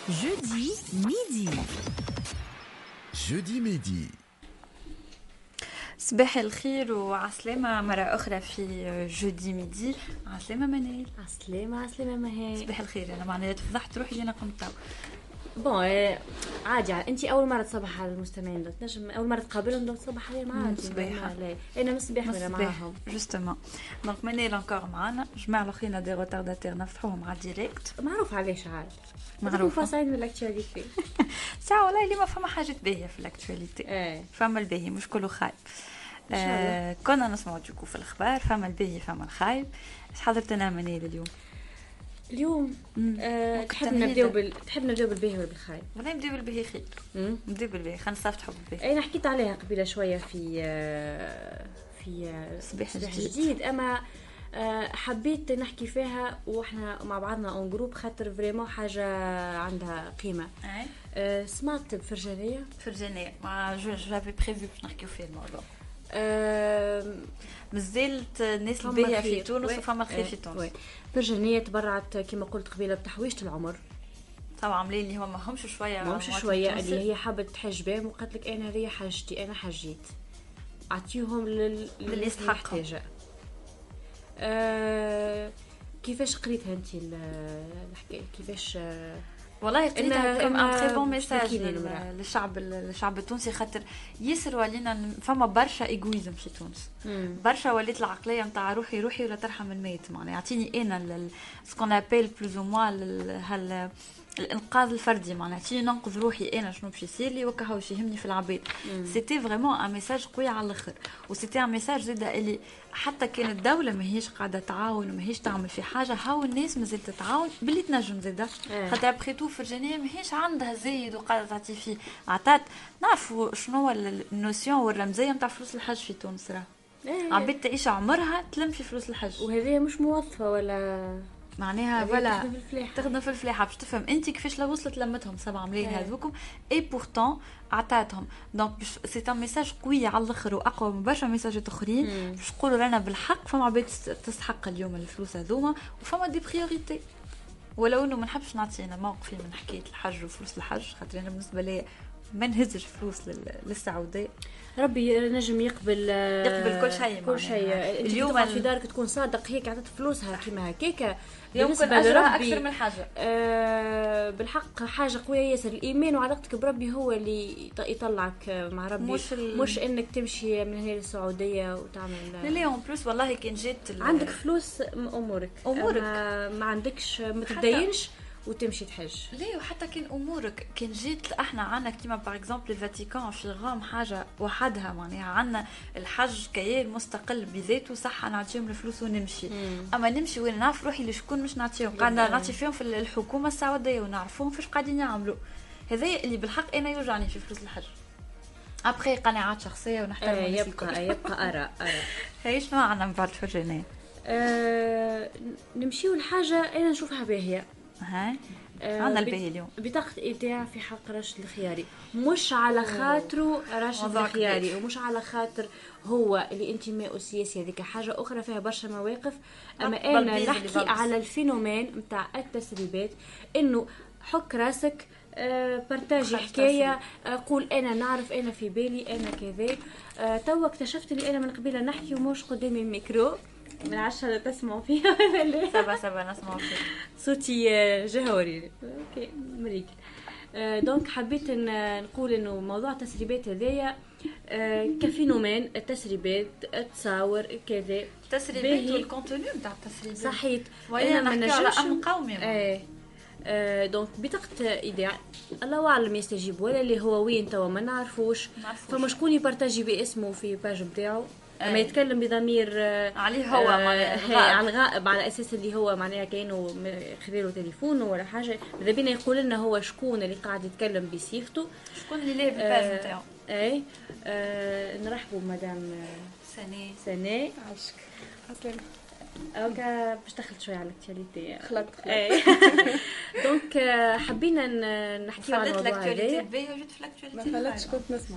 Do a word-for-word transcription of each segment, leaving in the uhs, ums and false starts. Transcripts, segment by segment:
Jeudi midi. Jeudi midi. صباح الخير وعسلامة مرة أخرى في جودي ميدي. عسلامة منال. عسلامة عسلامة مهي. صباح الخير. أنا معناها تفضحت روحي أنا قمت تو. بون عادي، أنت أول مرة تصبح على المستمعين، تنجم أول مرة تقابلهم دونك تصبح عليهم عادي. صباح. أنا من الصباح ولا معاهم. جوستومون دونك منال انكور معانا. جماعة الأخرين دي روتارداتير نفتحوهم على الديريكت. معروف علاش عاد. معروف. فاصعين من الاكتواليتي. ساعة والله اللي ما فما حاجة باهية في الاكتواليتي. ايه. فما الباهي مش كله خايب. آه كنا نسمعوا جوكو في الأخبار، فما الباهي فما الخايب. ايش حضرت لنا منال اليوم؟ اليوم أه تحب نبداو بال تحب نبداو بالباهي ولا بالخايب؟ والله نبداو بالباهي خير. نبداو بالباهي، خلينا نستفتحوا بالباهي. انا حكيت عليها قبيله شويه في آه في آه صباح جديد, جديد. جديد اما آه حبيت نحكي فيها واحنا مع بعضنا اون جروب، خاطر فريمون حاجه عندها قيمه. اي آه سمعت بفرجانيه فرجانية ما جو جافي بريفو باش نحكيو فيه الموضوع. آه مازالت الناس الباهية في تونس وفما الخير في تونس. فرجانيه تبرعت كما قلت قبيله بتحويشه العمر. طبعا عاملين اللي هما همش شويه ماهمش شويه اللي هي حابه تحج بهم وقالت لك انا ريا حاجتي انا حجيت اعطيهم لل... للي يستحقوا. أه... كيفاش قريتها انت الحكايه كيفاش؟ أه... والله قريتها كم ان تري بون ميساج للمرأة. للشعب الشعب التونسي، خاطر يسر ولينا فما برشا ايغويزم في تونس. مم. برشا وليت العقليه نتاع روحي روحي ولا ترحم الميت، معناها يعطيني انا سكون ابيل بلوز او موان هال الانقاذ الفردي، معناها تي ننقذ روحي انا شنو باش يصير لي وكا واش يهمني في العباد. سيتي فريمون ان ميساج قوي على الاخر، وسيتي ان ميساج زاد اللي حتى كان الدوله ماهيش قاعده تعاون وماهيش تعمل في حاجه، هاو الناس مازالت تتعاون باللي تنجم زاد. خاطر ابخي تو فرجانيه ماهيش عندها زايد وقاعده تعطي فيه عطات. نعرفوا شنو هو النوسيون والرمزيه نتاع فلوس الحج في تونس، راه عباد تعيش عمرها تلم في فلوس الحج، وهذه مش موظفه ولا معناها ولا تخدم في الفلاحه تخدم في الفلاحه باش تفهم انت كيفاش لو وصلت لمتهم سبعة ملايين هذوكم اي بورتون عطاتهم. دونك سي ان ميساج قوي على الاخر واقوى من برشا ميساجات اخرين باش نقولوا رانا بالحق فما عباد تستحق اليوم الفلوس هذوما وفما دي بريوريتي. ولو انه ما نحبش نعطينا موقفي من حكايه الحج وفلوس الحج، خاطر انا بالنسبه لي ما نهزش فلوس للسعوديه. ربي نجم يقبل يقبل كل شيء كل شيء. اليوم في دارك تكون صادق هيك عطات فلوسها كيما هكاكا يمكن اجرها اكثر من حاجه. آه بالحق حاجه قويه ياسر. الايمان وعلاقتك بربي هو اللي يطلعك مع ربي، مش, ال... مش انك تمشي من هنا للسعوديه وتعمل لا لا اون بلوس. والله كان جيت ال... عندك فلوس امورك امورك ما, ما عندكش ما تدينش وتمشي تحج. ليه وحتى كان امورك كان جيت احنا عنا كيما باغ اكزومبل الفاتيكان في غام حاجه وحدها، معناها عنا الحج كيان مستقل بذاته صح نعطيهم الفلوس ونمشي. مم. اما نمشي وين نعرف روحي لشكون مش نعطيهم، قاعده نعطي فيهم في الحكومه السعوديه ونعرفوهم فاش قاعدين يعملوا. هذا اللي بالحق انا يوجعني في فلوس الحج. ابخي قناعات شخصيه ونحترم آه يبقى يبقى ارى ارى هي شنو عنا من بعد فرجانيه. آه نمشيو لحاجه انا نشوفها باهيه. هاي عندنا الباهي اليوم بطاقة إيداع في حق راشد الخياري، مش على خاطره راشد الخياري ومش على خاطر هو اللي انتماء سياسي، هذيك حاجة أخرى فيها برشا مواقف. أما أنا نحكي على الفينومين متاع التسريبات، إنه حك راسك أه بارتاجي حكاية، أه قول أنا نعرف أنا في بالي أنا كذا. أه تو اكتشفت اللي أنا من قبيلة نحكي ومش قدامي الميكرو من عشرة تسمعوا فيها ولا سبا سبا نسمعوا فيها صوتي جهوري اوكي مريك. آه دونك حبيت ان نقول انه موضوع التسريبات هذايا آه كفينومين التسريبات تصاور كذا التسريبات والكونتوني نتاع التسريبات صحيت وانا نحكي على امن قومي. ايه آه دونك بطاقة ايداع الله اعلم يستجيب ولا اللي هو وين توا ما نعرفوش. فما شكون يبارتاجي باسمه في باج نتاعو ما يتكلم بضمير آه عليه هو آه عن غائب على اساس اللي هو معناها كانوا خذيله تليفونه ولا حاجه. اذا بينا يقول لنا هو شكون اللي قاعد يتكلم بصيغته، شكون اللي ليه بالباج نتاعو. آه اي آه نرحبوا مدام سناء سناء عشك عسلامة. اوكا باش دخلت شويه على الاكتواليتي خلط اي دونك حبينا نحكي على الموضوع هذا. باهي وجدت في الاكتواليتي ما فلتش كنت نسمع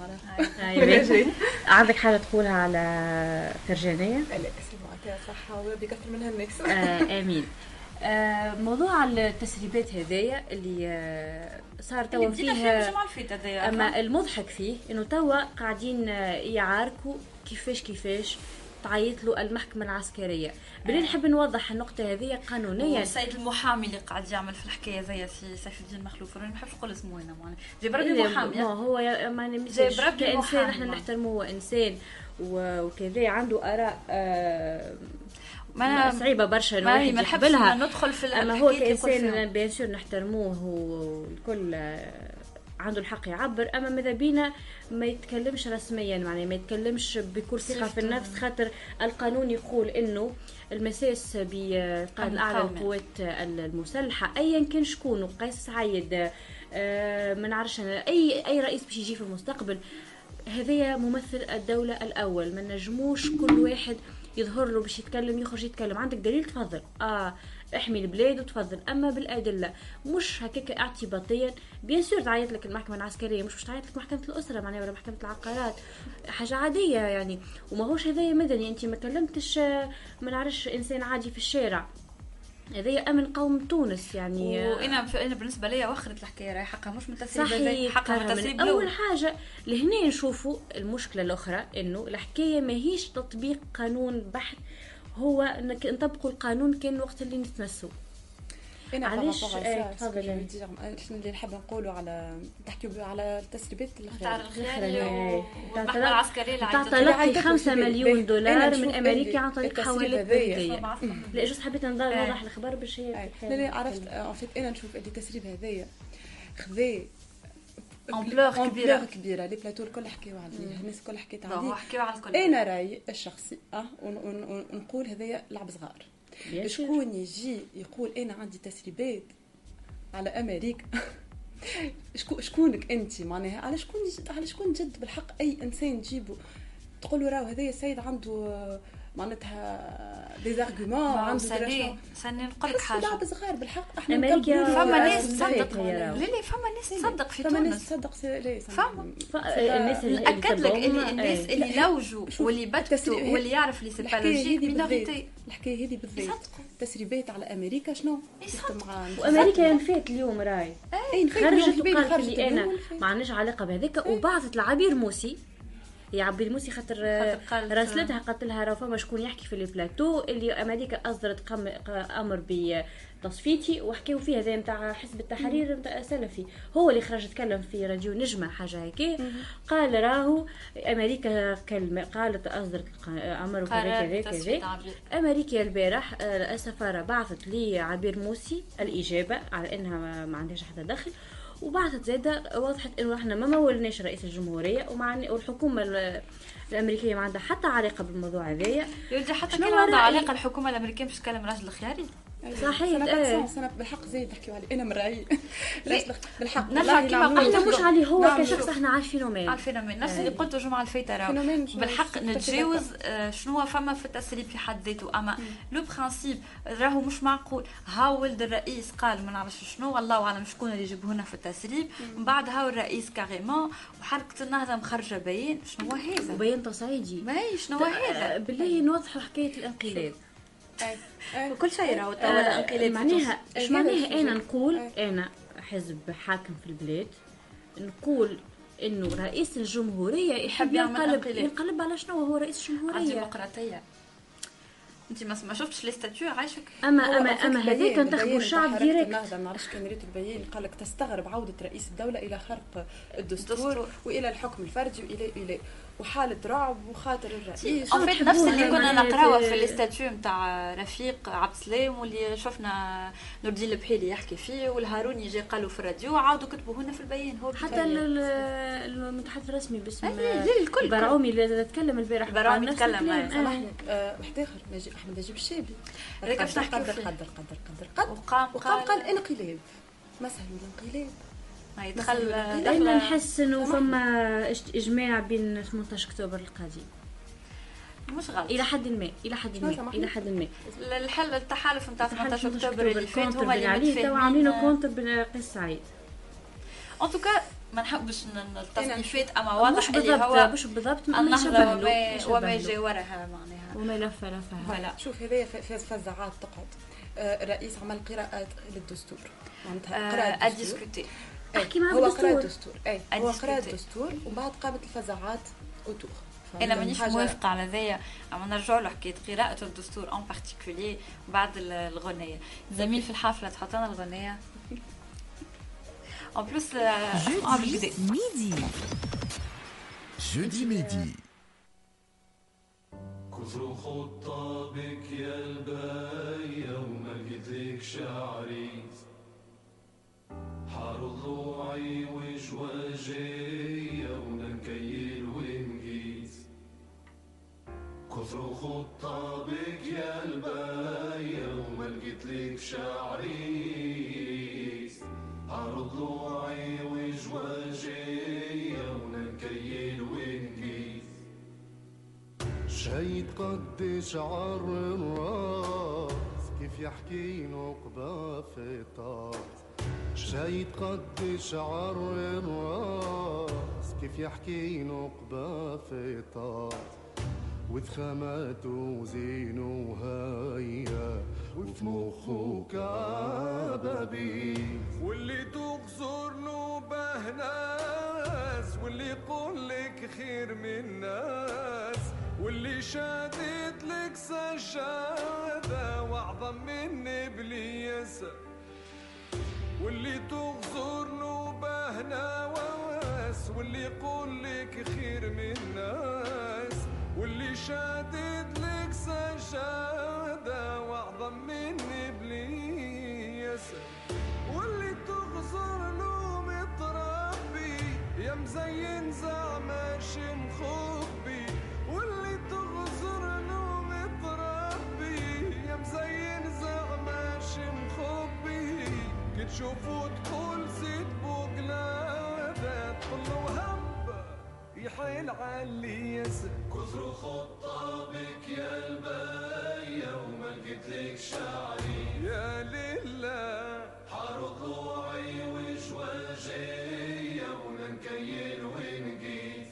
انا عندك حاجه تقولها على فرجانيه؟ لا سي معطيها صحه وربي يكثر منها الناس. آه امين. آه موضوع التسريبات هذايا اللي آه صار توا فيه، اما المضحك فيه انه توا قاعدين يعاركوا كيفاش كيفاش تعيط له المحكمة العسكرية. بلي نحب نوضح النقطة هذه قانونيا. السيد المحامي اللي قاعد يعمل في الحكاية زي سيف الدين مخلوف، أنا ما نحبش نقول اسمه هنا، معناها جايب ربي محامي. هو ما نمشيش كإنسان، احنا نحترمه، هو إنسان وكذا عنده آراء آه ما صعيبة برشا انه واحد يقبلها، ندخل في اما هو كإنسان بيان سور نحترموه والكل عنده الحق يعبر. اما ماذا بينا ما يتكلمش رسميا، معناه ما يتكلمش بكل ثقه في النفس، خاطر القانون يقول انه المساس بالقائد الاعلى للقوات المسلحه ايا كان شكون، قيس سعيد آه ما نعرفش اي اي رئيس باش يجي في المستقبل، هذايا ممثل الدوله الاول، ما نجموش كل واحد يظهر له باش يتكلم يخرج يتكلم. عندك دليل تفضل، اه احمي البلاد وتفضل، اما بالادله مش هكاك اعتباطيا. بيان سور تعيط لك المحكمه العسكريه، مش باش تعيط لك محكمه الاسره معناها ولا محكمه العقارات، حاجه عاديه يعني. وما هوش هذايا مدني، انت ما كلمتش ما نعرفش انسان عادي في الشارع، هذايا امن قوم تونس يعني. وانا انا بالنسبه لي وخرت الحكايه راهي حقها مش من تسريب، حقها من تسريب. اول حاجه لهنا نشوفوا المشكله الاخرى انه الحكايه ماهيش تطبيق قانون بحت، هو انك نطبقوا القانون كان وقت اللي نتمسوا. انا علاش تفضل اللي نحب نقولوا على تحكيوا على التسريبات الخيريه والمحكمه العسكريه اللي تعطى خمسة مليون دولار من امريكا عن طريق حوالات بلديه. لا جوست حبيت نوضح الخبر باش هي لا لا عرفت ان فيت. انا نشوف اللي التسريب هذايا خذا امبلور كبيره كبيره، لي بلاتو الكل حكيوا عليه، الناس الكل حكيت عليه، حكيوا على الكل. انا رايي الشخصي اه ونقول هذايا لعب صغار. شكون يجي يقول انا عندي تسريبات على امريكا؟ شكونك انت معناها؟ على شكون على شكون جد بالحق اي انسان تجيبه تقول له راهو هذايا السيد عنده معناتها دي زارغومون، عنده سني سني نقول لك حاجه لعب صغار بالحق. احنا امريكا فما ناس تصدق، لا لا فما ناس تصدق في تونس، فما ناس تصدق ليه فما الناس اللي اكد لك اللي الناس اللي لوجوا واللي بتوا واللي يعرف لي سيبالوجيك مينوريتي. الحكايه هذه بالذات تسريبات على امريكا شنو مع وامريكا نفات اليوم راي اي خرجت وقالت لي انا ما عندناش علاقه بهذاك، وبعثت لعبير موسي يا عبير موسي خاطر راسلتها قالت لها راه فما شكون يحكي في البلاتو اللي امريكا اصدرت امر بتصفيتي، وحكيوا فيها زي نتاع حزب التحرير نتاع سلفي، هو اللي خرج تكلم في راديو نجمه حاجه هيك، قال راهو امريكا كلمه قالت اصدرت امر كذا كذا كذا. امريكا البارح السفاره بعثت لي عبير موسي الاجابه على انها ما عندهاش حتى دخل، وبعثت زاده وضحت انه احنا ما مولناش رئيس الجمهوريه ومع والحكومه الامريكيه ما عندها حتى علاقه بالموضوع هذايا. يرجع حتى كان عندها علاقه الحكومه الامريكيه باش تكلم راجل الخياري صحيح. انا سنة بالحق زيد نحكيو عليه انا من رايي بالحق نرجع كيما احنا مش عليه هو نعم كشخص احنا عارفينه مين عارفينه مين نفس اللي قلته جمعه الفايته راه بالحق نتجاوز شنو فما في التسريب في حد ذاته. اما لو برينسيپ راهو مش معقول ها ولد الرئيس قال ما نعرفش شنو والله اعلم شكون اللي يجيبوا هنا في التسريب، من بعد هاو الرئيس كاريمون وحركه النهضه مخرجه بيان شنو هو هذا بيان تصعيدي ماهي شنو هو هذا بالله نوضحوا حكايه الانقلاب كل شيء راهو توا الانقلاب معناها ايش معناها انا نقول انا حزب حاكم في البلاد نقول انه رئيس الجمهوريه يحب ينقلب ينقلب على شنو هو رئيس الجمهوريه الديمقراطيه. انت ما شفتش لي ستاتيو عايشك اما اما اما هذاك انتخبوا الشعب ديريكت. ما نعرفش كان ريت البيان قال لك تستغرب عوده رئيس الدوله الى خرق الدستور والى الحكم الفردي والى الى وحاله رعب وخاطر الرئيس في نفس اللي كنا نقراوه في الاستاتيو نتاع رفيق عبد السلام واللي شفنا نور الدين البحيلي يحكي فيه والهاروني جاي قالوا في الراديو عاودوا كتبوا هنا في البيان. هو حتى المتحدث الرسمي باسم الكل البراعومي اللي تكلم البارح البراعومي تكلم سامحني واحد اخر نجي احمد نجيب الشابي هذاك باش نحكي قدر قدر قدر قدر وقام وقام قال انقلاب ما سهل الانقلاب ما يدخل انا نحس انه فما اجماع بين ثمانية عشر اكتوبر القادم مش غلط الى حد ما الى حد ما الى حد ما الحل التحالف نتاع ثمانية عشر اكتوبر اللي فات هما اللي متفاهمين عاملينه كونتر بين قيس سعيد. ان توكا ما نحبش التصنيفات اما واضح اللي هو مش بالضبط النهضه وما وما جاي وراها معناها وما لف لفها. شوف هذايا فزعات تقعد الرئيس عمل قراءة للدستور معناتها قراءة الدستور احكي معاه هو بالدستور. قراءة الدستور اي هو قراءة الدستور ومن بعد قامت الفزاعات اوتور. انا مانيش موافقه على ذايا، اما نرجع له حكايه قراءه الدستور ان بارتيكولي بعد الغنيه. زميل في الحفله تحط لنا الغنيه ان بلوس جودي ميدي. جودي ميدي. كثر خطابك يا الباية وما لقيتلك شعري حار ضلوعي وجواجية ونكيل ونقيس. كثر خطابك يا الباية وما لقيتلك شعري حار ضلوعي وجواجية ونكيل ونقيس. شي تقدش عر الراس كيف يحكي نقبة في طاس. شي تقدش عر الراس كيف يحكي نقبة في طاس. وذخامات وزين وهيا وفي مخه كبابيس. واللي تغزر نوبه ناس واللي يقولك خير من ناس واللي شادد لك سجادة وأعظم من إبليس. واللي تغزر نوبه نواس واللي يقولك خير من ناس واللي شادد لك سجادة وأعظم من إبليس. واللي تغزر له متربي يا مزين زعماش مخبي. واللي تغزر له متربي يا مزين زعماش مخبي. كي تشوفو تقول زيد بوقلادة تقولو هب يحيل عليس. كثر خطابك يا الباية وما لقيتلك شعري يا لله حار ضلوعي وجواجية ونكيل ونقيس.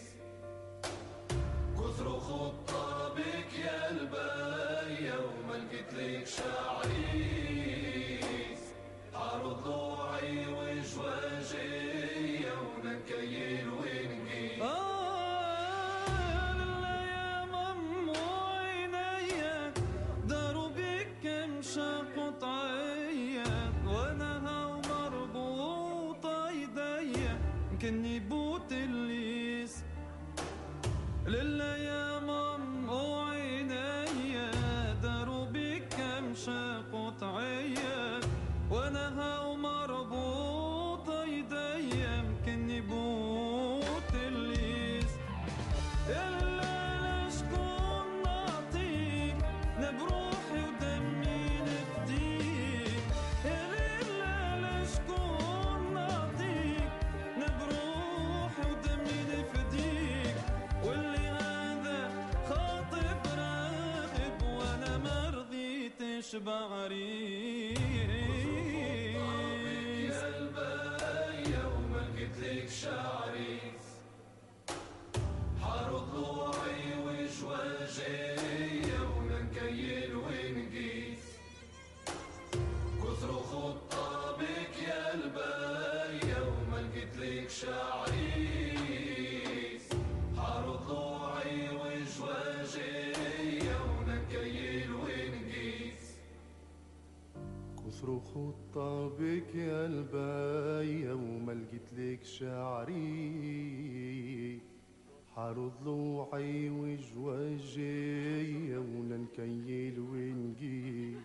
كثر خطابك يا الباية وما لقيتلك شعري حار ضلوعي وجواجية ونكيل ونقيس. آه يا مم وعينيا داروا بك كمشة قطعية وانا هاو مربوطة ايديا كني بوت الليس. لله يا مم وعينيا داروا بك كمشة قطعية وانا هاو مربوطة ايديا مكني بوت الليس. الا لشكون نعطيك نبروحي ودمي نفديك. الا لشكون نعطيك نبروحي ودمي نفديك. واللي هذا خاطب راغب وانا مرضيتش بعريك. لك شعري حار ضلوعي وجواجية ونكيل ونقيس. كثر خطابك يا الباية وما لقيتلك شعري حار ضلوعي وجواجية ونكيل ونقيس. كثر خطابك يا الباية وما لقيتلك شعري حار ضلوعي وجواجية ونكيل ونقيس.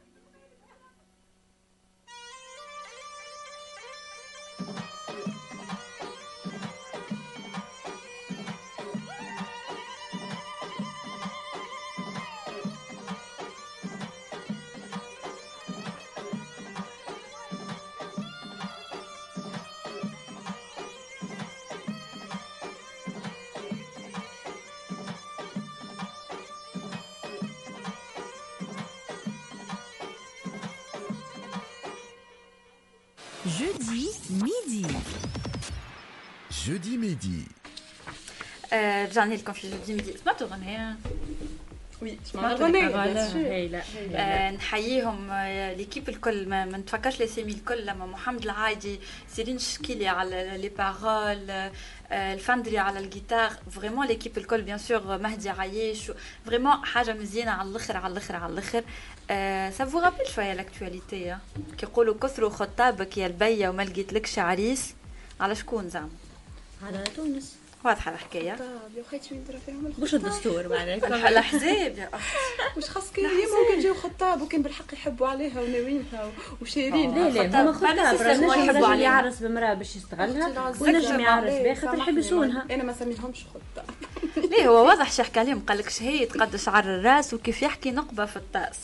جودي ميدي. جودي ميدي. رجعنا لكم في جودي ميدي. سمعتوا غنية؟ وي اسمها الغنية هايله آه، نحييهم آه، ليكيب الكل ما, ما نتفكرش لاسامي الكل لما محمد العايدي سيرين شكيلي على لي بارول آه، الفندري على الجيتار فريمون ليكيب الكل بيان سور مهدي عايش فريمون حاجه مزيانه على الاخر على الاخر على الاخر سا فو رابيل شويه لاكtualité كيقولوا كثروا خطابك يا البيه وما لقيتلكش عريس على شكون زعما على تونس واضحه الحكايه طب يا خيتي وين درا فيهم مش الدستور معناها الاحزاب يا اختي مش خاص كان ممكن يجيو خطاب وكان بالحق يحبوا عليها وناويينها وشايرين لا لا هما خطاب راجل يعرس بمراه باش يستغلها ونجم يعرس بها خاطر يحب يصونها. انا ما سميتهمش خطاب ليه هو واضح شي حكى عليهم قال لك شهيه قد شعر الراس وكيف يحكي نقبه في الطاس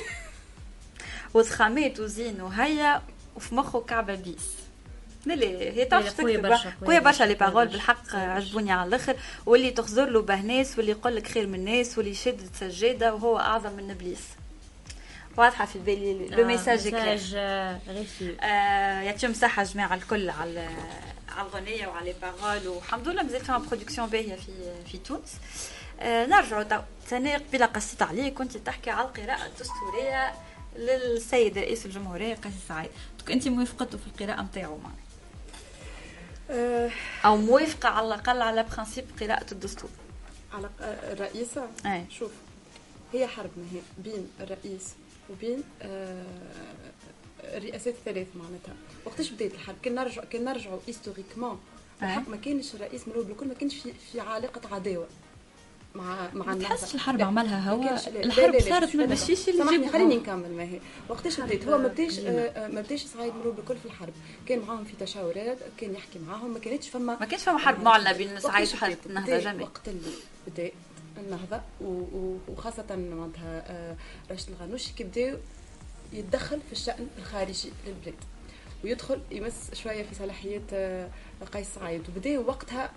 وضخامات وزين وهيا وفي مخه كعبه بيس. لا هي تعرف تكتب قويه برشا لي بارول بالحق عجبوني على الاخر واللي تخزر له بهناس واللي يقول لك خير من الناس واللي يشد سجاده وهو اعظم من ابليس. واضحه في بالي لو ميساج كلير آه يعطيهم صحه جماعه الكل على على الغنيه وعلى لي بارول والحمد لله مازال فيها برودكسيون باهيه في في تونس. آه نرجعوا ثاني قبيله قصيت عليك كنت تحكي على القراءه الدستوريه للسيد رئيس الجمهوريه قيس سعيد. انت موافقته في القراءه نتاعو معنا او موافقه على الاقل على برانسيب قراءه الدستور على الرئيسه؟ أي. شوف هي حرب ما هي بين الرئيس وبين الرئاسات الثلاث معناتها. وقتاش بدات الحرب؟ كان نرجع كان نرجعوا هيستوريكمون ما كانش الرئيس ملوك بالكل ما كانش في, في علاقه عداوه مع مع الناس. تحسش الحرب عملها هو الحرب صارت ما مشيش اللي سامحني خليني نكمل. ما هي وقتاش بدات هو ما بداش ما بداش سعيد ملوك بالكل في الحرب. كان معاهم في تشاورات كان يحكي معاهم ما كانتش فما ما كانش فما حرب معلنه بين سعيد وحركه النهضه جميع. وقت اللي بدات النهضه وخاصه معناتها راشد الغنوشي كي بداو يتدخل في الشأن الخارجي للبلاد ويدخل يمس شويه في صلاحيات قيس سعيد وبداو وقتها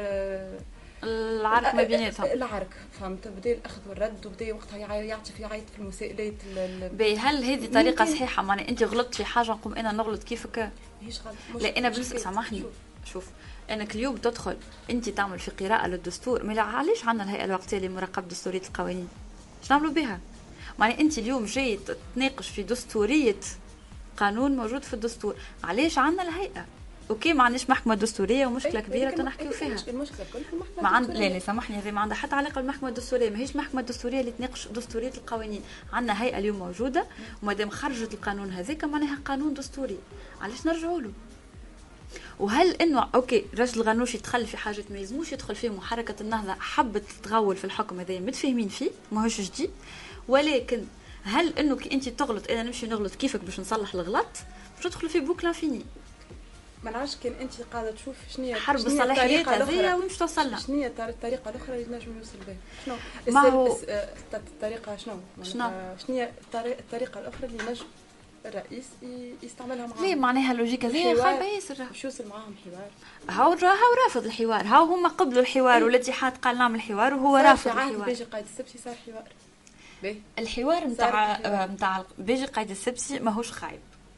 العرك ما بيناتهم العرك فهمت بدا الاخذ والرد وبدا وقتها يعطي في يعيط في المسائلات. باهي هل هذه طريقه صحيحه؟ معناها انت غلطت في حاجه نقوم انا نغلط كيفك؟ ماهيش غلط. لا انا بالنسبه سامحني شوف, شوف. انك اليوم تدخل انت تعمل في قراءه للدستور ما علاش عندنا الهيئه الوقتيه لمراقبه دستوريه القوانين؟ اش نعملوا بها؟ معناها انت اليوم جاي تناقش في دستوريه قانون موجود في الدستور علاش عندنا الهيئه؟ اوكي ما عندناش محكمه دستوريه ومشكله كبيره تنحكيو فيها. المشكله كل في المحكمه ما عند لا لا سامحني هذه ما عندها حتى علاقه بالمحكمه الدستوريه. ماهيش محكمه دستوريه اللي تناقش دستوريه القوانين. عندنا هيئه اليوم موجوده ومادام خرجت القانون هذاك معناها قانون دستوري علاش نرجعوا له؟ وهل انه اوكي راشد الغنوشي دخل في حاجه ما يلزموش يدخل فيهم وحركه النهضه حبت تغول في الحكم هذا متفاهمين فيه ماهوش جديد. ولكن هل انه كي انت تغلط انا نمشي نغلط كيفك باش نصلح الغلط باش ندخل في بوكلا فيني؟ ما نعرفش كان انت قاعده تشوف شنو هي حرب الصلاحيات هذه وين باش توصل لها؟ شنو هي الطريقه الاخرى اللي نجم يوصل بها؟ شنو ما هو الطريقه شنو شنو شنو هي الطريقه الاخرى اللي نجم الرئيس يستعملها معاهم؟ ليه معناها اللوجيكا هذه خايبه ياسر باش يوصل معاهم حوار. هاو هاو رافض الحوار. هاو هما قبلوا الحوار والاتحاد قال نعمل حوار وهو رافض الحوار. بيجي قائد السبسي صار حوار. باهي الحوار نتاع نتاع بيجي قائد السبسي ماهوش خايب.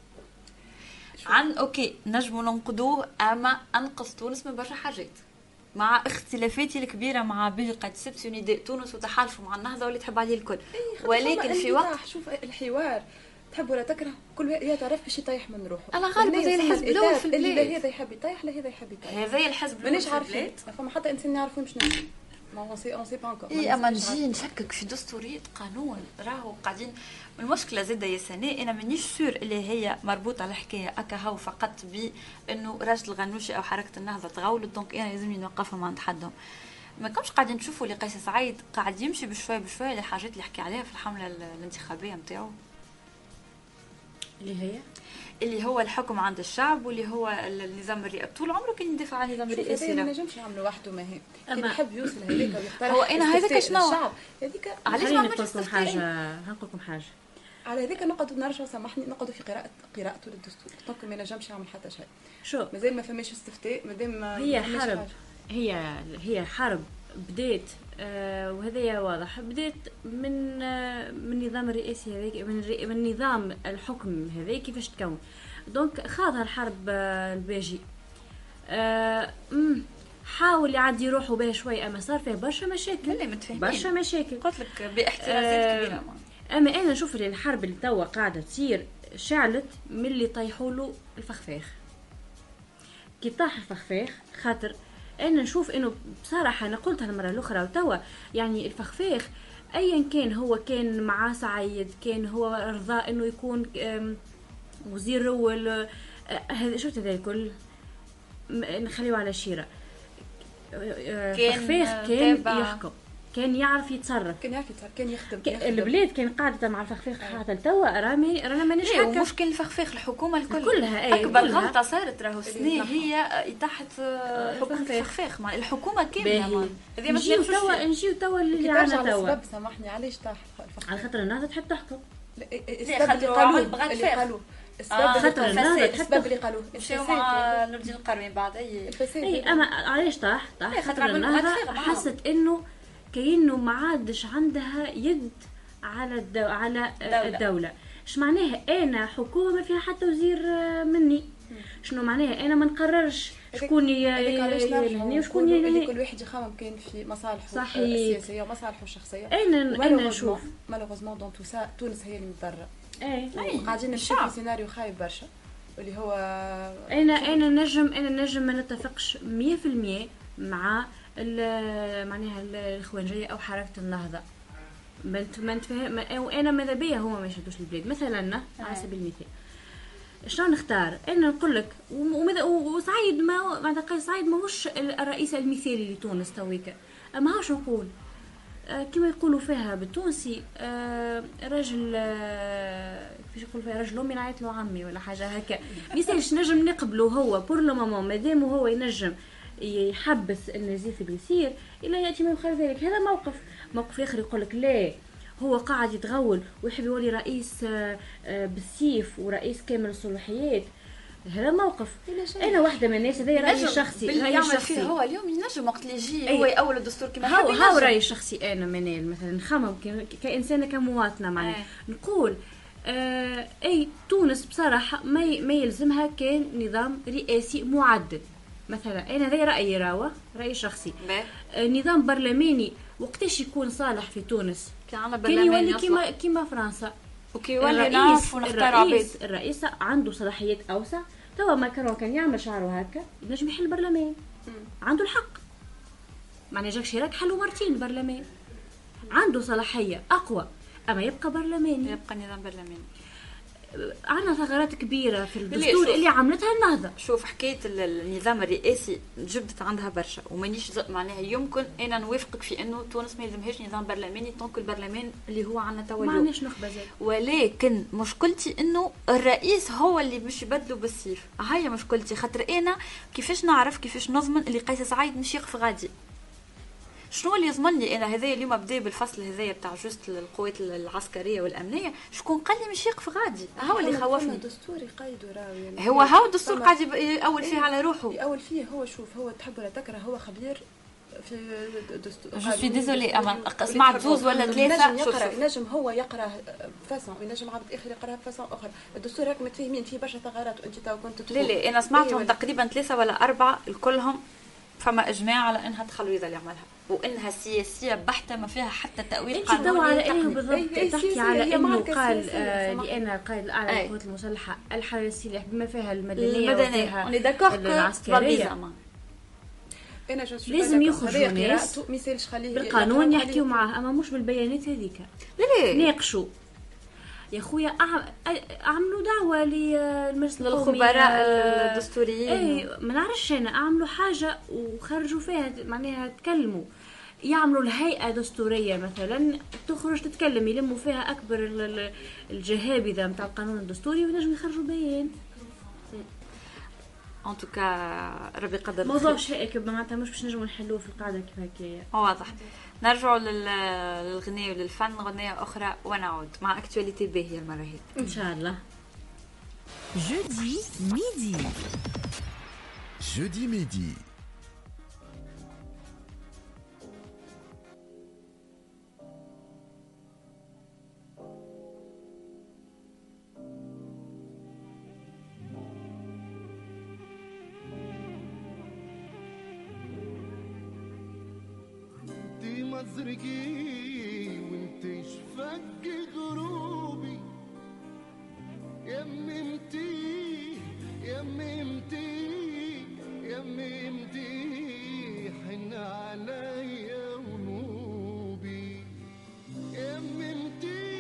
عن اوكي نجموا ننقدوه اما انقذ تونس من برشا حاجات مع اختلافاتي الكبيره مع بيجي قائد السبسي ونداء تونس وتحالفوا مع النهضه واللي تحب عليه الكل. ولكن في وقت شوف الحوار تحب ولا تكره كل واحد تعرف باش يطيح من روحه. الله غالب زي الحزب الاول في البلاد اللي هذا يحب يطيح لا هذا يحب يطيح. هذا الحزب الاول مانيش عارفين فما حتى انسان نعرفوا مش نعرف ما اون سي اون سي با انكور. اي اما نجي نشكك في دستوريه قانون راهو قاعدين. المشكله زاده يا سناء انا مانيش سور اللي هي مربوطه على الحكايه اكا هاو فقط بانه راشد الغنوشي او حركه النهضه تغولت دونك انا لازمني نوقفهم عند حدهم. ما كمش قاعدين تشوفوا اللي قيس سعيد قاعد يمشي بشويه بشويه للحاجات اللي حكي عليها في الحمله الانتخابيه نتاعو اللي هي اللي هو الحكم عند الشعب واللي هو النظام الرئاسي. طول عمره كان يدافع عن النظام الرئاسي. ما نجمش يعملوا وحده ما هي كان يحب يوصل هذيك ويقترح هو انا هذاك شنو هذيك علاش ما نقول لكم حاجه نقول لكم حاجه على هذيك نقعدوا نرجعوا سامحني نقعدوا في قراءه قراءته للدستور دونك ما نجمش يعمل حتى شيء. شو مازال ما فماش استفتاء مادام هي حرب هي هي حرب بدات آه وهذا واضح بدات من آه من النظام الرئاسي هذاك من, من نظام الحكم هذا كيفاش تكون دونك خاضها الحرب آه الباجي آه حاول يعدي روحه به شوي، اما صار فيه برشا مشاكل. اللي متفاهمين برشا مشاكل قلت لك باحترازات آه كبيره. اما انا نشوف اللي الحرب اللي توا قاعده تصير شعلت من اللي طيحوا له الفخفاخ. كي طاح الفخفاخ خاطر انا نشوف انه بصراحه انا قلتها المره الاخرى وتوا يعني الفخفاخ ايا كان هو كان مع سعيد كان هو رضا انه يكون وزير اول هذا شفت هذا الكل نخليه على شيره. فخفاخ كان يحكم كان يعرف يتصرف كان يعرف يتصرف كان يخدم, يخدم. البلاد كان قاعده مع الفخفاخ حتى توا رامي رانا مانيش هكا هكا مشكل الفخفاخ الحكومه الكل كلها اي اكبر غلطه صارت راهو سنين هي تحت حكم الفخفاخ مع الحكومه كامله. هذه مش توا نجيو توا اللي عنا توا السبب سامحني علاش طاح الفخفاخ على خاطر الناس تحب تحكم. السبب اللي قالوه اللي قالوه السبب خاطر السبب اللي قالوه مشاو مع نور الدين القروي بعد اي اي اما علاش طاح طاح خاطر النهضه حست انه كأنه ما عادش عندها يد على الدو... على دولة. الدولة ايش معناها انا حكومه ما فيها حتى وزير مني شنو معناها انا ما نقررش شكون يلهني وشكون يلهني كل واحد يخمم كان في مصالحه السياسيه ومصالحه الشخصيه. انا انا نشوف مالوغوزمون دون تو سا تونس هي اللي متضرره. اي قاعدين نشوفوا سيناريو خايب برشا اللي هو انا انا نجم انا نجم ما نتفقش مية في المية مع معناها الاخوانجيه او حركه النهضه بنت ما نتفهم وانا ماذا بيا هما ما يشدوش البلاد مثلا على سبيل المثال شلون نختار انا نقول لك وماذا وسعيد ما معناتها سعيد ماهوش الرئيس المثالي لتونس تويكا اما هاش نقول آه كما يقولوا فيها بالتونسي آه رجل آه كيفاش يقول فيها رجل امي نعيط له عمي ولا حاجه هكا ميسالش نجم نقبله هو بور لو مومون مادام هو ينجم يحبس النزيف اللي يصير الا ياتي من خلال ذلك. هذا موقف موقف اخر يقول لك لا هو قاعد يتغول ويحب يولي رئيس بالسيف ورئيس كامل الصلاحيات. هذا موقف انا واحده من الناس هذا رايي الشخصي رايي الشخصي هو اليوم ينجم وقت اللي يجي هو يأول الدستور كما هو هو رايي الشخصي انا منال مثلا نخمم كانسانه كمواطنه معناها نقول آه اي تونس بصراحه ما ما يلزمها كان نظام رئاسي معدل مثلا انا هذا رايي راوه رايي شخصي آه نظام برلماني وقتاش يكون صالح في تونس كان يولي كيما كيما فرنسا وكي يولي نعرف ونختار عبيد الرئيس عنده صلاحيات اوسع. توا ماكرون كان يعمل شعره هكا ينجم يحل البرلمان عنده الحق معناها جاك شيراك حلو مرتين البرلمان عنده صلاحيه اقوى اما يبقى برلماني يبقى نظام برلماني. عندنا ثغرات كبيره في الدستور اللي عملتها النهضه. شوف حكايه النظام الرئاسي جبدت عندها برشا ومانيش معناها يمكن انا نوافقك في انه تونس ما يلزمهاش نظام برلماني طونك البرلمان اللي هو عندنا توا ما عندناش نخبه زاد. ولكن مشكلتي انه الرئيس هو اللي مش يبدلوا بالسيف. هاي مشكلتي خاطر انا كيفاش نعرف كيفاش نضمن اللي قيس سعيد مش يقف غادي. شنو اللي يضمن لي انا هذايا اليوم بدا بالفصل هذايا بتاع جوست القوات العسكريه والامنيه شكون قال لي مش يقف غادي. هو اللي خوفني الدستور يقيدوا راوي يعني هو هو الدستور قاعد يأول فيه على روحه يأول فيه. هو شوف هو تحب ولا تكره هو خبير في الدستور. جو سوي ديزولي اما سمعت زوز ولا ثلاثه شوف ينجم هو يقرا بفاسون وينجم عبد اخر يقراها بفاسون اخرى. الدستور راك متفاهمين فيه برشا ثغرات وانت تو كنت لا لا انا سمعتهم تقريبا ثلاثه ولا اربعه الكلهم فما اجماع على انها تخلوي اللي يعملها وانها سياسيه بحته ما فيها حتى تاويل قانوني. انت على انه بالضبط تحكي على انه قال آه لان القائد الاعلى للقوات المسلحه الحرسيه بما فيها المدنيه وفيها العسكريه انا لازم يخرجوا ناس بالقانون يحكيوا معاه اما مش بالبيانات هذيك. لا ناقشوا يا خويا اعملوا دعوه للمجلس القومي للخبراء الدستوريين اي ما نعرفش انا اعملوا حاجه وخرجوا فيها معناها تكلموا يعملوا الهيئه دستوريه مثلا تخرج تتكلم يلموا فيها اكبر الجهابذه نتاع القانون الدستوري ونجم يخرجوا بيان. ان توكا ربي قدر موضوع شائك معناتها مش باش نجموا نحلوه في القاعده كيف هكايا. واضح. نرجعوا للغناء وللفن غنية أخرى ونعود مع أكتواليتي باهية المرة هي إن شاء الله. Jeudi midi. Jeudi midi. مزرقي وانتي شفق غروبي، يممتي يممتي يممتي حن عليا ونوبي، يممتي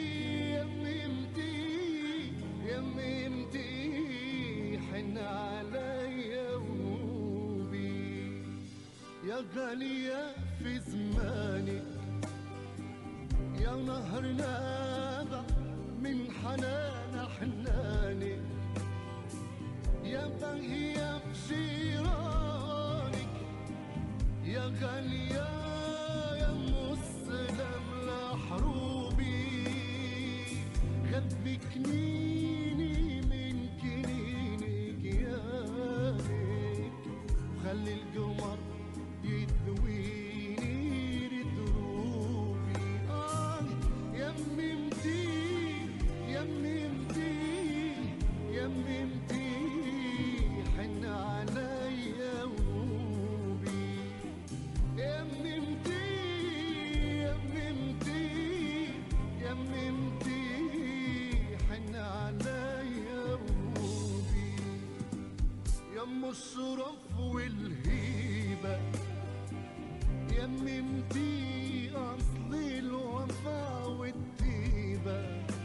يممتي يممتي حن عليا ونوبي، يا غالية في زمانك يا نهر نابع من حنان حنانك، يا باهية في جيرانك يا غالية يا مسلم لحروبي، غبي كنيني من كنينك يانك، وخلي القمر يدويني لدروبي. آه يممتي يممتي يممتي حن عليا ونوبي، يممتي يممتي يممتي حن عليا ونوبي، يم الشرف والهيبة يممتي أصل الوفا والطيبة،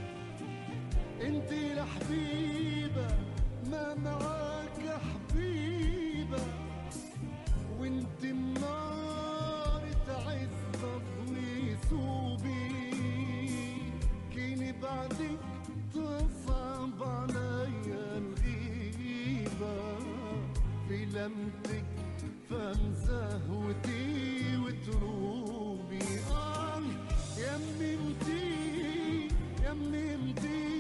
انتي الحبيبة ما معاك حبيبة، وانتي النار تعز ويسوبي، كيني بعدك تصعب عليا الغيبة، في لمتك فم زهوتي وتروبي. آه يممتي يممتي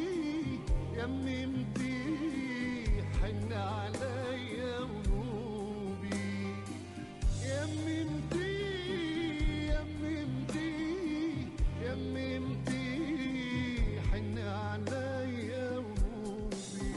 يممتي حن عليا ونوبي، يممتي يممتي يممتي حن عليا ونوبي.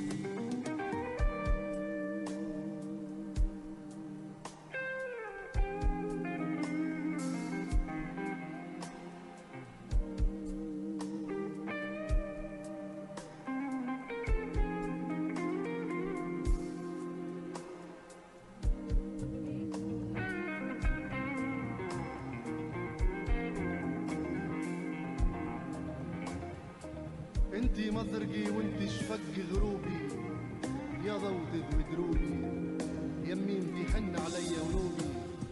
انتي مزرقي وانتي شفق غروبي، يا ضوضي ودروبي، يميمتي حن عليا ونوبي،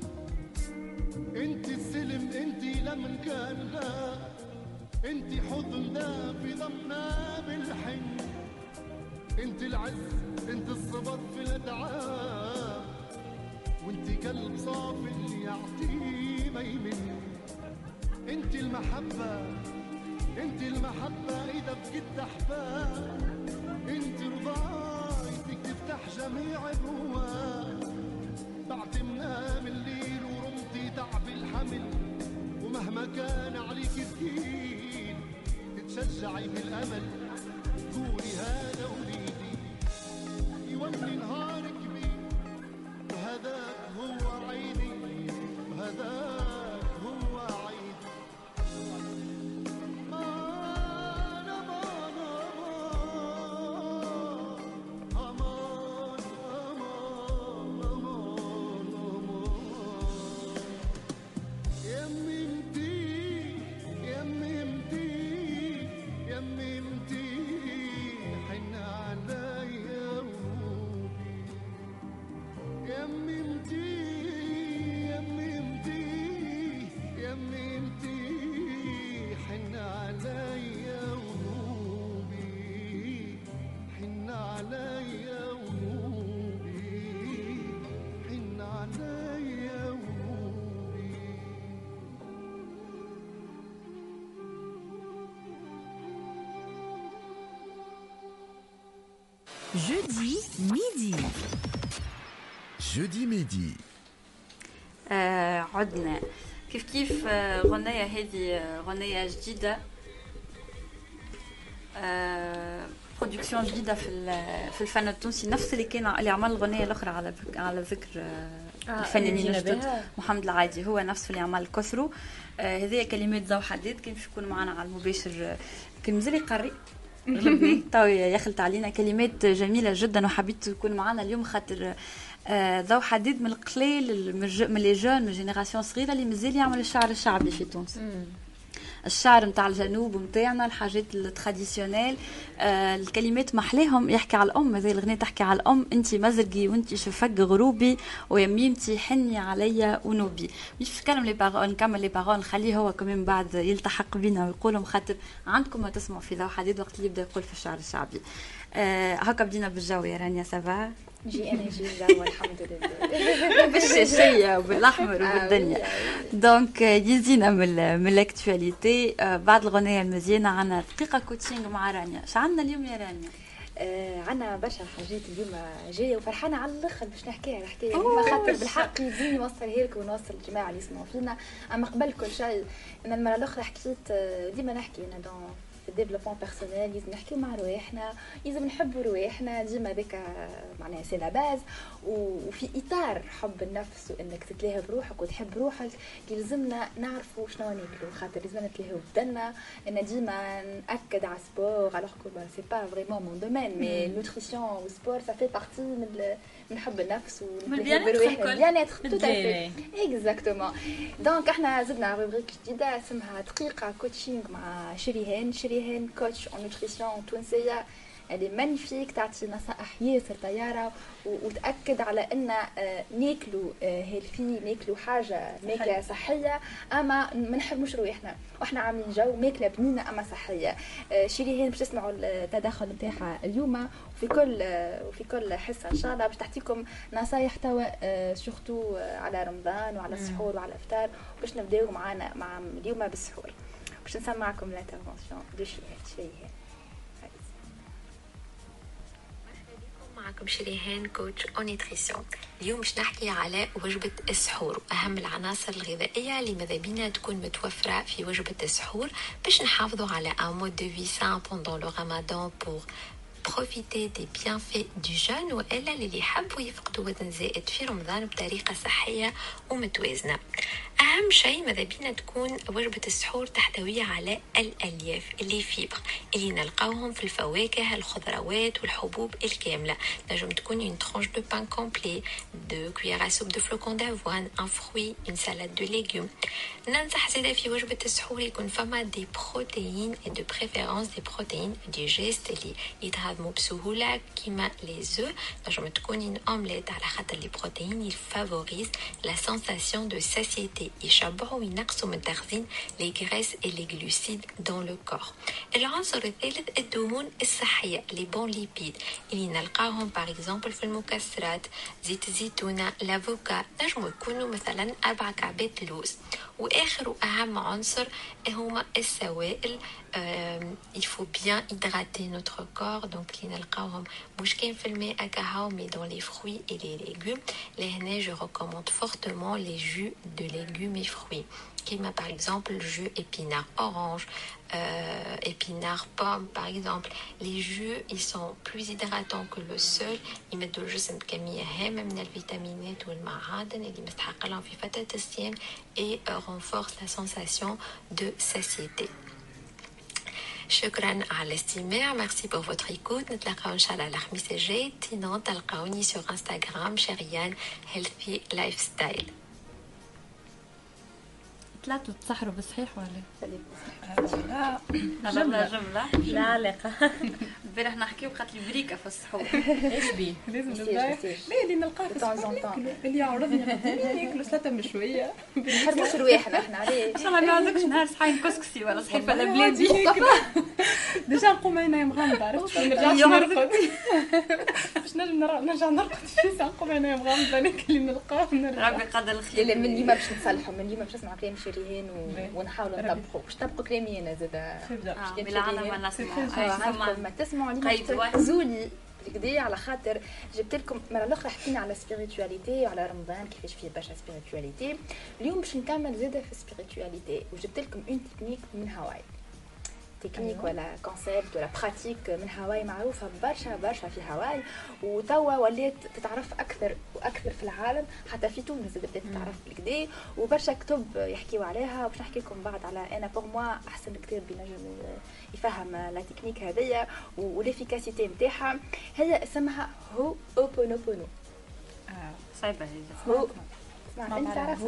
انتي السلم انتي لمن كان لا، انتي حضننا في ضمنا بالحن، انتي العز انتي الصبر في الادعاء، وانتي قلب صافي اللي يعطيه ما يمن، انتي المحبة انتي المحبة اذا بجد احباب، انتي رضايتك تفتح جميع الرواد، بعتي منام الليل ورمتي تعب الحمل، ومهما كان عليك ثقيل تتشجعي بالامل، قولي هذا وليدي يولي نهار كبير، وهذاك هو عيدي وهذاك هو عيدي. Jeudi midi. Jeudi midi. آه عدنا كيف كيف آه غنية هذه آه غنية جديدة، آه برودكسيون جديده في في الفن التونسي، نفس اللي كان اللي عمل الغنيه الاخرى على على ذكر الفنانين الجدد محمد العادي، هو نفس اللي عمل كثروا. هذه كلمات زو حديد كان باش يكون معنا على المباشر، كان مازال يقري غلبني تو يخلط علينا كلمات جميله جدا، وحبيت يكون معنا اليوم خاطر ذو حديد من القليل من لي جون من جينيراسيون صغيره اللي مازال يعمل الشعر الشعبي في تونس. الشعر نتاع الجنوب نتاعنا، الحاجات التراديسيونيل، آه الكلمات محليهم يحكي على الام. هذه الاغنيه تحكي على الام، انت مزرقي وانت شفق غروبي ويميمتي حني عليا ونوبي. مش نتكلم لي بارول، نكمل لي بارول، نخليه هو كمان بعد يلتحق بينا ويقولهم، خاطر عندكم ما تسمعوا في ذو حديد وقت اللي يبدا يقول في الشعر الشعبي. آه هكا بدينا بالجو يا رانيا. سافا جي انا جي الجو الحمد لله بالشاشيه وبالاحمر وبالدنيا. دونك يزينا من من الاكتواليتي. بعد الغنيه المزيانه عنا دقيقه كوتشينغ مع رانيا. شو عندنا اليوم يا رانيا؟ آه عنا برشا حاجات اليوم جايه وفرحانه على الاخر باش نحكيها الحكايه اليوم، خاطر بالحق يزيني نوصلها لكم ونوصل الجماعه اللي يسمعوا فينا. اما قبل كل شيء انا المره الاخرى حكيت، ديما نحكي انا دون في الديفلوبمون بيرسونيل لازم نحكيو مع رواحنا، لازم نحبوا رواحنا ديما، ذاك معناها سي لا باز. وفي اطار حب النفس وانك تتلاهى بروحك وتحب روحك لازمنا نعرفوا شنو ناكلوا، خاطر لازمنا نتلاهوا بدنا. ان ديما ناكد على سبور الوغ كو سي با فريمون مون دومين، مي نوتريسيون وسبور سا في بارتي من من حب النفس ونتلاهوا بروحنا، بيانيتر تو تافي اكزاكتومون. دونك احنا زدنا روبريك جديده اسمها دقيقه كوتشينغ مع شريهان. شريهان كوتش اون نوتريسيون تونسيه، اللي مانيفيك، تعطي نصائح ياسر طياره وتاكد على ان ناكلوا هيلثي، ناكلوا حاجه ماكله صحيه، اما ما نحرموش روحنا واحنا عاملين جو ماكله بنينه اما صحيه. شيريهان باش تسمعوا التدخل نتاعها اليوم، وفي كل وفي كل حصه ان شاء الله باش تحكيكم نصايح توا سورتو على رمضان وعلى السحور وعلى الافطار. باش نبداو معانا مع اليوم بالسحور، باش نسمعكم الانترفونسيون دو شيريهان. معكم شريهان كوتش اون نيوتريسيون. اليوم باش نحكي على وجبة السحور واهم العناصر الغذائية اللي ماذا بينا تكون متوفرة في وجبة السحور باش نحافظوا على un mode de vie sain pendant le ramadan pour profiter des bienfaits du jeûne، وإلا اللي يحبوا يفقدوا وزن زائد في رمضان بطريقة صحية ومتوازنة. أهم شيء ماذا بينا تكون وجبة السحور تحتوي على الألياف اللي فيبر اللي نلقاوهم في الفواكه، الخضروات والحبوب الكاملة. نجم تكون une tranche de pain complet, deux cuillères à soupe de flocons d'avoine, un fruit, une salade de légumes. ننصح زيادة في وجبة السحور يكون فما دي بروتيين et de préférence des protéines digestes اللي يتهضموا بسهولة كيما les œufs. نجم تكون une omelette على خاطر les protéines ils favorisent la sensation de satiété، يشبعوا وينقصوا من تخزين les graisses et les glucides dans le corps. العنصر الثالث الدهون الصحية les bons lipides اللي نلقاهم par exemple في المكسرات، زيت الزيتونة، لافوكا، نجموا يكونوا مثلا أربع كعبات لوز. وآخر وأهم عنصر هما السوائل. euh, il faut bien hydrater notre corps، donc اللي نلقاوهم مش كان في الماء كهو mais dans les fruits et les légumes. لهنا je recommande fortement les jus de légumes et fruits كيما par exemple le jus épinard orange, euh, épinard pomme par exemple. Les jus ils sont plus hydratants que le seul، يمدوا الجسم بكمية هامة من الفيتامينات والمعادن اللي مستحق لهم في فترة الصيام et renforce la sensation de satiété. شكرا على الاستماع، ميرسي بور فوتر ايكوت. نتلاقاو ان شاء الله الخميس الجاي. تينون تلقاوني سور انستغرام شريان هيلثي لايف ستايل. ثلاثة تسحروا بالصحيح ولا؟ لا جملة جملة لا علاقة. امبارح نحكيو بخاطر بريكة في السحور. ايش بيه؟ لازم نبدا. لا اللي نلقاه في السحور اللي يعرضني قدامي ياكلوا سلطة مشوية. نحرموش رواحنا احنا عليه. ان شاء الله ما عندكش نهار صحين كسكسي ولا صحين فلا بلادي. ديجا نقوم عيني مغمضة، عرفت؟ ما نرجعش نرقد. باش نجم نرجع نرقد في ساعة نقوم عيني مغمضة ناكل اللي نلقاه ونرجع. ربي قدر الخير. لا من اللي ما باش نصلحوا، من اللي ما باش نسمع كلام شريهان ونحاولوا نطبقوا. باش تطبقوا كلامي انا زاد. بالعالم ما نسمع. ما تسمعوا لي تركزولي كده على خاطر جبت لكم مره الاخرى حكينا على سبيريتواليتي وعلى رمضان كيفاش فيه برشا سبيريتواليتي. اليوم باش نكمل زاده في سبيريتواليتي وجبت لكم اون تكنيك من هاواي. تكنيك ولا كونسيبت ولا براتيك من هاواي معروفه برشا برشا في هاواي، وتوا ولات تتعرف اكثر واكثر في العالم، حتى في تونس بدات تتعرف بالكدا، وبرشا كتب يحكيوا عليها. باش نحكي لكم بعد على انا بور موا احسن كتاب بينجم يفهم لا تكنيك هذيا والافيكاسيتي نتاعها. هي اسمها هو اوبونوبونو. صعيبه هي. هو اسمع انت تعرف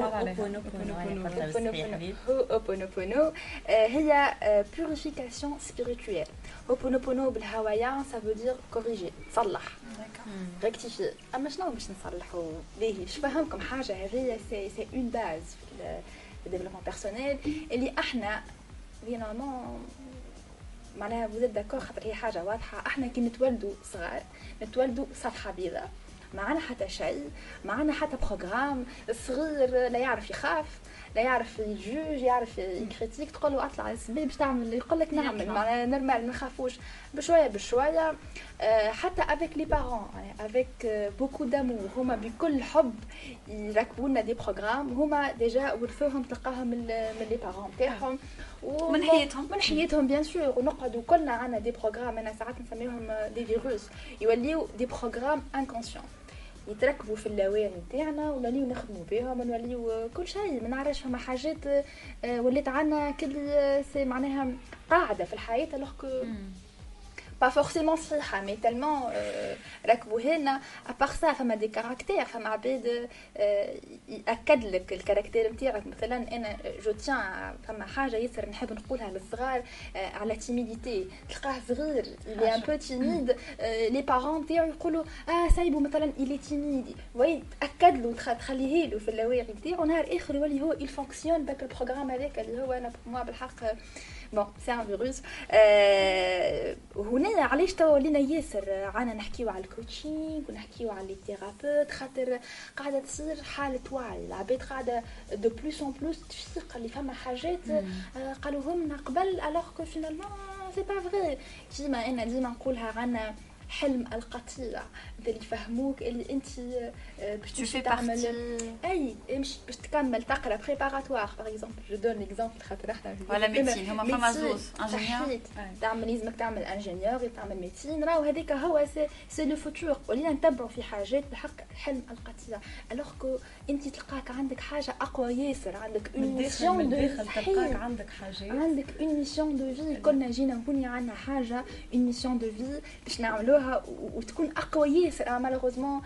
هو اوبونوبونو هي بوريفيكاسيون سبيريتويل. اوبونوبونو بالهوايان ça veut dire corriger صلح rectifier. اما شنو باش نصلحوا باهي باش نفهمكم حاجه هذه سي سي اون باز في الديفلوبمون بيرسونيل اللي احنا نورمالمون معناها vous êtes d'accord خاطر هي حاجه واضحه. احنا كي نتولدوا صغار نتولدوا صفحه بيضاء، معنا حتى شيء، معنا حتى بروغرام. الصغير لا يعرف يخاف، لا يعرف يجوج، يعرف يكريتيك، تقول له اطلع السبيل باش تعمل يقول لك نعمل، معناها نورمال ما نخافوش. بشويه بشويه أه حتى افيك لي بارون افيك بوكو دامور هما بكل حب يركبوا لنا دي بروغرام هما ديجا ورثوهم تلقاهم من لي بارون تاعهم ومن حياتهم من حياتهم بيان سور. ونقعدوا كلنا عندنا دي بروغرام، انا ساعات نسميهم دي فيروس، يوليو دي بروغرام انكونسيون يتركبوا في اللاوعي نتاعنا ونوليو نخدموا بهم ونوليو كل شيء ما نعرفش. فما حاجات ولات عندنا كل سي معناها قاعده في الحياه الوغ با فورسيمون صحيحه مي تالمون ركبوا لنا. ابار سا فما دي كاركتير، فما عباد ياكد لك الكاركتير نتاعك. مثلا انا جو تيان فما حاجه ياسر نحب نقولها للصغار على تيميديتي. تلقاه صغير اللي ان بو تيميد، لي بارون تاعو يقولوا اه سايبو مثلا الي تيميد، وي تاكد له تخليه له في اللاوعي نتاعو، نهار اخر يولي هو يل فونكسيون باك البروغرام هذاك اللي هو انا بور موا بالحق بون سي ان فيروس. هنا علاش توا ولينا ياسر عنا نحكيو على الكوتشينغ ونحكيو على لي ثيرابيوت، خاطر قاعده تصير حاله وعي. العباد قاعده دو بلوس اون بلوس تفيق اللي فما حاجات قالوهم لنا قبل الوغ كو فينالمون سي با فري. ديما انا ديما نقولها عنا حلم القطيع اللي يفهموك اللي انت باش تمشي تعمل اي مش باش تكمل تقرا بريباراتوار باغ اكزومبل. جو دون ليكزامبل خاطر احنا ولا ميديسين هما فما زوز انجينيور تعمل لازمك تعمل انجينيور تعمل ميديسين. راهو هذاك هو سي سي لو فوتور. ولينا نتبعوا في حاجات بالحق حلم القطيع الوغ كو انت تلقاك عندك حاجه اقوى ياسر، عندك اون ميسيون دو تلقاك عندك حاجه عندك اون ميسيون دو في. كنا جينا نبني عندنا حاجه اون ميسيون دو في باش نعملوها وتكون اقوى ياسر. مالوغوزمون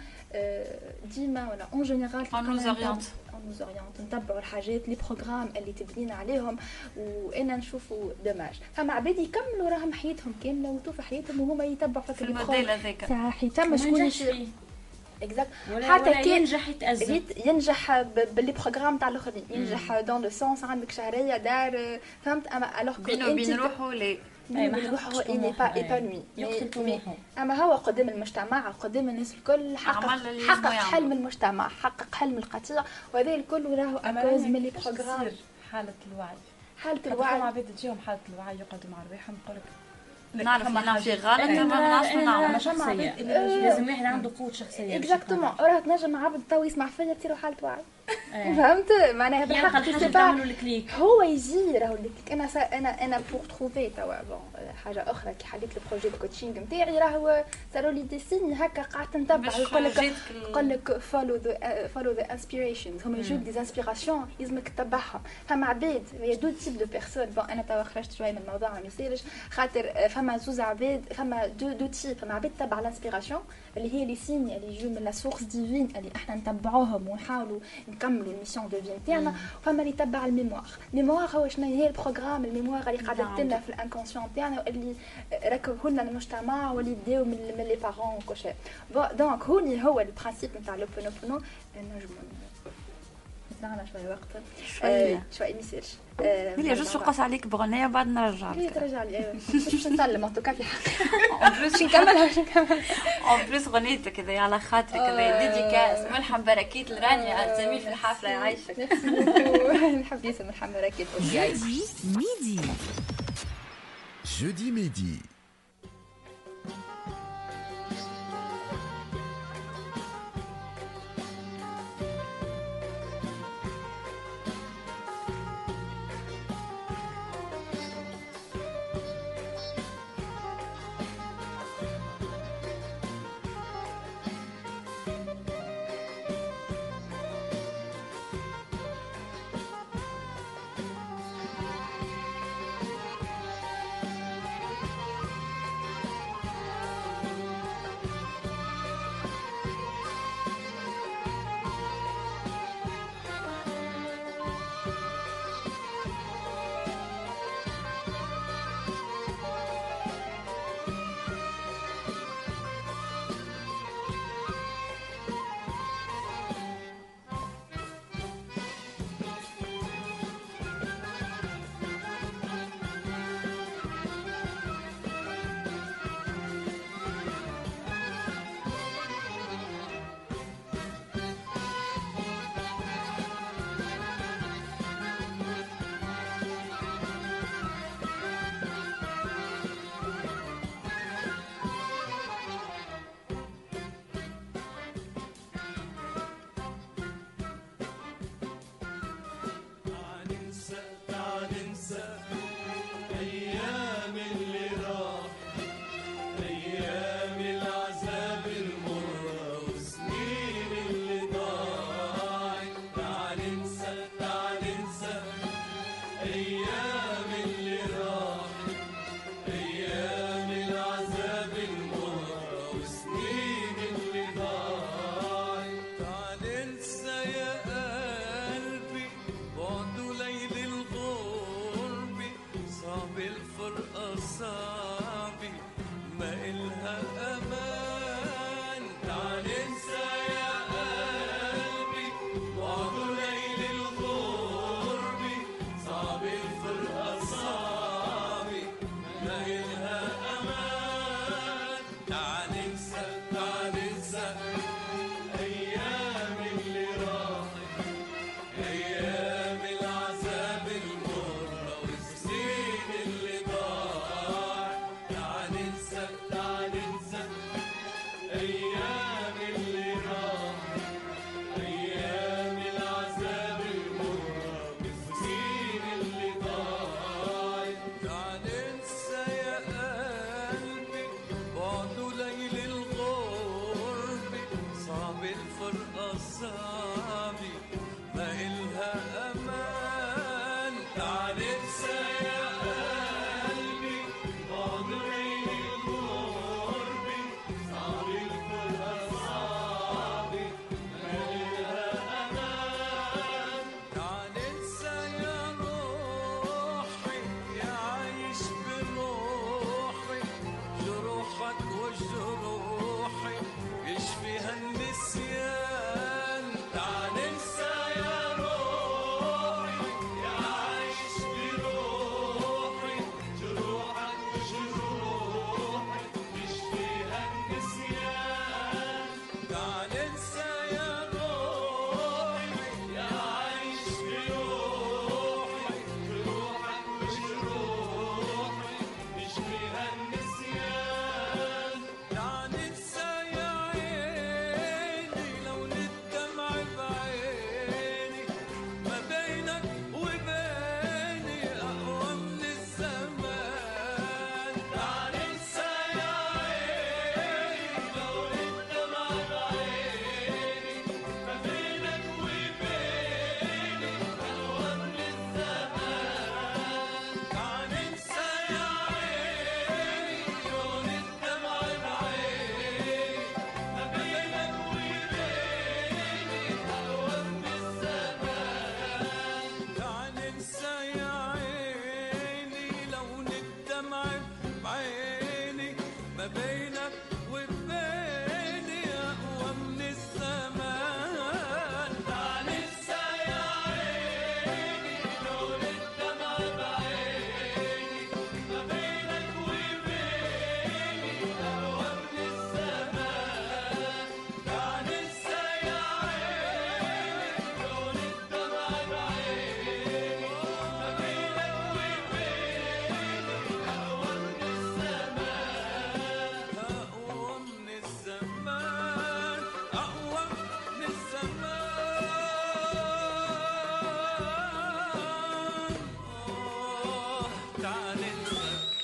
ديما ولا اون جينيرال اون نوز اورينت اون نوز اورينت نتبعوا الحاجات لي بروغرام اللي تبنينا عليهم، وانا نشوفوا دماج. فما عباد يكملوا راهم حياتهم كامله وتوفى حياتهم وهما يتبعوا في الموديل هذاك صح. يتم شكون يصير اكزاكت حتى كان ينجح يتأزم ينجح باللي بروغرام تاع الاخرين، ينجح دون لو سونس عندك شهريه دار فهمت. اما الوغ بينو بين روحه لي اي ما هو اني با ايبانوي اما هو قدام المجتمع قدام الناس الكل حقق حقق حلم المجتمع، حقق حلم القطيع، وهذا الكل راهو اكوز من لي بروغرام. حاله الوعي حاله الوعي عباد تجيهم حاله الوعي يقعدوا مع رواحهم يقول لك نعرف انا في غلط ما نعرفش نعمل شخصيه. لازم واحد عنده قوه شخصيه اكزاكتومون. راه تنجم عبد تو يسمع فيا تصير حاله وعي فهمت معناها بالحق هو يجي راهو انا انا انا بور تروفي توا بون حاجه اخرى كي حليت البروجي الكوتشينغ نتاعي راهو صاروا لي دي سيني هكا قعدت نتبع يقول لك يقول لك فولو ذا فولو ذا انسبيريشنز هما يجوك دي انسبيراسيون لازمك تتبعهم. فما عباد يا دو تيب دو بيرسون بون انا توا خرجت شويه من الموضوع ما يصيرش خاطر فما زوز عباد فما دو دو تيب. فما عباد تتبع الانسبيراسيون اللي هي لي سيني اللي يجوا من لا سورس ديفين اللي احنا نتبعوهم ونحاولوا نكملوا الميسيون دو في نتاعنا. فما اللي تبع الميموار. الميموار هو شنو هي البروغرام الميموار اللي قاعده لنا في الانكونسيون تاعنا اللي ركبه لنا المجتمع واللي بداو من لي بارون وكل شيء. دونك هوني هو البرانسيب نتاع لوبونوبونو. نجموا نعمل شويه وقت شويه شويه ما يصيرش ملي جوست نقص عليك بغنيه بعد نرجع لك ترجع لي ايوا باش نسلم ان توكا في حق اون بليس نكملها باش نكمل اون بليس غنيتك هذه على خاطرك هذه ديديكاس ملحم بركيت لرانيا زميل في الحفله يعيشك نحب ياسر ملحم بركيت يعيشك. ميدي جودي ميدي أعصابي ما إلها أمان. تعال انسى يا قلبي بعد عيني قربي، صعب الكل أصحابي ما إلها أمان. تعال انسى يا روحي يا عايش بروحي، جروحك وجروحي يشفيها النسيان. تعال انسى يا روحي يا عايش بروحي، جروحك وجروحي يشفيها النسيان. تعال انسى يا روحي يا عايش بروحي، جروحك وجروحي يشفيها النسيان. تعال انسى يا عيني لو الدمع بعيني، ما بينك وبيني أقوى من الزمان. تعال انسى يا عيني لو الدمع بعيني، ما بينك وبيني أقوى من الزمان. تعال انسى يا عيني لو الدمع بعيني، ما بينك وبيني أقوى من الزمان. تعال انسى يا عيني لو الدمع بعيني، ما بينك وبيني أقوى من الزمان. تعال انسى يا عيني لو الدمع بعيني، ما بينك وبيني أقوى من الزمان. تعال انسى يا عيني لو الدمع بعيني، ما بينك وبيني أقوى من الزمان. أقوى من الزمان، أقوى من الزمان. آه تعال انسى.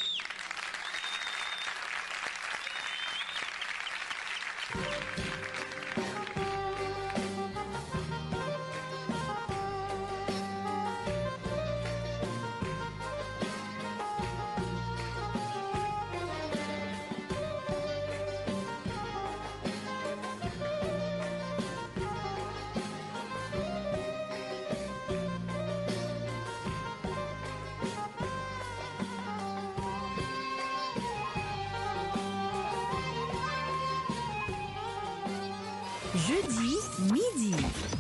Jeudi midi.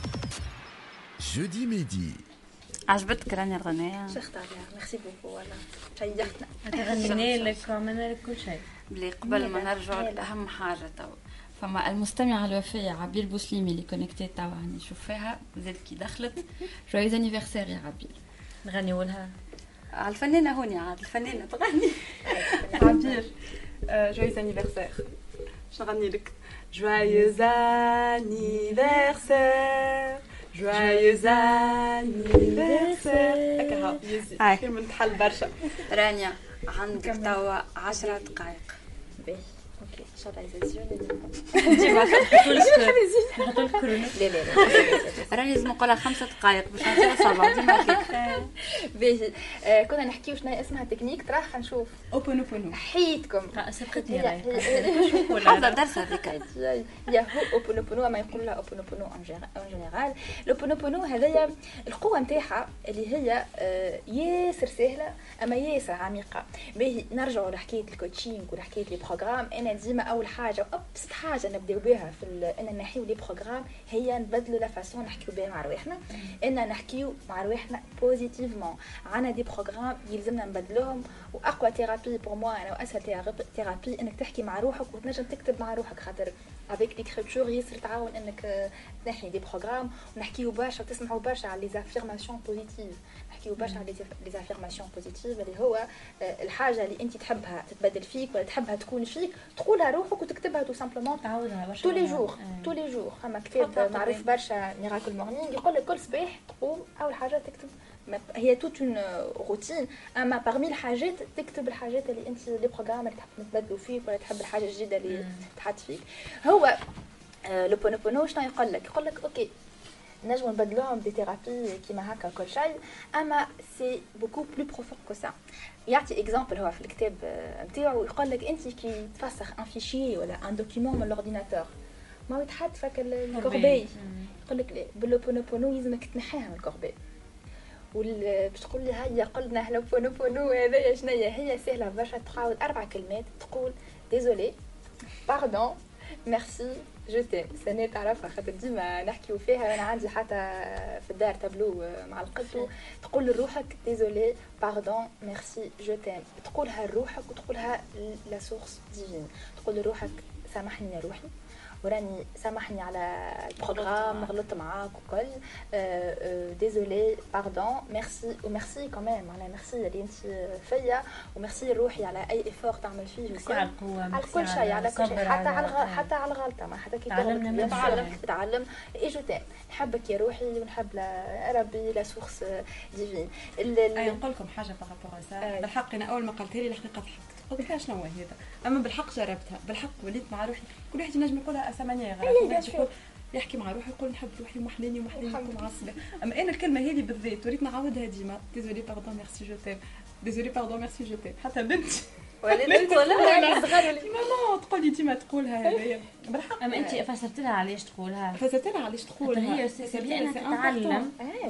Jeudi midi. عجبتك رانيا الغنية؟ شيخ عليها ميرسي بوكو والله شيختنا. غنينا لك وعملنا لك كل شيء. بلي قبل ما نرجع لأهم حاجة تو، فما المستمعة الوفية عبير بوسليمي اللي كونكتي توا هاني نشوفها زاد كي دخلت. جويز انيفرسير يا عبير. نغنيو لها على الفنانة هوني عاد الفنانة تغني. عبير جويز انيفرسير. شنو نغني لك؟ Joyeux anniversaire, joyeux anniversaire. هكا هاو يزي كي من تحل برشا. رانيا عندك توا عشرة دقائق. باهي اوكي ان شاء الله يزيدوني. ديما نحطوا لك نحطوا لك كورونا. لا لا لا راني لازم نقولها خمسة دقائق باش نصير صباح ديما هكاك. باهي كنا نحكيو شنو اسمها تكنيك تراه خنشوف اوبن اوبن حيتكم سبقتني حافظة درس هذيك. يا هو اوبونوبونو ما يقول لها اوبونوبونو ان جينيرال. الاوبونوبونو هذايا القوه نتاعها اللي هي ياسر سهله اما ياسر عميقه. باهي نرجعوا لحكايه الكوتشينغ ولحكايه لي بروغرام. انا ديما اول حاجه ابسط حاجه نبداو بها في ان نحيو لي بروغرام هي نبدلوا لا فاسون نحكيو بها مع رواحنا، ان نحكيو مع رواحنا بوزيتيفمون. عندنا دي بروغرام يلزمنا نبدلوهم، واقوى ثيرابي بور موا انا واسهل ثيرابي انك تحكي مع روحك وتنجم تكتب مع روحك، خاطر افيك ليكريتور ياسر تعاون انك تنحي دي بروغرام ونحكيو برشا وتسمعوا برشا على لي زافيرماسيون بوزيتيف. نحكيو برشا على لي زافيرماسيون بوزيتيف اللي هو الحاجه اللي انت تحبها تتبدل فيك ولا تحبها تكون فيك تقولها روحك وتكتبها تو سامبلومون تعاودها برشا تو لي جور تو لي جور. فما كتاب معروف برشا ميراكل مورنينغ يقول لك كل صباح تقوم اول حاجه تكتب، هي توت اون روتين، اما باغمي الحاجات تكتب الحاجات اللي انت لي بروغرام اللي تحب تبدلوا فيك ولا تحب الحاجه الجديده اللي تحط فيك. هو لو بونوبونو شنو يقول لك؟ يقول لك اوكي نجمو نبدلوهم دي ثيرابي كيما هكا كل شيء، اما سي بوكو بلو بروفون كو سا. يعطي اكزامبل هو في الكتاب نتاعو، يقول لك انت كي تفسخ ان فيشي ولا ان دوكيمون من لورديناتور ما يتحط فك الكوربي، يقول لك بلو بونوبونو لازمك تنحيها من الكوربي. باش تقول لي هيا قلنا لو بونوبونو هذايا شنيا، هي سهله برشا، تعاود اربع كلمات تقول ديزولي باردون ميرسي جو تيم. سنة تعرفها خاطر ديما نحكيو فيها، انا عندي حتى في الدار تابلو مع القطو تقول لروحك ديزولي باردون ميرسي جو تيم، تقولها لروحك وتقولها لا سورس ديفين، تقول لروحك سامحني يا روحي وراني سامحني على البروغرام غلطت معاك وكل ديزولي باردون ميرسي وميرسي كمان معناها ميرسي اللي انت فيا وميرسي روحي على اي افور تعمل فيه وكل على القوه على كل شيء على كل شيء حتى على الغ... حتى على الغلطه ما حتى كي تعلمنا تتعلم تتعلم ايجو تام نحبك يا روحي ونحب ربي لا سورس ديفين. اي نقول لكم حاجه بارابور سا بالحق انا اول ما قلت لي الحقيقه ضحكت قلت لها شنو هذا، اما بالحق جربتها بالحق وليت مع روحي كل واحد ينجم يقولها اسمانيه غير يقول يحكي مع روحي يقول نحب روحي ومحليني ومحليني ومعصبه، اما انا الكلمه هذه بالذات وريت نعاودها ديما ديزولي باردون ميرسي جو تيم ديزولي باردون ميرسي جو تيم. حتى بنتي ولا بنت ولا صغار ولا ماما تقولي ديما تقولها هذايا بالحق. اما انت فسرت لها علاش تقولها؟ فسرت لها علاش تقولها هي سبيل انها تتعلم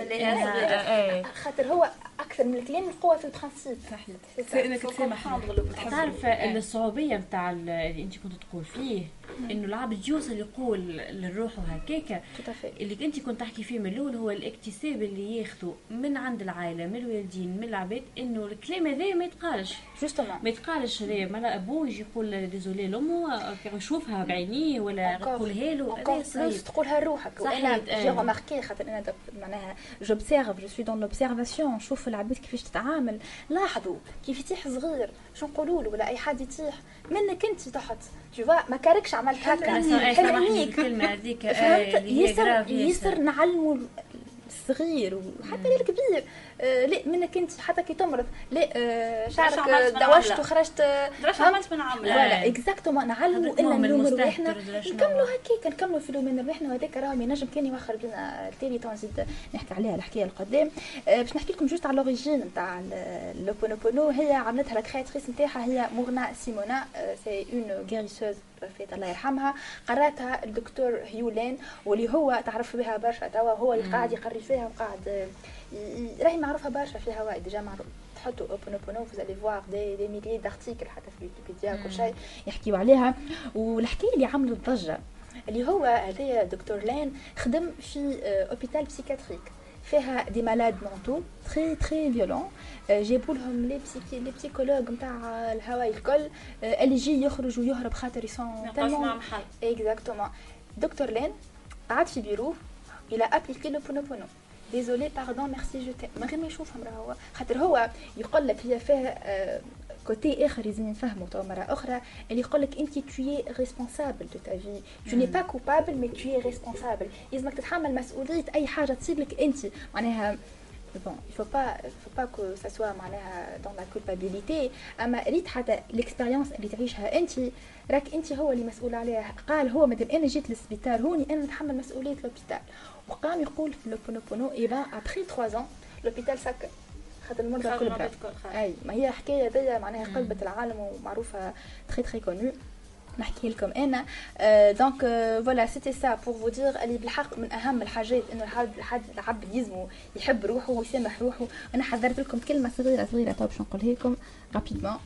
خاطر هو اكثر من الكلام القوه في البرانسيب. صحيح انك تسامح. تعرف الصعوبيه نتاع اللي انت كنت تقول فيه انه العبد يوصل يقول للروح وهكاكا اللي انت كنت تحكي فيه من الاول، هو الاكتساب اللي ياخذه من عند العائله من الوالدين من العباد، انه الكلام هذا ما يتقالش جوستومون ما يتقالش هذا مالا ابوه يجي يقول ديزولي لامه يشوفها بعينيه ولا يقولها له هذا صعيب تقولها لروحك. وانا جي رماركي خاطر انا معناها جوبسيرف جو سوي دون لوبسيرفاسيون، نشوف العباد كيفاش تتعامل، لاحظوا كيف يطيح صغير شو نقولوا له ولا اي حد يطيح منك انت تحت تو فا ما كاركش عملت هكا سامحني الكلمه هذيك يسر يسر نعلموا الصغير وحتى الكبير آه لا منك انت حتى كي تمرض لا آه شعرك دوشت وخرجت درش عملت من عامله ولا اكزاكتومون نعلموا الا نلوموا روحنا نكملوا هكاك نكملوا في لومنا روحنا وهذاك راهو ينجم كان يوخر بينا التالي تو نزيد نحكي عليها الحكايه القدام. آه باش نحكي لكم جوست على لوريجين نتاع لو بونوبونو. هي عملتها لا كرياتريس نتاعها هي مورنا سيمونا، سي اون غيريسوز فات الله يرحمها، قراتها الدكتور هيولين واللي هو تعرف بها برشا توا، هو اللي قاعد يقري فيها وقاعد راهي معروفه برشا في هواي ديجا معروف. تحطوا اوبونوبونو فوز الي فوار دي دي ميليي دارتيكل حتى في ويكيبيديا كل شيء يحكيوا عليها. والحكايه اللي عملت ضجه اللي هو هذايا دكتور لين خدم في اوبيتال بسيكاتريك فيها دي مالاد مونتو تري تري فيولون، جابوا لهم لي بسيكي لي بسيكولوج نتاع الهواي الكل اللي يجي يخرج ويهرب خاطر يسون تالمون اكزاكتومون. دكتور لين قعد في بيرو الى ابليكي لو بونوبونو ديزولي باردون ميرسي جو تيم من غير ما يشوفهم راهو خاطر هو يقول لك هي فيها كوتي اخر لازم نفهموا تو مره اخرى اللي يقول لك انت توي ريسبونسابل دو تا في تو ني با كوبابل مي توي ريسبونسابل، لازمك تتحمل مسؤوليه اي حاجه تصير لك انت معناها bon il faut pas il faut pas que ça soit معناها dans la culpabilité. اما ريت حتى الاكسبيريونس اللي تعيشها انت راك انت هو اللي مسؤول عليها. قال هو مادام انا جيت للسبيطار هوني انا نتحمل مسؤوليه لوبيتال، وقام يقول في لو بونوبونو اي با ابري ثلاثة ans لوبيتال سكر خاطر المرضى الكل بقى. اي ما هي حكايه هذيا معناها قلبت العالم ومعروفه تري تري كونو نحكي لكم انا. دونك فوالا سيتي سا بور فو دير اللي بالحق من اهم الحاجات انه الحد الحد العبد يزمو يحب روحه ويسامح روحه. انا حذرت لكم كلمه صغيره صغيره تو باش نقولها لكم رابيدمون.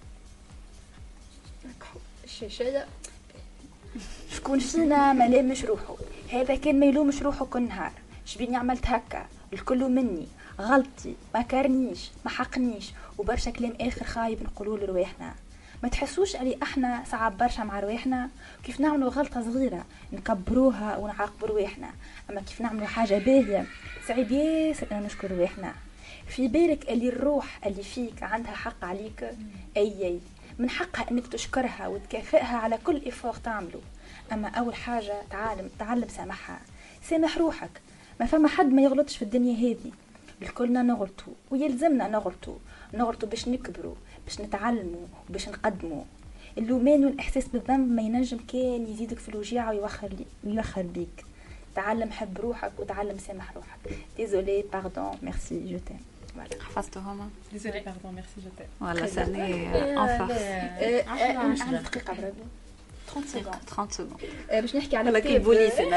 الشاشيه شكون فينا ما لامش روحه؟ هذا كان ما يلومش روحه كل نهار شبيني عملت هكا الكل مني غلطي ما كارنيش ما حقنيش وبرشا كلام اخر خايب نقولوا لرواحنا. ما تحسوش علي احنا صعب برشا مع رواحنا كيف نعملوا غلطه صغيره نكبروها ونعاقبوا رواحنا، اما كيف نعملوا حاجه باهيه صعيب ياسر ان نشكر رواحنا. في بالك اللي الروح اللي فيك عندها حق عليك، اي اي من حقها انك تشكرها وتكافئها على كل افور تعمله. اما اول حاجه تعلم تعلم سامحها، سامح روحك. ما فما حد ما يغلطش في الدنيا هذه، الكلنا نغلطوا ويلزمنا نغلطوا نغلطوا باش نكبروا باش نتعلموا وباش نقدموا. اللومان والاحساس بالذنب ما ينجم كان يزيدك في الوجيعه ويوخر لي ويوخر بيك. تعلم حب روحك وتعلم سامح روحك. ديزولي باردون ميرسي جو تيم. حفظتهما؟ ديزولي باردون ميرسي جو تيم. ولا سني ان فارس. عندي دقيقه بربي ثلاثين سكوند. ثلاثين سكوند باش نحكي على كتاب البوليس انا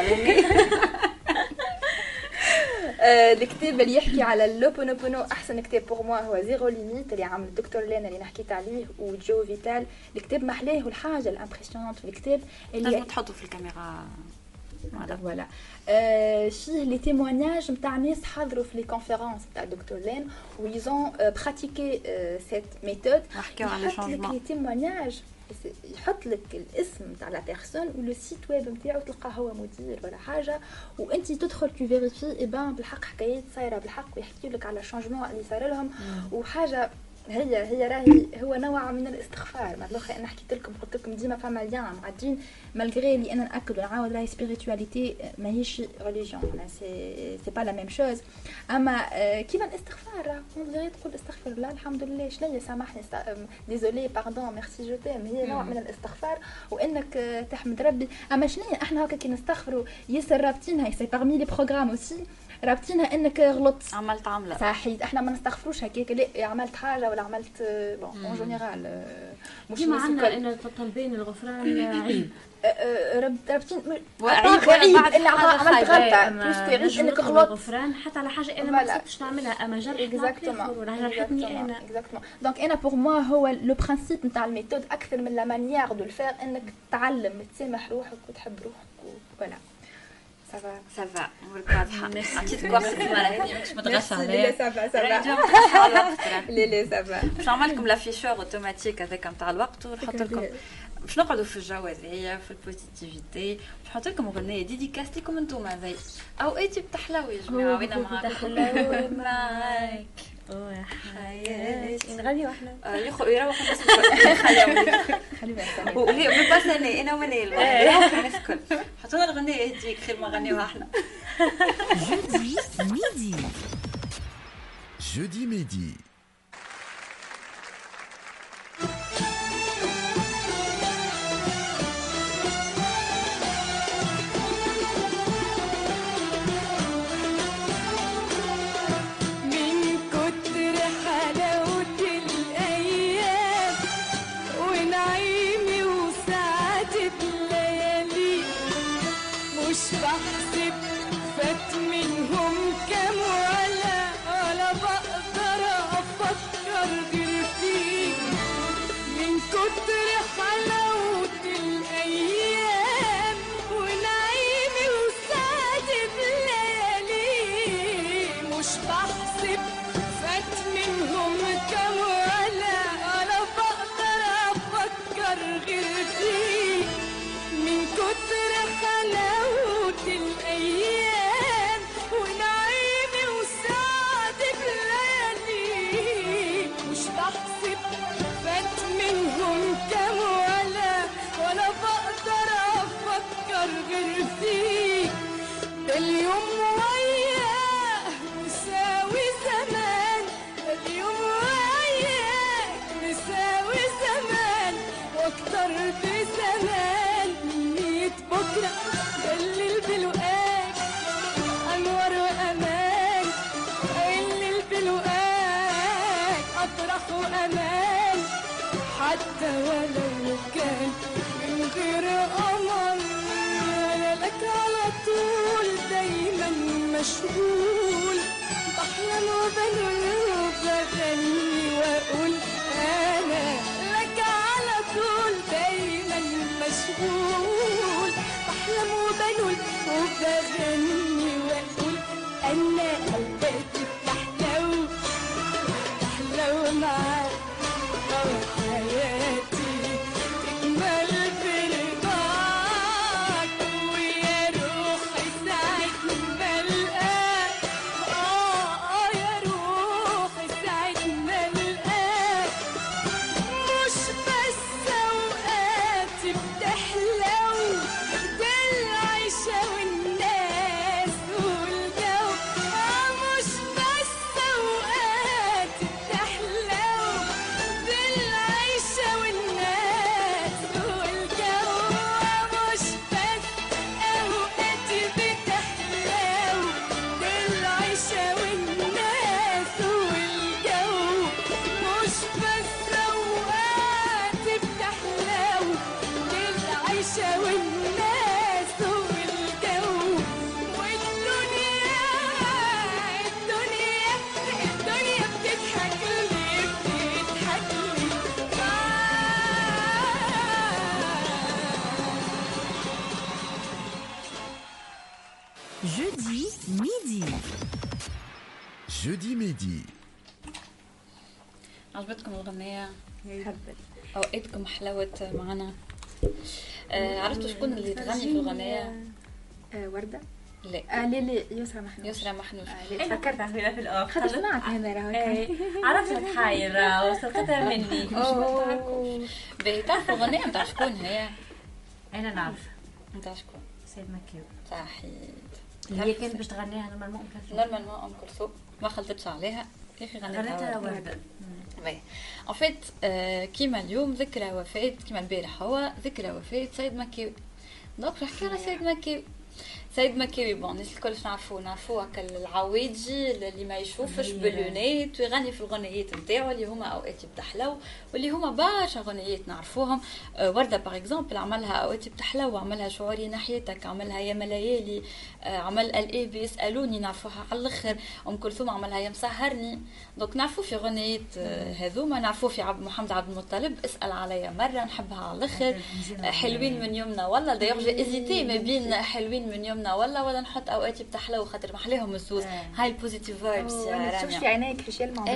الكتاب اللي يحكي على اللوبونوبونو احسن كتاب بور موا هو زيرو ليميت اللي عامل الدكتور لينا اللي حكيت عليه وجو فيتال. الكتاب محلاه والحاجه الامبرسيونانت في الكتاب اللي لازم تحطوا في الكاميرا هذا فوالا آه فيه لي تيموانياج نتاع ناس حضروا في لي كونفيرونس نتاع الدكتور لين ويزون براتيكي سيت ميثود. نحكيو على شونجمون لي تيموانياج يحط لك الاسم نتاع لا بيرسون ولو سيت ويب نتاعو تلقاه هو مدير ولا حاجه وانت تدخل تو فيريفي اي بان بالحق حكايات صايره بالحق ويحكيوا لك على الشونجمون اللي صار لهم وحاجه هي هي راهي هو نوع من الاستغفار. ما الاخر انا حكيت لكم قلت لكم ديما فما ليان مع الدين مالغري اللي انا ناكد ونعاود راهي سبيريتواليتي ماهيش ريليجيون سي سي با لا ميم شوز. اما كيما الاستغفار مالغري تقول استغفر الله الحمد لله شنيا سامحني ديزولي باردون ميرسي جو تيم هي نوع من الاستغفار وانك تحمد ربي. اما شنيا احنا هكا كي نستغفروا ياسر رابطينها سي بارمي لي بروغرام اوسي رابطينها انك غلطت عملت عمله صحيح. احنا ما نستغفروش هكاك لا عملت حاجه ولا عملت بون اون جينيرال مش عندنا ان طالبين الغفران عيب رابطين وعيب اللي عملت غلطه بلوس تعيش انك غلطت الغفران حتى على حاجه انا ما قصدتش نعملها اما جرحتني ولا جرحتني انا اكزاكتومون. دونك انا بور موا هو لو برينسيپ نتاع الميثود اكثر من لا مانيير دو الفير انك تعلم تسامح روحك وتحب روحك ولا سافا سافا عمرك واضحه. عطيتك وقت المره هذه مش متغشى عليها. لا سافا سافا لا لا سافا. باش نعمل لكم لافيشور اوتوماتيك هذاك نتاع الوقت ونحط لكم باش نقعدوا في الجو هذايا في البوزيتيفيتي. باش نحط لكم اغنيه ديديكاس لكم انتوما زي اوقاتي بتحلاو يا جماعه وين معاك تحلاو معاك وحياتي نغني واحنا يروحوا اسمه خليهم خليهم وهي باسني انا ومنيل الناس الكل حطوا لنا الاغنيه هذيك خير ما نغنيوها احنا. جودي ميدي جودي ميدي بحسب فات منهم كام ولا ولا بقدر افكر غير فيك من كتر حلاوة الايام ونعيمي وسعادة الليالي. مش بحسب فات منهم كام ولا ولا بقدر افكر غير فيك من كتر حلاوة الأيام ونعيمي وسعادة الليالي. مش بحسب فات منهم كام ولا ولا بقدر أفكر غير فيك. ده اليوم وياه مساوي زمان اليوم وياه مساوي زمان واكتر بزمان ميت بكرة الليل بلقاك أنور وأمان الليل بلقاك أفرح وأمان حتى ولو كان من غير قمر أنا لك على طول دايما مشغول بحلم وبنول وبغني وأقول أنا لك على طول دايما مشغول بحلم وبنول وبغني واقول انا قلبي بتحلو بتحلو معاك وحياتي تكمل برضاك ويا روحي ساعة ما القاك جودي ميدي. جودي ميدي. عجبتكم الغنية؟ حبت. اوقاتكم حلاوة معنا. آه عرفتوا شكون اللي تغني في الغنية؟ آه وردة. لا آه لا لا يسرى محنوش. يسرى محنوش. آه لا فكرت فيها في الاخر خاطر سمعت هنا راهو. عرفت تحاير وصلتها مني. اوه باهي تعرفوا الغنية نتاع شكون هي؟ انا نعرف نتاع شكون؟ سيد مكيو. صحيح. هي كانت باش تغنيها نورمالمون ام كلثوم. نورمالمون ام كلثوم ما خلطتش عليها يا اخي غنتها غنتها وردة. باهي ان فيت كيما اليوم ذكرى وفاة كيما البارح هو ذكرى وفاة سيد مكيوي. دونك نحكي على سيد مكيوي. سيد مكيوي بون الناس الكل نعرفوه نعرفوه هكا العوايجي اللي ما يشوفش باللونات ويغني في الغنيات نتاعو اللي هما اوقات بتحلو واللي هما برشا غنيات نعرفوهم. أه ورده باغ اكزومبل عملها اوقات بتحلو عملها شعوري ناحيتك عملها يا ملايالي أه عمل الاي بي يسالوني نعرفوها على الاخر. ام كلثوم عملها يا مسهرني. دونك نعرفوه في غنيات أه هذوما نعرفوه في عبد محمد عبد المطلب اسال عليا مره نحبها على الاخر. أه حلوين من يومنا والله دايوغ جي ازيتي ما بين حلوين من يومنا ولا ولا نحط اوقات بتحلو خاطر محليهم الزوز. هاي البوزيتيف فايبس يا رانيا. شوفي عينيك في يلمع.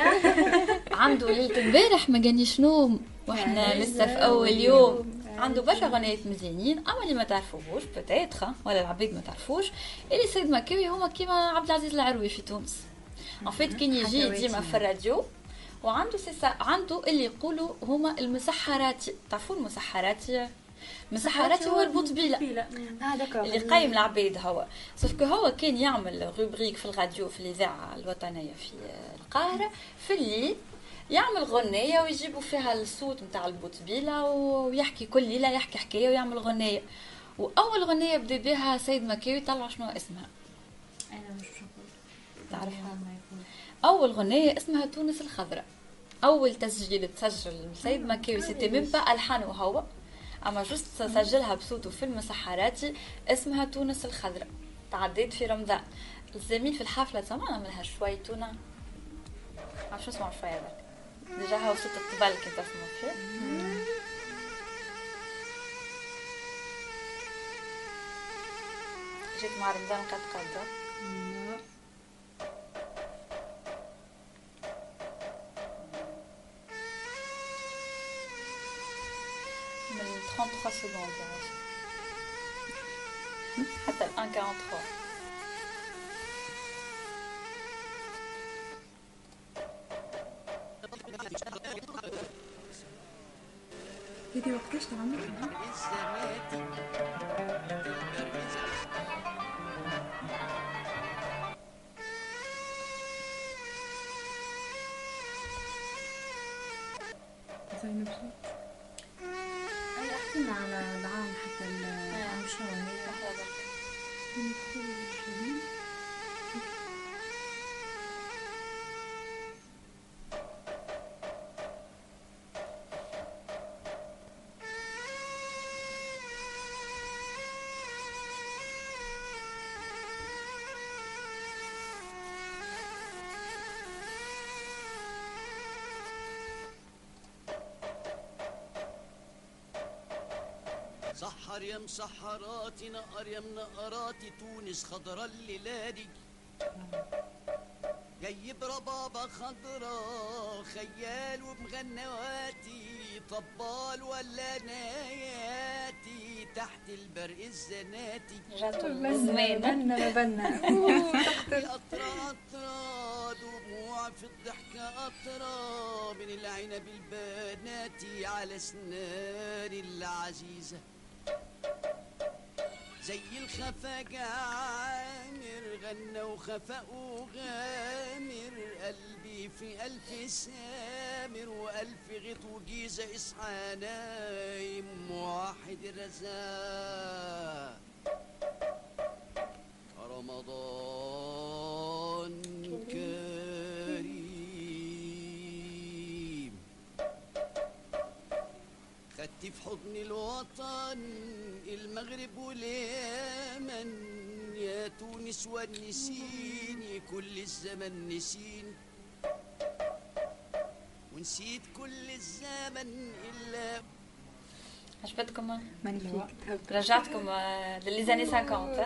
عنده ليله امبارح ما جانيش نوم واحنا لسه في اول يوم. عنده برشا غنيات مزيانين اما اللي ما تعرفوهوش بتاتخ ولا العباد ما تعرفوش اللي سيد مكاوي هما كيما عبد العزيز العروي في تونس. ان فيت كان يجي ديما في الراديو وعنده سيسا عنده اللي يقولوا هما المسحراتي. تعرفوا المسحراتي؟ مسحراتي هو البوطبيله اللي قايم العباد هو سوف كو هو كان يعمل روبريك في الراديو في الاذاعه الوطنيه في القاهره في الليل يعمل غنية ويجيبوا فيها الصوت نتاع البوطبيله ويحكي كل ليله يحكي حكايه ويعمل غنية. واول غنية بدا بها سيد مكاوي طلع شنو اسمها؟ انا مش نقول تعرفها؟ اول غنية اسمها تونس الخضراء. اول تسجيل تسجل سيد مكاوي سيتي ميم با الحانه هو اما جوست سجلها بصوته في المسحراتي اسمها تونس الخضراء. تعديت في رمضان الزميل في الحفله سمعنا منها شوي تونه عرفت اسمع شويه هذاك ديجا هاو صوت الطبال كنت اسمع فيه. جيت مع رمضان قد قدر ثلاثة وثلاثين secondes حتى الآن أربعة وأربعين. هذه وقتاش تعملها؟ زينب صوت احكينا على العام حتى العام شنو هي لحظة سحر يا مسحراتي نقر يا منقراتي تونس خضرا الليلادي جايب ربابة خضرا خيال وبغنواتي طبال ولا ناياتي تحت البرق الزناتي جاتو الزمان بنا بنا قطرة قطرة دموع في الضحكة قطرة من العنب البناتي على سنان العزيزة زي الخفاق عامر غنى وخفاق وغامر قلبي في ألف سامر وألف غيط وجيزة إصحى نايم موحد الرزاق رمضان كريم خدتي في حضن الوطن المغرب واليمن يا تونس ونسيني كل الزمن نسيني ونسيت كل الزمن إلا عجبتكم؟ مانيفيك. رجعتكم للي زاني خمسين.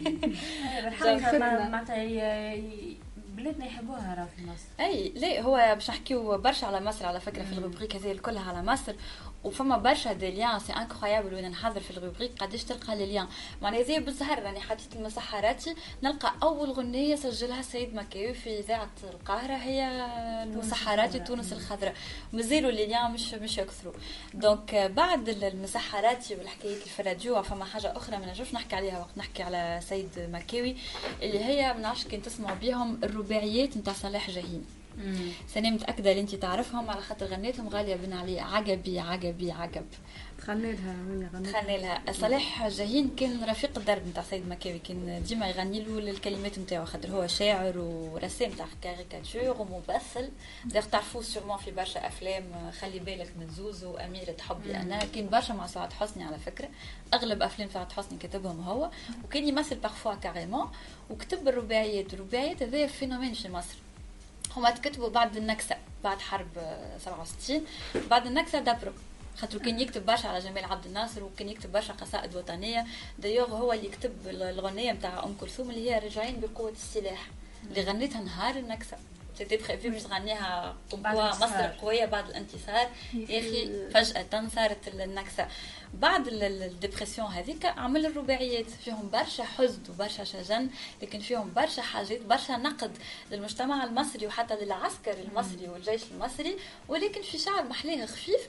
معناتها بلادنا يحبوها راه في مصر. اي لا هو باش نحكيو برشا على مصر على فكره في الروبريك هذه كلها على مصر، وفما برشا دي ليان سي انكرويابل وين نحضر في الروبريك قداش تلقى لي ليان معناها زي بالزهر راني حطيت المسحراتي نلقى اول غنيه سجلها سيد مكاوي في اذاعه القاهره هي المسحراتي تونس الخضراء، مازالوا لي ليان مش مش يكثروا. دونك بعد المسحراتي والحكايات اللي في الراديو فما حاجه اخرى ما نجمش نحكي عليها وقت نحكي على سيد مكاوي اللي هي ما نعرفش كنت تسمعوا بهم الرباعيات نتاع صلاح جاهين. سنة متأكدة اللي انتي تعرفهم على خاطر غنيتهم غالية بن علي عجبي عجبي عجب. تخلي لها وين غنيت؟ تخلي لها. صلاح جاهين كان رفيق الدرب نتاع سيد مكاوي، كان ديما يغني له الكلمات نتاعو خاطر هو شاعر ورسام تاع كاريكاتور وممثل. داير تعرفوه سيرمون في برشا افلام، خلي بالك من زوزو، أميرة حبي انا، كان برشا مع سعاد حسني على فكرة، اغلب افلام سعاد حسني كتبهم هو، وكان يمثل بارفوا كاريمون، وكتب الرباعيات. الرباعيات هذا فينومين في مصر، هما تكتبوا بعد النكسة، بعد حرب سبعة وستين، بعد النكسة دبروا خاطر كان يكتب برشا على جمال عبد الناصر وكان يكتب برشا قصائد وطنية. دايوغ هو اللي يكتب الغنية نتاع أم كلثوم اللي هي راجعين بقوة السلاح اللي غنيتها نهار النكسة، سيتي بريفي باش تغنيها قوة مصر قوية بعد الانتصار. يا أخي فجأة صارت النكسة. بعد الديبرسيون هذيك عمل الرباعيات فيهم برشا حزن وبرشا شجن، لكن فيهم برشا حاجات، برشا نقد للمجتمع المصري وحتى للعسكر المصري والجيش المصري، ولكن في شعر محليه خفيف.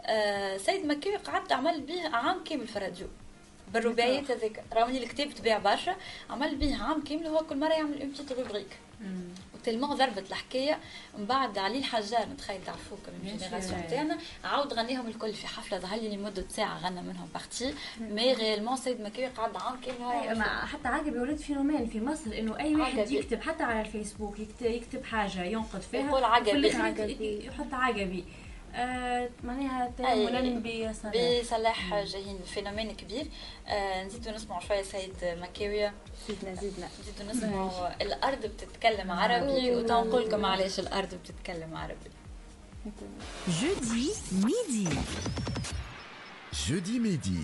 آه سيد مكاوي قعدت عمل به عام كامل في الراديو بالرباعيات هذيك، رغم ان الكتاب تباع برشا، عمل به عام كامل هو كل مره يعمل اون بتيت روبريك. وتلمون ضربت الحكايه من بعد علي الحجار، نتخيل تعرفوه كم الجينيراسيون تاعنا، عاود غنيهم الكل في حفله ظهر لي لمده ساعه غنى منهم بارتي، مي ريالمون سيد مكاوي قعد عام كامل. حتى عاجبي ولد فينومين في مصر انه اي واحد عجبي. يكتب حتى على الفيسبوك يكتب, يكتب حاجه ينقد فيها يقول عجبي، يحط عجبي. آه معناها تاملا بصلاح بصلاح جاهين فينومين كبير. آه نزيدو نسمعوا شويه سيد مكاوي، زيدنا زيدنا نزيدو نسمعوا الارض بتتكلم عربي، وتنقول لكم علاش الارض بتتكلم عربي. جودي ميدي جودي ميدي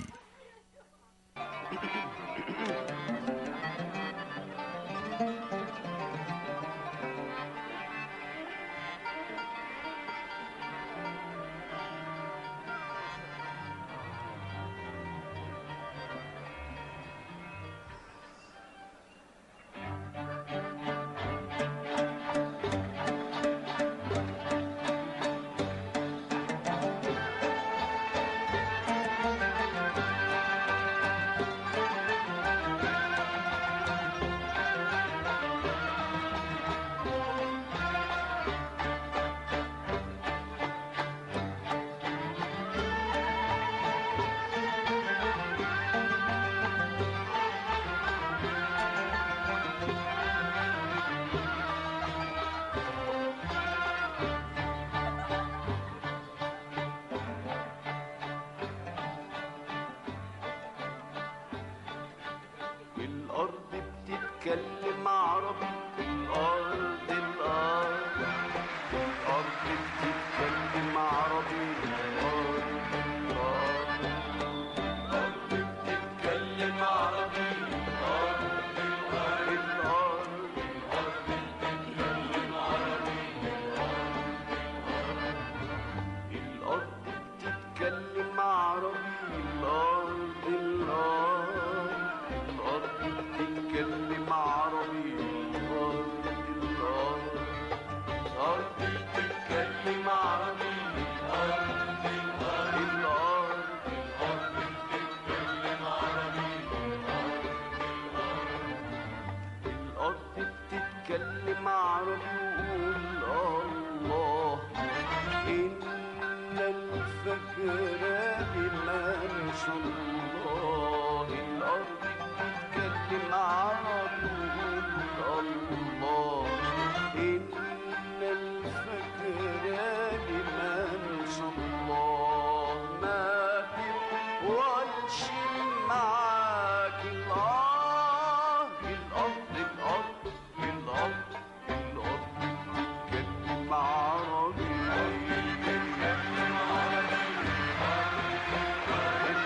بتتكلم عربي. الأرض الأرض الأرض بتتكلم عربي. الأرض الأرض الأرض بتتكلم عربي. الأرض الأرض الأرض الأرض بتتكلم عربي. الأرض بتتكلم عربي. الأرض الأرض الأرض بتتكلم عربي. الأرض الأرض الأرض بتتكلم عربي. الأرض الأرض الأرض الأرض بتتكلم عربي. الأرض بتتكلم عربي. وقول الله إن الفجر بمن شاء الله. الأرض بتتكلم عربي. وقول الله إن الفجر بمن شاء الله. ما تطولش معاك الأرض. الأرض الأرض الأرض الأرض بتتكلم عربي. الأرض بتتكلم عربي.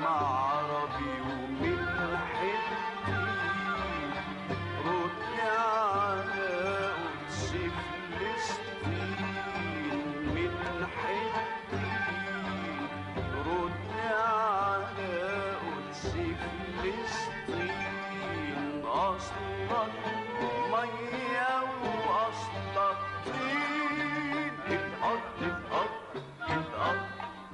عربي ومن حتي رد على قدس فلسطين من حتي رد على قدس فلسطين أصلك مية وأصلك طين الأرض الأرض الأرض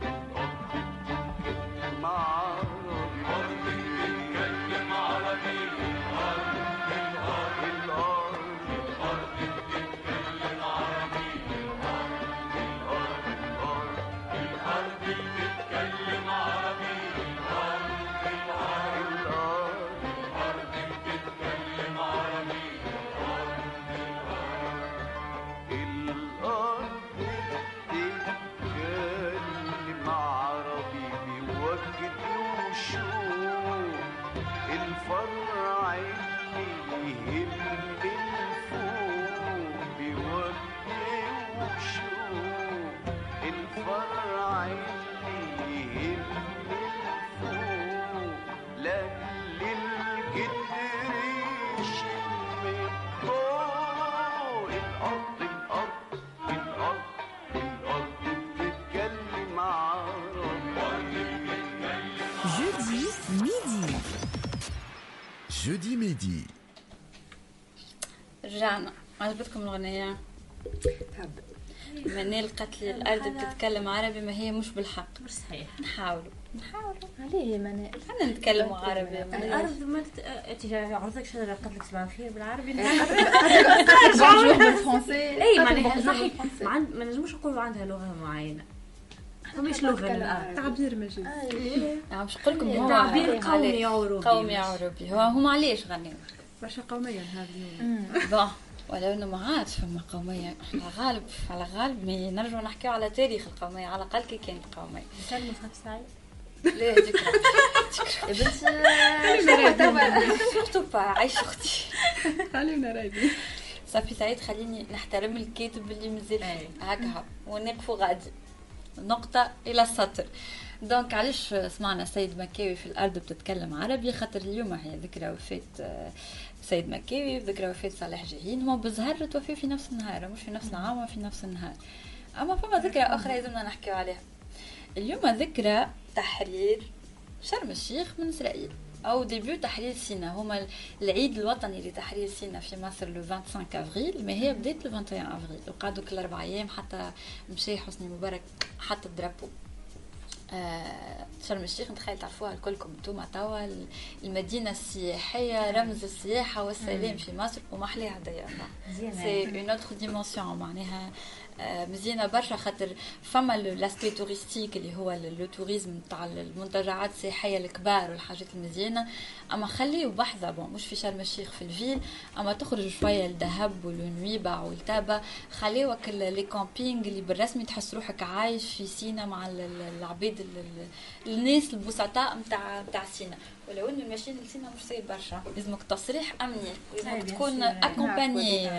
جودي ميدي. رجعنا. عجبتكم الأغنية؟ منال قالت لي الأرض بتتكلم عربي ما هي مش بالحق. مش صحيح. نحاولوا نحاولوا. عليه منال؟ خلينا نتكلموا عربي. الأرض ما أنت عرضك شجرة قالت لك صباح الخير بالعربي. بونجور بالفرنسي. أي معناها ما نجموش نقولوا عندها لغة معينة. فماش لغة للأرض. تعبير مجازي. عم نقول لكم هو تعبير قومي عربي. قومي عربي. هو هم علاش غنيوا؟ برشا قومية هذا اليوم. بون ولو انه ما عادش فما قوميه على غالب على غالب ما نرجعوا نحكيو على تاريخ القوميه على الاقل كي كانت قوميه. نسلموا في سعيد. لا ذكرى يا بنتي سورتو با عيش اختي خلينا رايدين صافي سعيد خليني نحترم الكاتب اللي مازال هكا ونقفوا غادي نقطه الى السطر. دونك علاش سمعنا سيد مكاوي في الارض بتتكلم عربي؟ خاطر اليوم هي ذكرى وفاه سيد مكاوي، ذكرى وفاه صالح جاهين، هما بالظهر توفوا في نفس النهار، مش في نفس العام في نفس النهار. اما فما ذكرى اخرى لازمنا نحكيو عليها اليوم، ذكرى تحرير شرم الشيخ من اسرائيل او ديبيو تحرير سيناء. هما العيد الوطني لتحرير سيناء في مصر لو خمسة وعشرين افريل، ما هي بدايه لو واحد وعشرين افريل، وقعدوا كل اربع ايام حتى مشي حسني مبارك حتى الدرابو. آه شرم الشيخ نتخيل تعرفوها الكلكم انتوما توا المدينه السياحيه، رمز السياحه والسلام في مصر ومحليها ديما سي اون اوتر ديمونسيون معناها آه مزيانه برشا، خاطر فما لاسبي توريستيك اللي هو لو توريزم تاع المنتجعات السياحيه الكبار والحاجات المزيانه، اما خليو بحذا بون مش في شرم الشيخ في الفيل، اما تخرج شويه لدهب والنويبع والتابه، خليوك لي كامبينغ اللي بالرسمي تحس روحك عايش في سينا مع العبيد الناس البسطاء نتاع نتاع سينا. ولو انه الماشين لسينا مش ساهل برشا، لازمك تصريح امني، لازمك تكون اكومباني،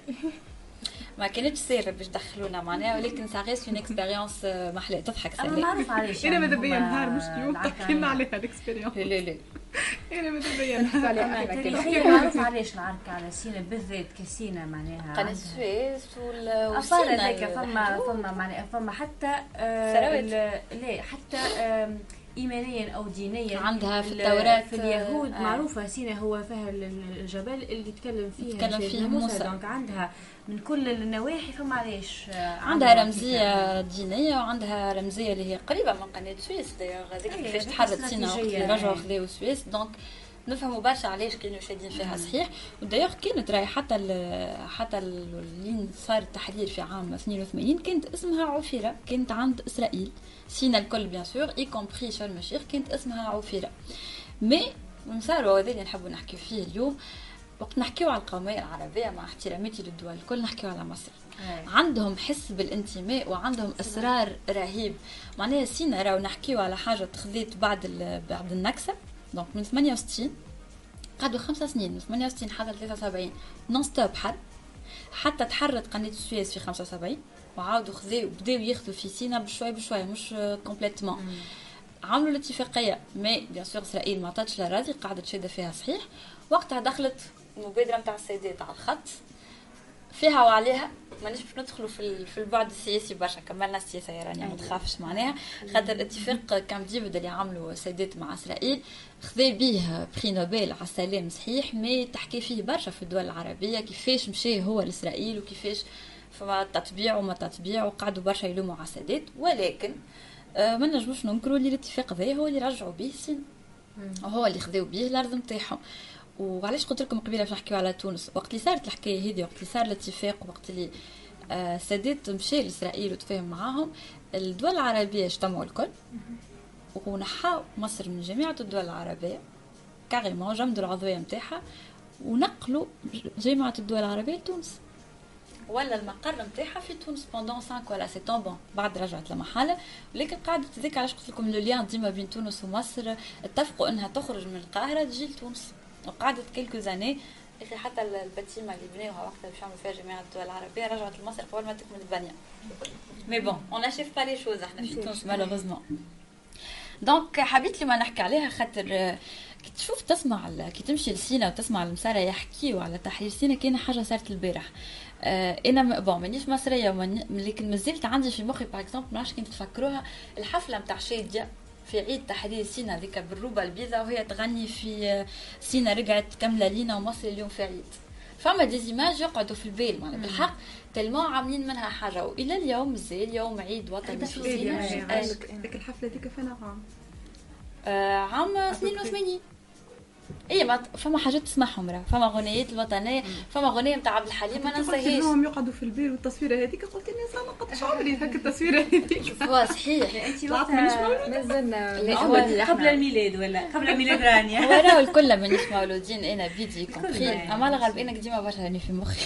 ما كانتش سهله باش دخلونا معناها، ولكن ساغيس اون اكسبيريونس محلاه تضحك سلام. انا معروف علاش انا ماذا بيا نهار مش اليوم تحكي لنا عليها الاكسبيريونس. لا لا لا انا ماذا بيا نهار تاريخيا معروف علاش العركه على سينا بالذات كسينا معناها قناه السويس والسينا هذاك فما فما معناها فما حتى لا حتى ايمانيا او دينيا عندها في التوراة في اليهود آه. معروفه سينا هو فيها الجبل اللي يتكلم فيها يتكلم فيه موسى، دونك عندها من كل النواحي فما علاش عندها رمزيه دينيه وعندها رمزيه اللي هي قريبه من قناه السويس دايوغ هذيك كيفاش تحررت سينا وقت رجعوا خذاو السويس، دونك نفهموا برشا علاش كانوا شادين فيها صحيح. ودايوغ كانت راهي حتى ال حتى اللي صار التحرير في عام اثنين وثمانين كانت اسمها عفيره، كانت عند اسرائيل سينا الكل بيان سور اي كومبري شرم الشيخ كانت اسمها عفيره. مي مساروا هذا اللي نحبوا نحكيو فيه اليوم، وقت نحكيو على القوميه العربيه مع احتراماتي للدول الكل نحكيو على مصر. هاي. عندهم حس بالانتماء وعندهم اصرار رهيب، معناها سينا راهو نحكيو على حاجه تخذيت بعد بعد النكسه، دونك من ثمانية وستين قعدوا خمسة سنين من ثمانية وستين حتى ثلاثة وسبعين نون ستوب حرب، حتى تحررت قناه السويس في خمسة وسبعين وعاودوا خذوا بداو ياخذوا في سينا بشوي بشوي مش كومبليتمون. عملوا الاتفاقيه مي بيان سور اسرائيل ما عطاتش الاراضي قاعده تشد فيها صحيح. وقتها دخلت المبادره نتاع السيدات على الخط فيها وعليها. مانيش باش ندخلوا في في البعد السياسي برشا كملنا السياسه يا رانيا ما تخافش معناها خاطر الاتفاق كام ديفيد اللي عملوا السيدات مع اسرائيل خذا به بري نوبل على السلام صحيح مي تحكي فيه برشا في الدول العربيه كيفاش مشى هو لاسرائيل وكيفاش فما تطبيع وما تطبيع وقعدوا برشا يلوموا على السادات. ولكن آه ما نجموش ننكروا اللي الاتفاق ذا هو اللي رجعوا به الصين وهو اللي خذاو به الارض نتاعهم. وعلاش قلت لكم قبيله باش نحكيو على تونس وقت اللي صارت الحكايه هذه وقت اللي صار الاتفاق وقت اللي آه السادات مشى لاسرائيل وتفاهم معاهم الدول العربيه اجتمعوا الكل ونحاو مصر من جميع الدول العربيه كاريمون جمدوا العضويه نتاعها ونقلوا جامعه الدول العربيه لتونس ولا المقر نتاعها في تونس بوندون خمسة ولا ستة بون بعد رجعت لمحلها. ولكن قاعده تذيك علاش قلت لكم لو ليان ديما بين تونس ومصر اتفقوا انها تخرج من القاهره تجي لتونس وقعدت كيلكو زاني اخي حتى الباتيمه اللي بناوها وقتها باش يعملوا فيها جامعه الدول العربيه رجعت لمصر قبل ما تكمل البنيه. مي بون اون اشيف با لي شوز احنا في تونس مالوغوزمون. دونك حبيت لي ما نحكي عليها خاطر كي تشوف تسمع كي تمشي لسينا وتسمع المسارة يحكيوا على تحرير سينا كاين حاجه صارت البارح. آه انا بون مانيش مصريه لكن مازلت عندي في مخي باغ اكزومبل ماش كنت تفكروها الحفله نتاع شاديه في عيد تحرير سينا ذيك بالروبه البيضاء وهي تغني في سينا رجعت كامله لينا ومصر اليوم في عيد. فما ديزيماج يقعدوا في البال معناها بالحق تلمو عاملين منها حاجه والى اليوم مازال يوم عيد وطني في سينا. ديك الحفله ديك فين عام آه عام اثنين وثمانين. اي ما فما حاجات تسمعهم راه فما غنيات الوطنيه فما غنيه نتاع عبد الحليم ما ننساهاش. كلهم يقعدوا في البير والتصويره هذيك قلت لي صار ما قدش عمري هكا التصويره هذيك. شوفوا صحيح انت وقتها مازلنا قبل الميلاد ولا قبل ميلاد رانيا هو راهو الكل مانيش مولودين انا بيدي كومبري اما الغالب انا ديما برشا راني في مخي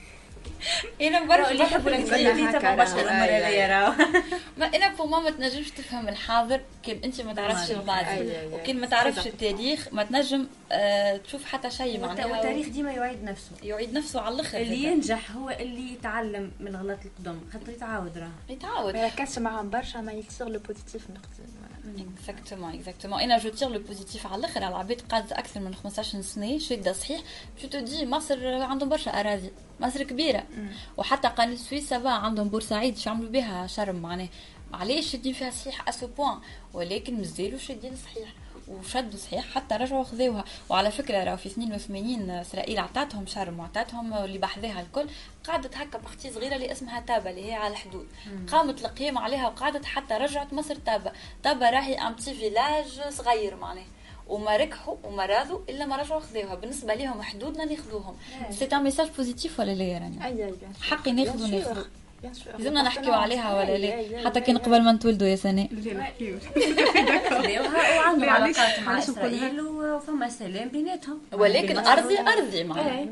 انا برشا اللي يحبوا الانجليزي تبع برشا الامور هذيا راهو ما انا بو ماما تنجمش تفهم الحاضر كان انت ما تعرفش الماضي وكان ما تعرفش التاريخ ما تنجم آه تشوف حتى شيء معناها. والتاريخ ديما يعيد نفسه يعيد نفسه على الاخر. اللي ينجح هو اللي يتعلم من الغلط القدم خاطر يتعاود راه يتعاود ما يركزش معاهم برشا ما يصير لو بوزيتيف نقدم. اكزاكتومون اكزاكتومون انا جو تير لو بوزيتيف على الاخر على العباد قعدت اكثر من خمسطاش سنه شاده صحيح جو تو دي مصر عندهم برشا اراضي مصر كبيره وحتى قناه السويس سافا عندهم بورسعيد شو عملوا بها شرم معناه علاش شادين فيها صحيح اسو بوان ولكن مازالوا شادين صحيح وشدوا صحيح حتى رجعوا خذوها. وعلى فكره راهو في اثنين وثمانين اسرائيل عطاتهم شرم وعطاتهم اللي بحذاها الكل قعدت هكا بختي صغيره اللي اسمها تابا اللي هي على الحدود قامت القيام عليها وقعدت حتى رجعت مصر تابا. تابا راهي ام بتي فيلاج صغير معناه وما ركحوا وما راضوا الا ما رجعوا خذوها بالنسبه لهم حدودنا اللي ياخذوهم. سي ان ميساج بوزيتيف ولا لا يا رانيا؟ اي اي حقي ناخذوا ناخذوا لازمنا نحكيو عليها ولا لا حتى كان قبل ما نتولدوا يا سناء نحكيو وعندهم علاقات مع اسرائيل وفما سلام بيناتهم ولكن ارضي ارضي معناها.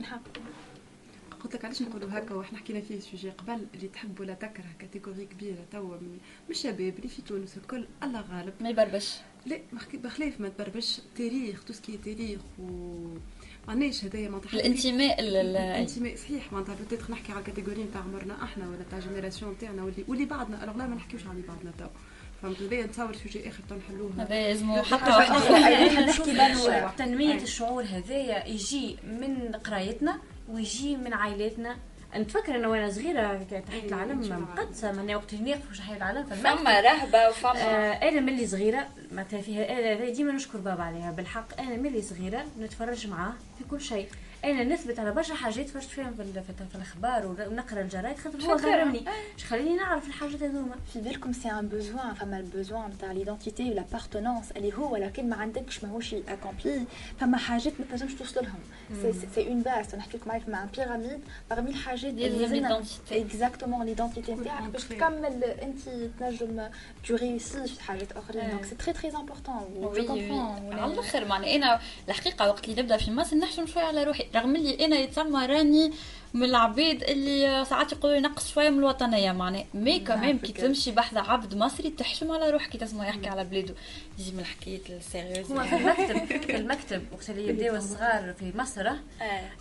قلت لك علاش نقولوا هكا واحنا حكينا فيه سوجي قبل اللي تحب ولا تكره كاتيجوري كبيره توا من الشباب اللي في تونس الكل الله غالب ما يبربش لا بخلاف ما تبربش تاريخ توسكي تاريخ و معناش هدايا معناتها الانتماء الانتماء صحيح معناتها بتيت نحكي على الكاتيجوري نتاع عمرنا احنا ولا تاع جينيراسيون تاعنا واللي واللي بعدنا الوغ لا ما نحكيوش على بعضنا تو فهمت هذايا نتصور سوجي اخر تنحلوه هذا لازم حتى نحكي بالو تنميه الشعور هذايا يجي من قرايتنا ويجي من عائلاتنا. نتفكر انا وانا صغيره تحت العلم مقدسه من وقت ناقف وش حي العلم فما رهبه وفما آه انا ملي صغيره معناتها فيها انا ديما نشكر بابا عليها بالحق. انا ملي صغيره نتفرج معاه في كل شيء انا نثبت على برشا حاجات فرجت فيهم في, في الاخبار ونقرا الجرايد خاطر هو غيرني اش خليني نعرف الحاجات هذوما. في بالكم سي ان بوزوان فما البوزوان نتاع ليدونتيتي ولا بارتونونس اللي هو لكن ما عندكش ماهوش اكومبلي فما حاجات ما تنجمش توصل لهم سي سي اون باس نحكي لكم مع ان بيراميد باغمي الحاجات اللي لازم اكزاكتومون ليدونتيتي نتاعك باش تكمل انت تنجم تو ريوسي في حاجات اخرين دونك سي تري تري امبورطون جو كومبرون على الاخر معناها انا الحقيقه وقت اللي نبدا في مصر نحشم شويه على روحي رغم اللي انا يتسمى راني من العبيد اللي ساعات يقولوا ينقص شويه من الوطنيه معناها مي كمان كي تمشي بحث عبد مصري تحشم على روحك كي تسمع يحكي على بلاده يجي من الحكايات السيريوز. هو في المكتب في المكتب وقت اللي يبداو الصغار في مصر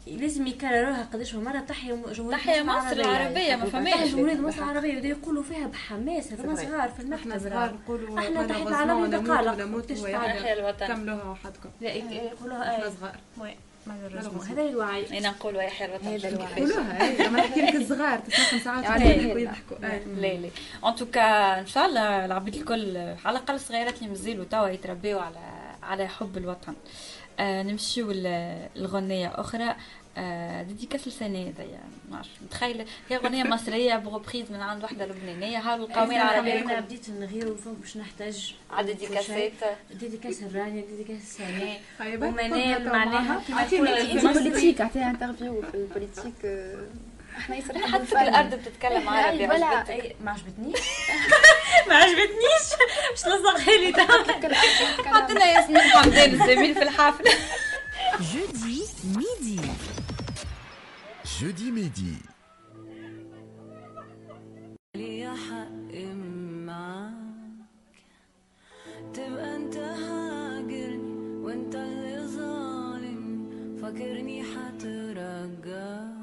لازم يكرروها قداش مرة. تحيا جمهورية تحيا مصر العربية، ما فماش تحيا جمهورية مصر العربية، ودا يقولوا فيها بحماس. هذوما صغار في المكتب، احنا صغار نقولوا احنا تحيا العالمية دقالق تحيا الوطن كملوها وحدكم. لا يقولوها احنا صغار هذا الوعي. انا نقول يحيى الوطن هذا الوعي قولوها. اي لما نحكي لك الصغار تسمع خمس ساعات يحكوا. لا لا ان توكا ان شاء الله العباد الكل على الاقل الصغيرات اللي مازالوا توا يتربيوا على على حب الوطن. آه نمشيو للغنية أخرى. آه ديديكاس السنة هذيا ماش متخيلة هي غنية مصرية بغوبريز من عند وحدة لبنانية. هاو القومية العربية أنا بديت نغير وفوق باش نحتاج عدد ديديكاسات ديديكاس الرانيا ديديكاس السنة ومنال معناها كيما بوليتيك عطيها انترفيو في البوليتيك. احنا يصير حتى في الأرض بتتكلم عربي. ولا ما عجبتنيش ما عجبتنيش مش لصقها لي حطينا ياسمين حمدان الزميل في الحفلة. جودي ميدي جودي ميدي لي حق معاك تبقى انت هاجرني وانت اللي ظالم فاكرني حترجاك.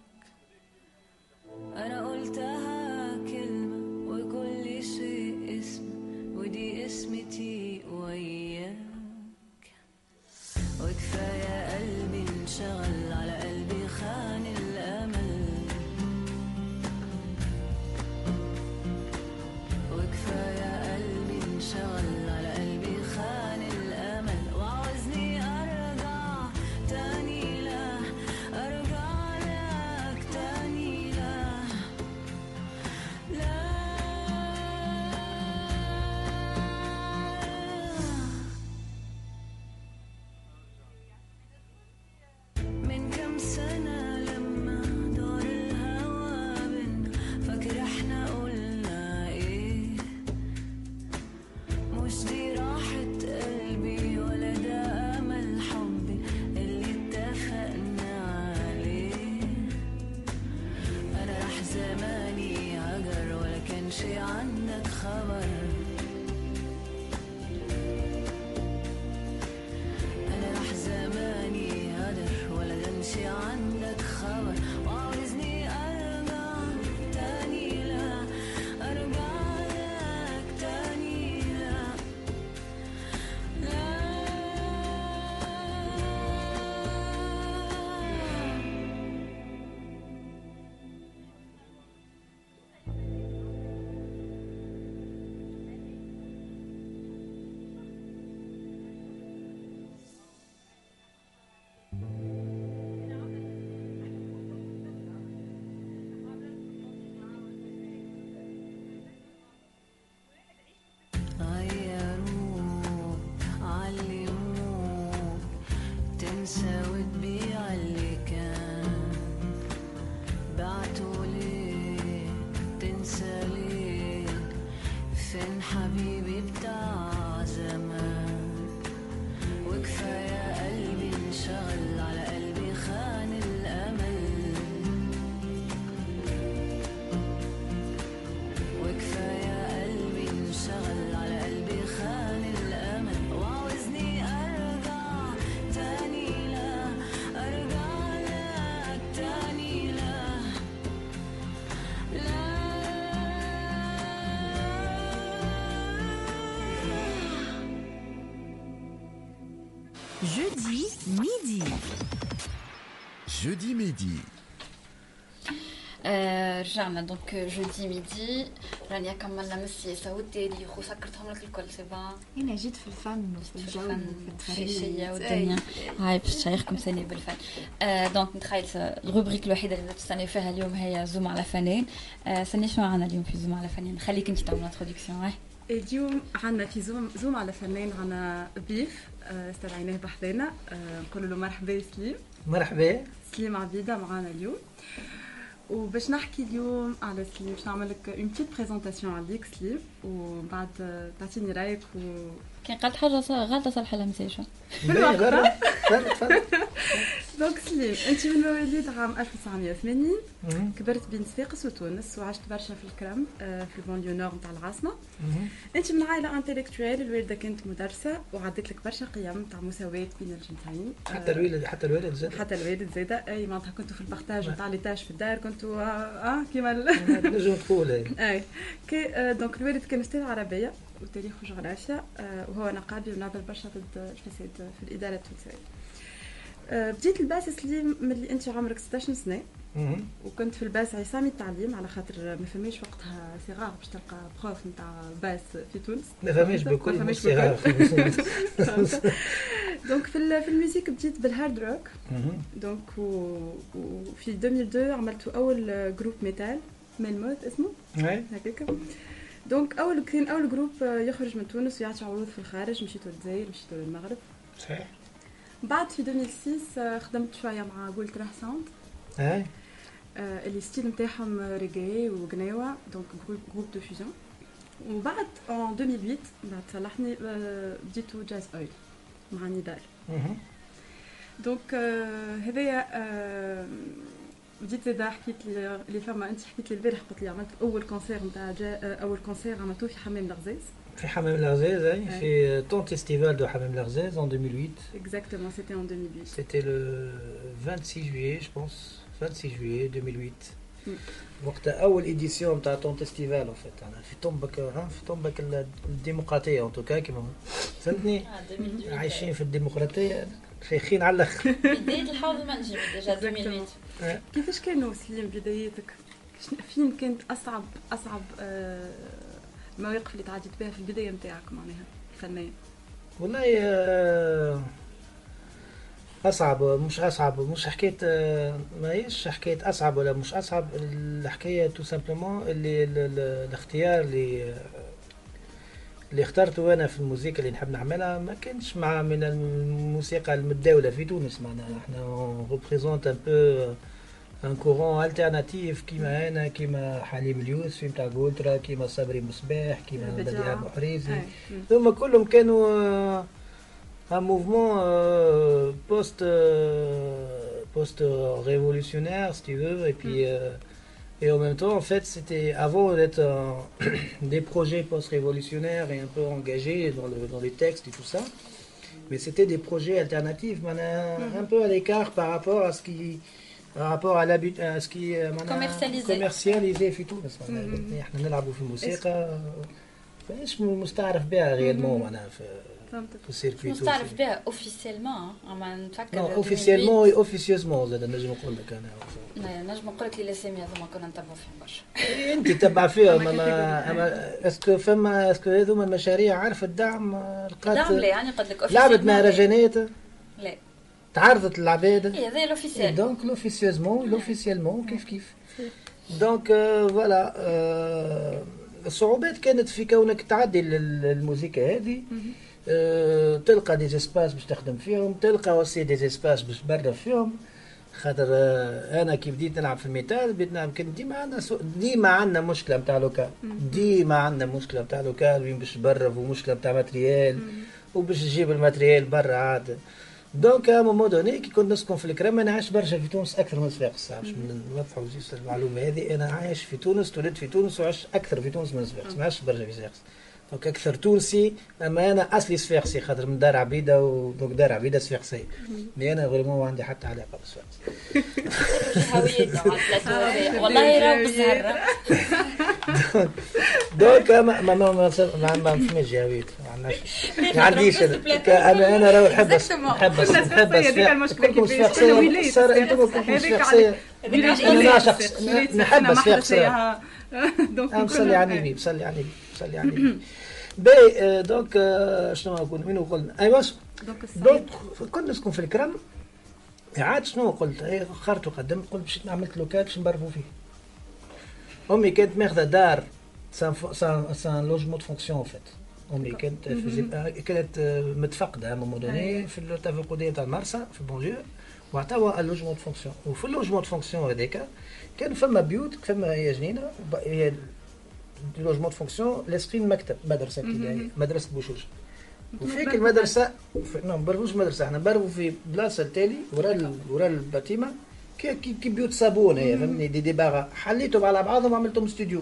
انا قلتها كلمة وكل شيء اسم ودي اسمتي وياك. وكفاية قلبي انشغل على قلبي خان الأمل. وكفاية قلبي انشغل على قلبي خان الأمل. وعاوزني أرجع تاني لا أرجع لك تاني لا لا. من كم سنة لما دار الهوى بينا فاكر احنا قلنا ايه؟ مش دي راحة قلبي ولا ده أمل حبي اللي اتفقنا عليه. أنا راح زماني هجر ولا كان شي عندك خبر. أنا راح زماني هدر ولا كانش عندك خبر. وعاوزني أرجع تاني لا أرجع لك تاني لا لا. غيروك علموك تنسى وتبيع اللي كان. بعتوا ليه تنسى ليه فين حبيبي بتاع زمان. وكفاية قلبي انشغل على قلبي خان الأمل. وكفاية قلبي انشغل على قلبي خان الأمل. وعاوزني أرجع تاني لا أرجع لك تاني لا لا. جودي ميدي جودي ميدي آه رجعنا دونك جودي ميدي. رانيا كملنا من السياسة والتاريخ وسكرتهم لك الكل سي بون. انا جيت في الفن وفي الجو وفي الفن والدنيا. هاي باش تشيخكم ثاني بالفن. آه دونك نتخيل الروبريك الوحيدة اللي تستني فيها اليوم هي زوم على فنان. آه سني شنو معنا اليوم في زوم على فنان؟ خليك انت تعمل انتروداكسيون. هاي اليوم عنا في زوم زوم على فنان عنا ضيف استدعيناه بحذانا. نقول له مرحبا سليم. مرحبا سليم عبيدة معنا اليوم. وباش نحكي اليوم على سليم باش نعمل لك اون بتيت بريزونطاسيون عليك سليم ومن بعد تعطيني رايك. و كان قالت حاجه غلطه صالحه لها مساجه بالوقت. دونك سليم انت من مواليد عام ألف وتسعمية وثمانين كبرت بين صفاقس وتونس وعشت برشا في الكرم في البانليو نور نتاع العاصمه. انت من عائله انتلكتويل، الوالده كانت مدرسه وعدت لك برشا قيم تاع مساواه بين الجنسين. حتى الوالد حتى الوالد زاد حتى الوالد زاد اي معناتها كنتوا في البارتاج نتاع لي تاج في الدار كنتوا اه كيما نجم تقول اي كي دونك الوالد كان استاذ عربيه وتاريخ وجغرافيا وهو نقابي ونعمل برشا ضد الفساد في الاداره التونسيه. بديت الباس سليم ملي انت عمرك ستة عشر سنه وكنت في الباس عصامي التعليم على خاطر ما فماش وقتها صغار باش تلقى بروف نتاع باس في تونس، ما فماش بكل صغار دونك في في الموسيقى بديت بالهارد روك. دونك وفي ألفين واثنين عملت اول جروب ميتال ميلموت اسمه هكاك. دونك اول كان اول جروب يخرج من تونس ويعطي عروض في الخارج، مشيتوا للجزائر مشيتوا للمغرب. صحيح. بعد في ألفين وستة خدمت شويه مع قولت راه ساوند اي اللي ستيل نتاعهم ريغي وغناوه، دونك جروب جروب دو فيوزيون. وبعد ان ألفين وثمانية بعد صلحني بديتو جاز اويل مع نضال. دونك هذايا بديت زاد حكيت لي اللي فما انت حكيت لي البارح قلت لي عملت اول كونسير نتاع اول كونسير عملتوه في حمام الغزاز. في حمام الغزاز اي في طون فيستيفال دو حمام الغزاز en deux mille huit. Exactement, c'était en deux mille huit. C'était le vingt-six juillet je pense, vingt-six juillet deux mille huit. وقت اول ايديسيون نتاع طون فيستيفال ان فيت انا في طنبك في طنبك الديمقراطيه ان توكا كيما فهمتني عايشين في الديمقراطيه شيخين على الاخر. بدايه الحوض المنجم ديجا ألفين وثمانية. كيفاش كانوا سليم بدايتك؟ فين كانت اصعب اصعب المواقف اللي تعديت بها في البدايه نتاعك معناها الفنيه؟ والله اصعب مش اصعب مش حكايه ماهيش حكايه اصعب ولا مش اصعب، الحكايه تو سامبلومون اللي الاختيار اللي اللي اخترته انا في الموسيقى اللي نحب نعملها ما كانش مع من الموسيقى المتداوله في تونس. معناها احنا ريبريزونت ان بو ان كورون التيرناتيف كيما انا كيما حليم اليوسفي نتاع غولترا كيما صبري مصباح كيما بديع ابو حريزي، ثم كلهم كانوا un mouvement euh, post euh, post révolutionnaire si tu veux et puis euh, et en même temps en fait c'était avant d'être euh, des projets post révolutionnaires et un peu engagés dans le dans les textes et tout ça, mais c'était des projets alternatifs mm-hmm. un peu à l'écart par rapport à ce qui par rapport à l'habit à ce qui commercialisé commercialisé في تونس. معناها احنا نلعبوا في الموسيقى مش مستعرف بها غيرمون معناها في مش مستعرف بها اوفيسيلمون اما نتفكر نو اوفيسيلمون اوفيسيوزمون زاد نجم نقول لك انا نجم نقول لك الاسامي هذوما كنا نتبعوا فيهم برشا. انت تتبع فيهم اما اما اسكو فما اسكو هذوما المشاريع عارف الدعم لقات دعم لا يعني قد لك اوفيسيلمون لعبت مهرجانات لا تعرضت العباد اي هذا لوفيسيل دونك لوفيسيوزمون لوفيسيلمون كيف كيف دونك فوالا الصعوبات كانت في كونك تعدي الموسيقى هذه أه تلقى دي اسباس باش تخدم فيهم، تلقى وسي دي اسباس باش تبرر فيهم. خاطر أه انا كي بديت نلعب في الميتال بديت نلعب كان ديما عندنا ديما عندنا مشكله نتاع لوكال، ديما عندنا مشكله نتاع لوكال وين باش تبرر ومشكله نتاع ماتريال وباش تجيب الماتريال برا عاد. دونك ا مومون دوني كي كنت نسكن في الكرم انا عايش برشا في تونس اكثر من صفاقس، باش نوضحوا جيست المعلومه هذه. انا عايش في تونس تولدت في تونس وعشت اكثر في تونس من صفاقس، ما عشت برشا في صفاقس. دونك اكثر تونسي، اما انا اصلي صفاقسي خاطر من دار عبيده ودونك دار عبيده صفاقسيه، مي انا فريمون ما عندي حتى علاقه بصفاقس. هويته والله راهو بالزهره. دونك ما ما ما ما ما فماش هويته، ما عنديش انا انا راهو نحب نحب نحب كلكم صفاقسيه صار انتم كلكم صفاقسيه انا نعشق نحب صفاقسيه. دونك نصلي على النبي نصلي على النبي نصلي على النبي. باهي دونك شنو نقول وين قلنا ايوا دونك كنت نسكن في الكرم. عاد شنو قلت خرت وقدمت قلت باش عملت لوكال باش نبرفوا فيه. امي كانت ماخذه دار سان سان سان لوجمون دو فونكسيون فيت. امي كانت كانت متفقده ا مومون دوني في التفقديه تاع المرسى في البونجور وعطاوها اللوجمون دو فونكسيون. وفي اللوجمون دو فونكسيون هذاك كان فما بيوت فما هي جنينه هي لوجمون دو فونكسيون لاسقين مكتب مدرسه ابتدائيه مدرسه بوشوش. وفيك المدرسه في... نو نبرفوش مدرسه احنا نبرفوا في بلاصه التالي ورا ال... ورا الباتيمه كي كي, كي بيوت صابون هي فهمني دي ديباغا حليتهم على بعضهم وعملتهم استوديو.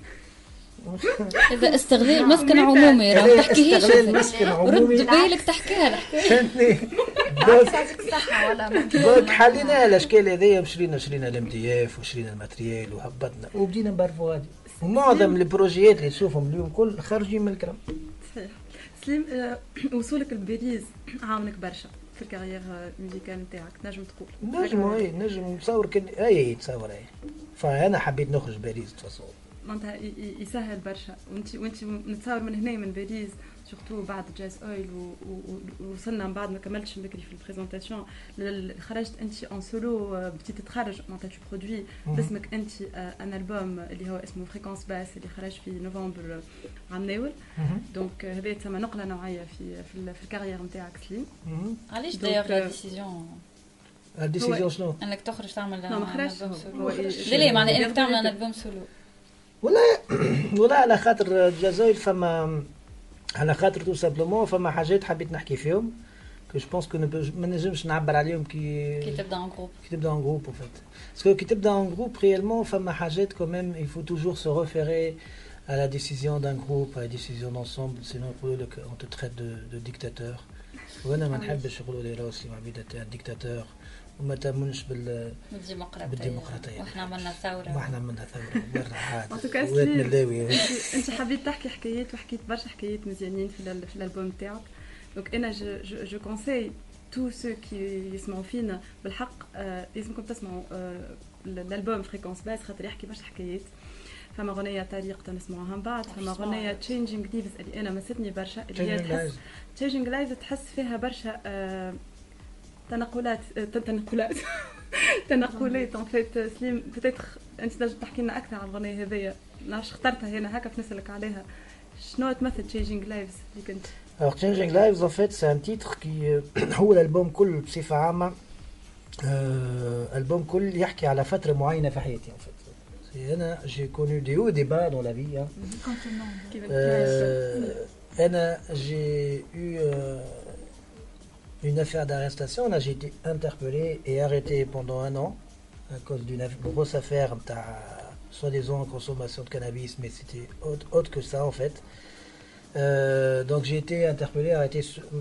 هذا استغلال مسكن عمومي راه ما تحكيهاش استغلال مسكن عمومي رد بالك تحكيها الحكايه فهمتني. دوك يعطيك الصحة ولا دوك حلينا الاشكال هذيا وشرينا شرينا الام دي اف وشرينا الماتريال وهبطنا وبدينا نبرفوا هذه ومعظم البروجيات اللي تشوفهم اليوم كل خارجين من الكرم. صحيح. سليم آه، وصولك لباريس عاونك برشا في الكارير ميوزيكال نتاعك تنجم تقول؟ نجم اي نجم نصور كن اي تصور اي فانا حبيت نخرج باريس تصور معناتها يسهل برشا وانت وانت نتصور من هنا من باريس سورتو بعد جاز اويل ووصلنا من بعد ما كملتش بكري في البريزونطاسيون خرجت انت اون سولو بديتي تتخرج معناتها تو برودوي باسمك انت ان البوم اللي هو اسمه فريكونس باس اللي خرج في نوفمبر عام ناول دونك هذا تسمى نقله نوعيه في في, في الكارير نتاعك سليم. علاش دايوغ لا ديسيزيون الديسيزيون شنو؟ انك تخرج تعمل لا ما خرجش لا لا معناها انك تعمل ان البوم سولو ولا ولا على خاطر الجزائر فما على خاطر تو سامبلومون فما حاجات حبيت نحكي فيهم كو جو بونس كو ما نجمش نعبر عليهم كي كي تبدا ان جروب كي تبدا ان جروب en fait parce que كي تبدا ان جروب réellement فما حاجات quand même il faut toujours se référer à la décision d'un groupe à la décision d'ensemble sinon on te traite de, de dictateur وانا ما نحبش يقولوا لي راسي معبيد تاع ديكتاتور وما تامنش بال بالديمقراطيه واحنا عملنا ثوره واحنا عملنا ثوره برا عاد وات ملاوي انت حبيت تحكي حكايات وحكيت برشا حكايات مزيانين في في الالبوم تاعك دونك انا جو جو كونساي تو سو كي يسمعوا فينا بالحق لازمكم تسمعوا الالبوم فريكونس باس خاطر يحكي برشا حكايات. فما غنية طريقة نسمعوها من بعد فما غنية تشينجينغ ليفز اللي انا مستني برشا اللي هي تحس تشينجينغ لايفز تحس فيها برشا آه تنقلات آه تنقلات تنقلات ان فيت سليم بتاتر انت تنجم تحكي لنا اكثر عن الغنية هذيا نعرفش اخترتها هنا هكا نسالك عليها شنو تمثل تشينجينغ لايفز اللي كنت Alors Changing Lives en fait c'est un titre qui هو الالبوم كل بصفة عامة الالبوم كل يحكي على فترة معينة في حياتي en fait. أنا j'ai connu des hauts et des bas dans la vie. Hein. Euh, أنا j'ai eu euh, une affaire d'arrestation. Là j'ai été interpellé et arrêté pendant un an à cause d'une grosse affaire de soi-disant consommation de cannabis, mais c'était autre, autre que ça en fait. Euh, donc j'ai été interpellé, arrêté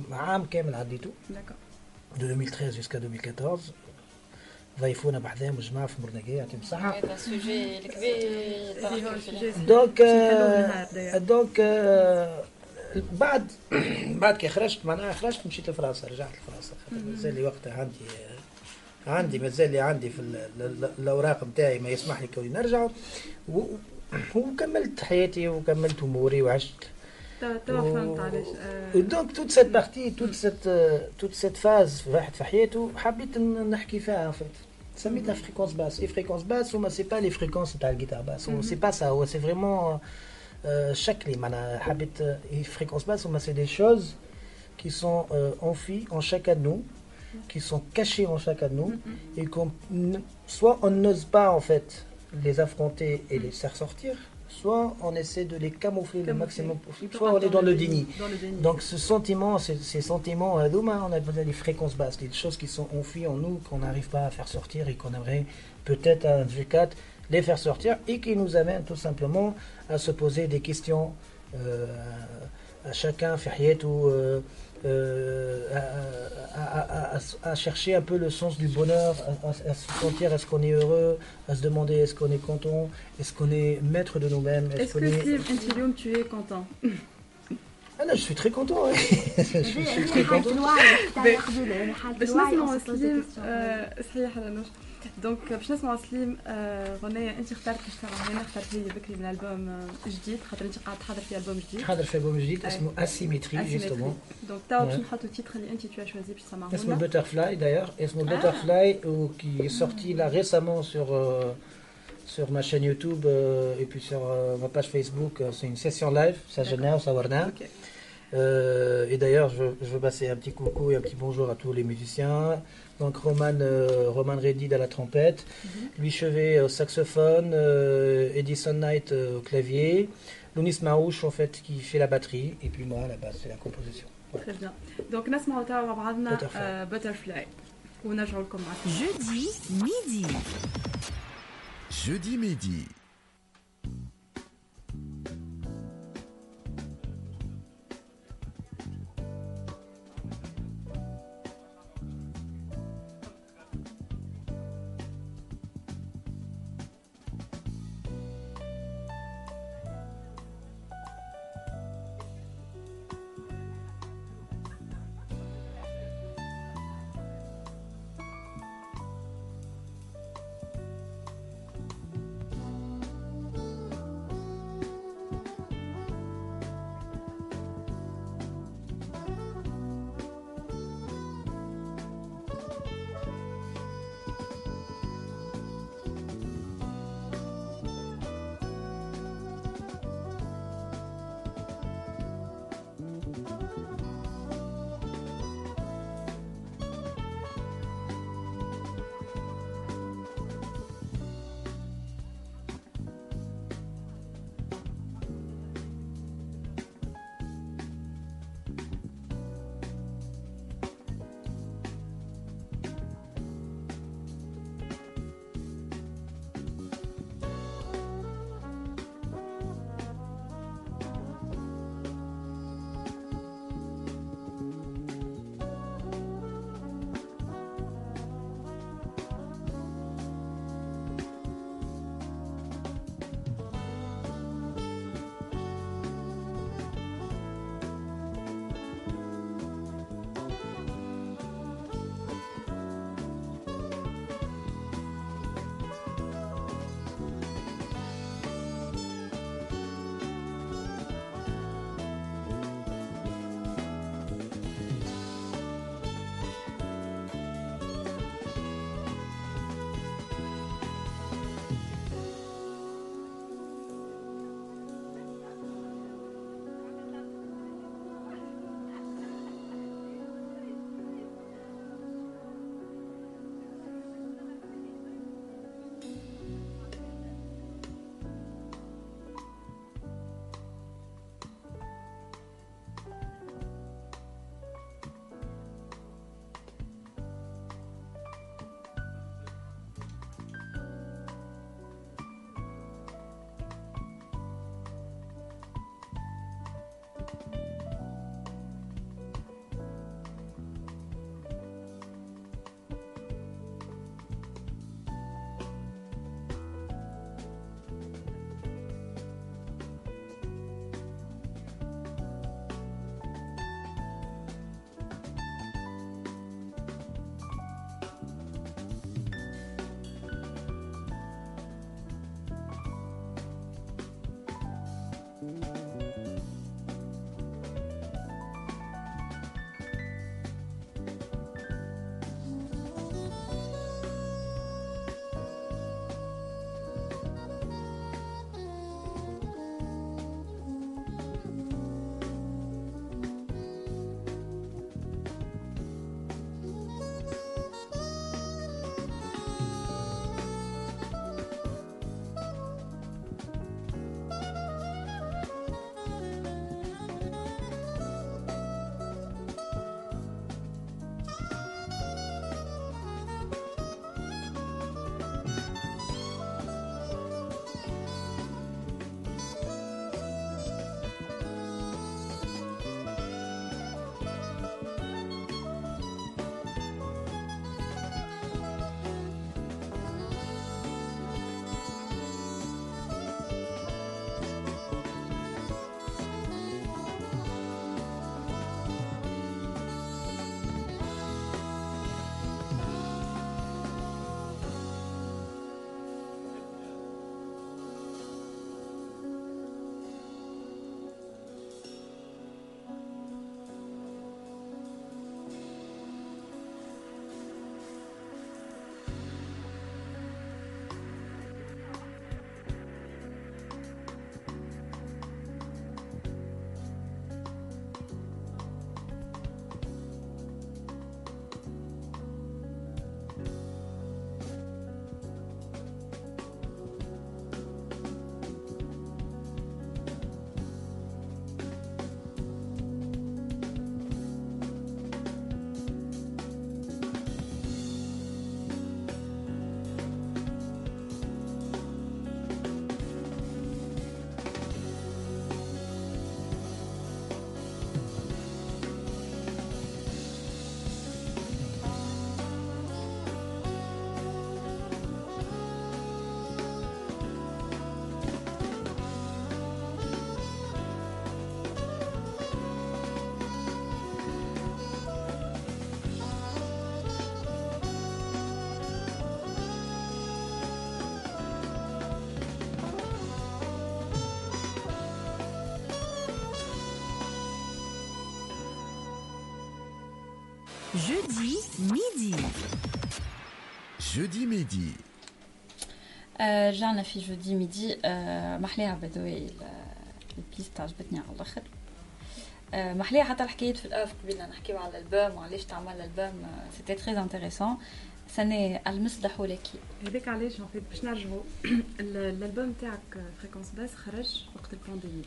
de deux mille treize jusqu'à deux mille quatorze. ضيفونا بحذاهم الجماعه في مرنقيه يعطيهم الصحه. هذا سوجي الكبير دونك دونك بعد بعد كي خرجت معناها خرجت مشيت لفرنسا رجعت لفرنسا خاطر مازال لي وقتها عندي عندي مازال لي عندي في الاوراق نتاعي ما يسمح لي كوني نرجع وكملت حياتي وكملت اموري وعشت. توا فهمت علاش. دونك توت سيت بارتي توت سيت توت سيت فاز واحد في حياته حبيت نحكي فيها في سميتها فريكونس باس. اي فريكونس باس وما سي با لي فريكونس تاع الجيتار باس سي با سا هو سي فريمون شكلي معناها حبيت اي فريكونس باس وما سي دي شوز qui sont euh, enfuis en chacun de nous, qui sont cachés en chacun de nous, et qu'on soit on n'ose pas en fait les affronter et les faire sortir, soit on essaie de les camoufler le maximum possible, soit on est dans le déni. Donc ce sentiment, ces, ces sentiments, on a besoin des fréquences basses, des choses qui sont enfuies en nous, qu'on n'arrive pas à faire sortir et qu'on aimerait peut-être à un V quatre les faire sortir et qui nous amènent tout simplement à se poser des questions euh, à chacun, ou euh, Euh, à, à, à, à chercher un peu le sens du bonheur, à, à, à se sentir est-ce qu'on est heureux, à se demander est-ce qu'on est content, est-ce qu'on est maître de nous-mêmes. Est-ce, est-ce que Steve, Intilium, tu es content? Ah là, je suis très content. Ouais. je, je suis très content. دونك باش نسمعوا سليم غنية انت اخترت باش تسمعوا هنا اخترت هي بكري من البوم جديد خاطر انت قاعد تحضر في البوم جديد حاضر في البوم جديد اسمه اسيمتري جوستومون دونك توا باش نحطوا التيتر اللي انت تو شوازي باش تسمعوه اسمه بوترفلاي داير اسمه بوترفلاي وكي sorti là récemment sur sur ma chaîne YouTube euh, et puis sur euh, ma page Facebook c'est une session live ça génère ça warna Euh, et d'ailleurs, je, je veux passer un petit coucou et un petit bonjour à tous les musiciens. Donc Roman, euh, Roman Redid à la trompette, mm-hmm. Louis Chevet au saxophone, euh, Edison Knight euh, au clavier, Lounis Maouche, en fait, qui fait la batterie, et puis moi, à la base, c'est la composition. Voilà. Très bien. Donc, نسمعوا توا مع بعضنا Butterfly. ونرجعوا لكم مع Jeudi midi. Jeudi midi. Jeudi midi. Jeudi midi. آه، رجعنا في جودي ميدي. آه، محليها بدوي البيست عجبتني على الاخر. آه، محليها حتى الحكايات في الاف قبلنا نحكيو على الالبوم وعلاش تعمل الالبوم. سيتي تري انتريسون. سنة المصدح ولكي هذاك علاش ان فيت باش نرجعوا الالبوم تاعك فريكونس باس خرج وقت البانديمي.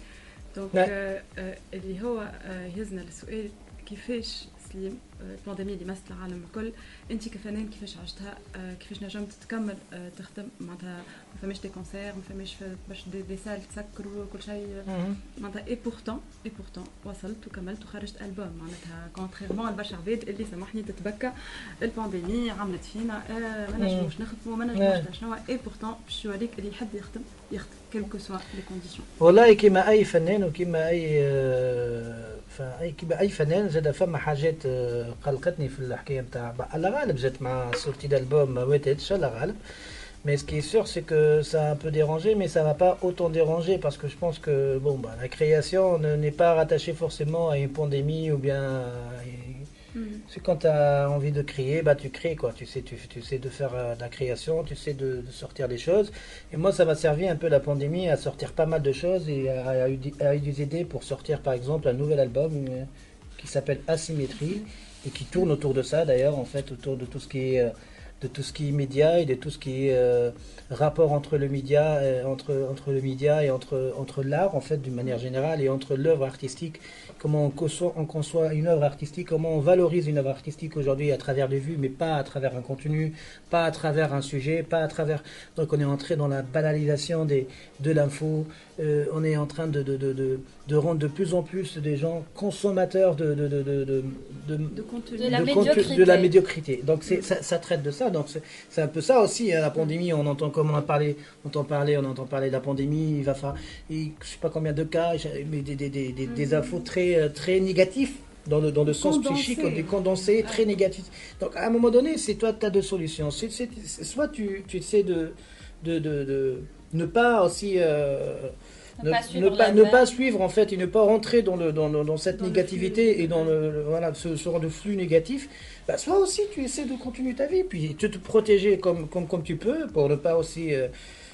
دونك آه آه اللي هو آه يهزنا للسؤال كيفاش سليم البانديمي اللي مست العالم الكل، انت كفنان كيفاش عشتها؟ آه كيفاش نجمت تكمل آه تخدم معناتها؟ ما فماش دي كونسير، ما فماش باش دي, دي سال تسكروا كل شيء معناتها. اي بورتون اي بورتون وصلت وكملت وخرجت البوم معناتها كونتريرمون لبرشا عباد اللي سامحني تتبكى البانديمي عملت فينا آه ما نجموش نخدموا ما نجموش شنو. اي بورتون باش يوريك اللي يحب يخدم يخدم كيلكو سوا لي كونديسيون. والله كيما اي فنان وكيما اي آه فاي كيما اي فنان زاد فما حاجات قلقتني في الحكايه نتاع على غالب زدت مع سورتي d'album ما واتتش على غالب. Mais ce qui est sûr, c'est que ça a un peu dérangé, mais ça va pas autant déranger parce que je pense que bon, bah, la création n'est pas rattachée forcément à une pandémie ou bien. Mmh. C'est quand tu as envie de créer, bah tu crées quoi. Tu sais, tu, tu sais de faire euh, de la création, tu sais de, de sortir des choses. Et moi, ça m'a servi un peu la pandémie à sortir pas mal de choses et à, à, à, à nous aider pour sortir par exemple un nouvel album euh, qui s'appelle Asymétrie et qui tourne autour de ça d'ailleurs en fait, autour de tout ce qui est euh, de tout ce qui est média et de tout ce qui est euh, rapport entre le média, euh, entre entre le média et entre entre l'art en fait d'une manière générale et entre l'œuvre artistique. Comment on conçoit, on conçoit une œuvre artistique, comment on valorise une œuvre artistique aujourd'hui à travers les vues, mais pas à travers un contenu, pas à travers un sujet, pas à travers. Donc on est entré dans la banalisation des de l'info. Euh, on est en train de de, de de de rendre de plus en plus des gens consommateurs de de de de de, de, de contenu, de la, de, médiocrité. de la médiocrité. Donc c'est ça, ça traite de ça. Donc c'est, c'est un peu ça aussi. Hein, la pandémie, on entend comme on a parlé, on entend parler, on entend parler de la pandémie. Il va faire, je sais pas combien de cas, mais des des des des, des mm-hmm. infos très très négatifs dans le dans le sens condensé. Psychique, des condensés ah. très négatifs. Donc à un moment donné, c'est toi, tu as deux solutions. C'est, c'est, c'est, soit tu tu essaies de de de, de ne pas aussi euh, Ne, ne, pas ne, pas, ne pas suivre en fait et ne pas rentrer dans, le, dans, le, dans cette dans négativité et dans le, le, voilà, ce genre de flux négatif, bah, soit aussi tu essaies de continuer ta vie, puis te, te protéger comme, comme, comme tu peux pour ne pas aussi euh,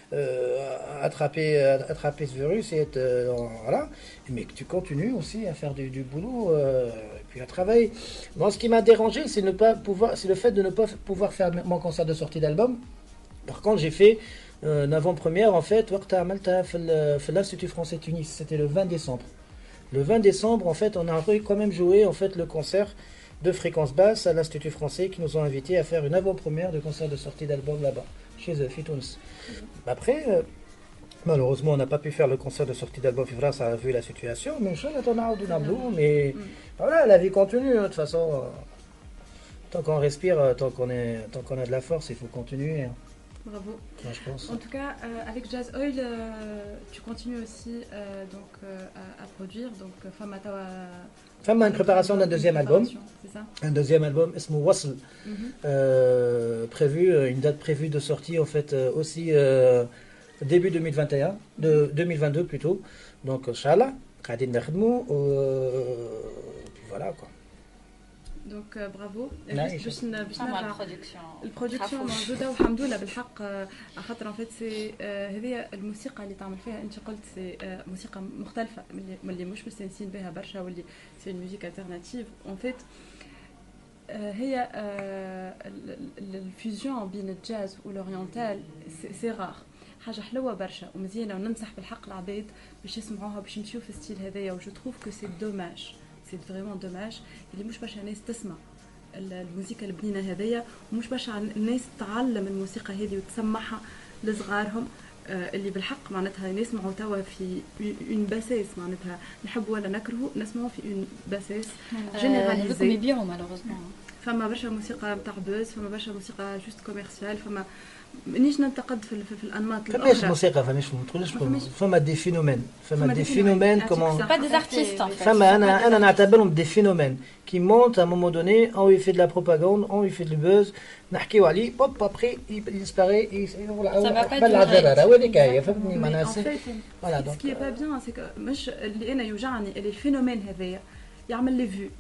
euh, attraper, attraper ce virus et être euh, dans, voilà, mais que tu continues aussi à faire du, du boulot euh, et puis à travailler. Moi, ce qui m'a dérangé, c'est, ne pas pouvoir, c'est le fait de ne pas pouvoir faire mon concert de sortie d'album. Par contre, j'ai fait une avant-première en fait وقتها عملتها في في l'Institut français Tunis. C'était le vingt décembre. Le vingt décembre en fait, on a quand même joué en fait le concert de Fréquence Basse à l'Institut français qui nous ont invités à faire une avant-première de concert de sortie d'album là-bas chez eux, في تونس. Après euh, malheureusement, on n'a pas pu faire le concert de sortie d'album في فرنسا vu la situation, mais inchallah on a نعملوه. Mais voilà, la vie continue de toute façon. Tant qu'on respire, tant qu'on est tant qu'on a de la force, il faut continuer. Bravo. Moi, je pense. En tout cas, euh, avec Jazz Oil, euh, tu continues aussi euh, donc, euh, à, à produire. Donc, Fama Tawa. Fama une préparation d'un deuxième album. C'est ça. Un deuxième album, Esmo Wasl. Mm-hmm. euh, prévu, une date prévue de sortie en fait euh, aussi euh, début deux mille vingt et un, de deux mille vingt-deux plutôt. Donc, Inch'Allah, Khadin Nakhdmou. Puis voilà quoi. دونك برافو. باش باش نرجع البرودكسيون البرودكسيون موجوده والحمد لله بالحق على خاطر فيت سي هذه الموسيقى اللي تعمل فيها انت قلت سي موسيقى مختلفه من اللي مش مستانسين بها برشا واللي سي ميوزيك الترناتيف اون فيت هي الفيوزيون بين الجاز والاورينتال سي رار حاجه حلوه برشا ومزيانه وننصح بالحق العباد باش يسمعوها باش يمشيو في الستيل هذايا وجو تروف كو سي دوماج سي فريمون دوماج اللي مش برشا ناس تسمع الموسيقى البنينه هذيا ومش برشا الناس تعلم الموسيقى هذه وتسمعها لصغارهم اللي بالحق معناتها نسمعوا توا في اون باسيس معناتها نحب ولا نكرهوا نسمعوا في اون باسيس جينيراليزي يبيعوا مالوغوزمون فما برشا موسيقى نتاع بوز فما برشا موسيقى جوست كوميرسيال فما مانيش ننتقد في, في, في الانماط الاخرى فماش موسيقى فماش تقولش فما دي فينومين فما دي فينومين كومون با دي ارتيست فما انا انا نعتبرهم دي فينومين كي مونت ا مومون دوني اون يفي دو لا بروباغاند اون يفي دو بوز نحكيو عليه بوب ابري يسباري قبل العجله هذيك هي فهمتني معناها فوالا دونك سكي با بيان سي مش اللي انا يوجعني اللي الفينومين هذايا يعمل لي فيو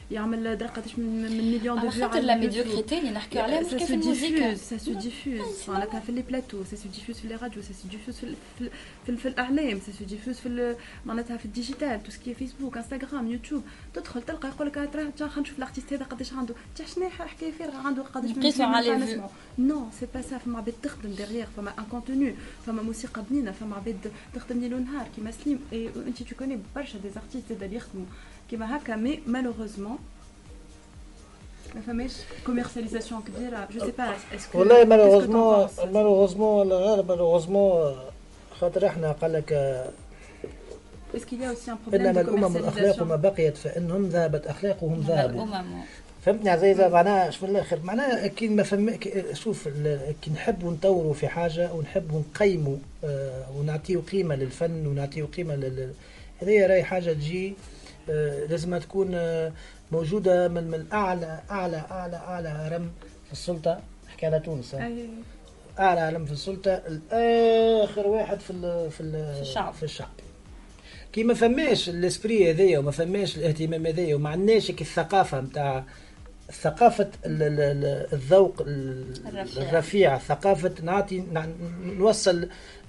يعمل درقتش من من مليون دو فيو على لا ميديوكريتي اللي نحكيو عليها مش كيف الموسيقى سا سو ديفوز معناتها في لي بلاتو سا سو ديفوز في لي راديو سا سو ديفوز في في في, في الاعلام سا سو ديفوز في معناتها في الديجيتال تو سكي فيسبوك انستغرام يوتيوب تدخل تلقى يقول لك ترى خلينا نشوف الارتيست هذا قداش عنده تاع شنو حكايه فارغه عنده قداش نقيسوا على نو سي با سا فما عباد تخدم ديغيغ فما ان كونتوني فما موسيقى بنينه فما عباد تخدم ليل ونهار كيما سليم انت تو كوني برشا دي ارتيست اللي يخدموا كيما هكا مي مالوغوزمون ما فماش كوميرسياليزاسيون كبيره جو سي با اسكو والله مالوغوزمون مالوغوزمون ولا غير مالوغوزمون خاطر احنا قال لك اسكو يا اوسي ان بروبليم انما الامم الاخلاق ما بقيت فانهم ذهبت اخلاقهم ذهبوا فهمتني عزيزه معناها شو من الاخر معناها كي ما فهم شوف كي نحبوا نطوروا في حاجه ونحبوا نقيموا آه ونعطيوا قيمه للفن ونعطيوا قيمه لل هذه راهي حاجه تجي آه لازم تكون آه موجوده من من اعلى اعلى اعلى اعلى هرم في السلطه نحكي على تونس اعلى هرم في السلطه الاخر واحد في ال في, ال في الشعب في الشعب كي ما فماش الاسبري هذايا وما فماش الاهتمام هذايا وما عندناش الثقافه نتاع ثقافه الذوق الرفيع ثقافه نعطي نوصل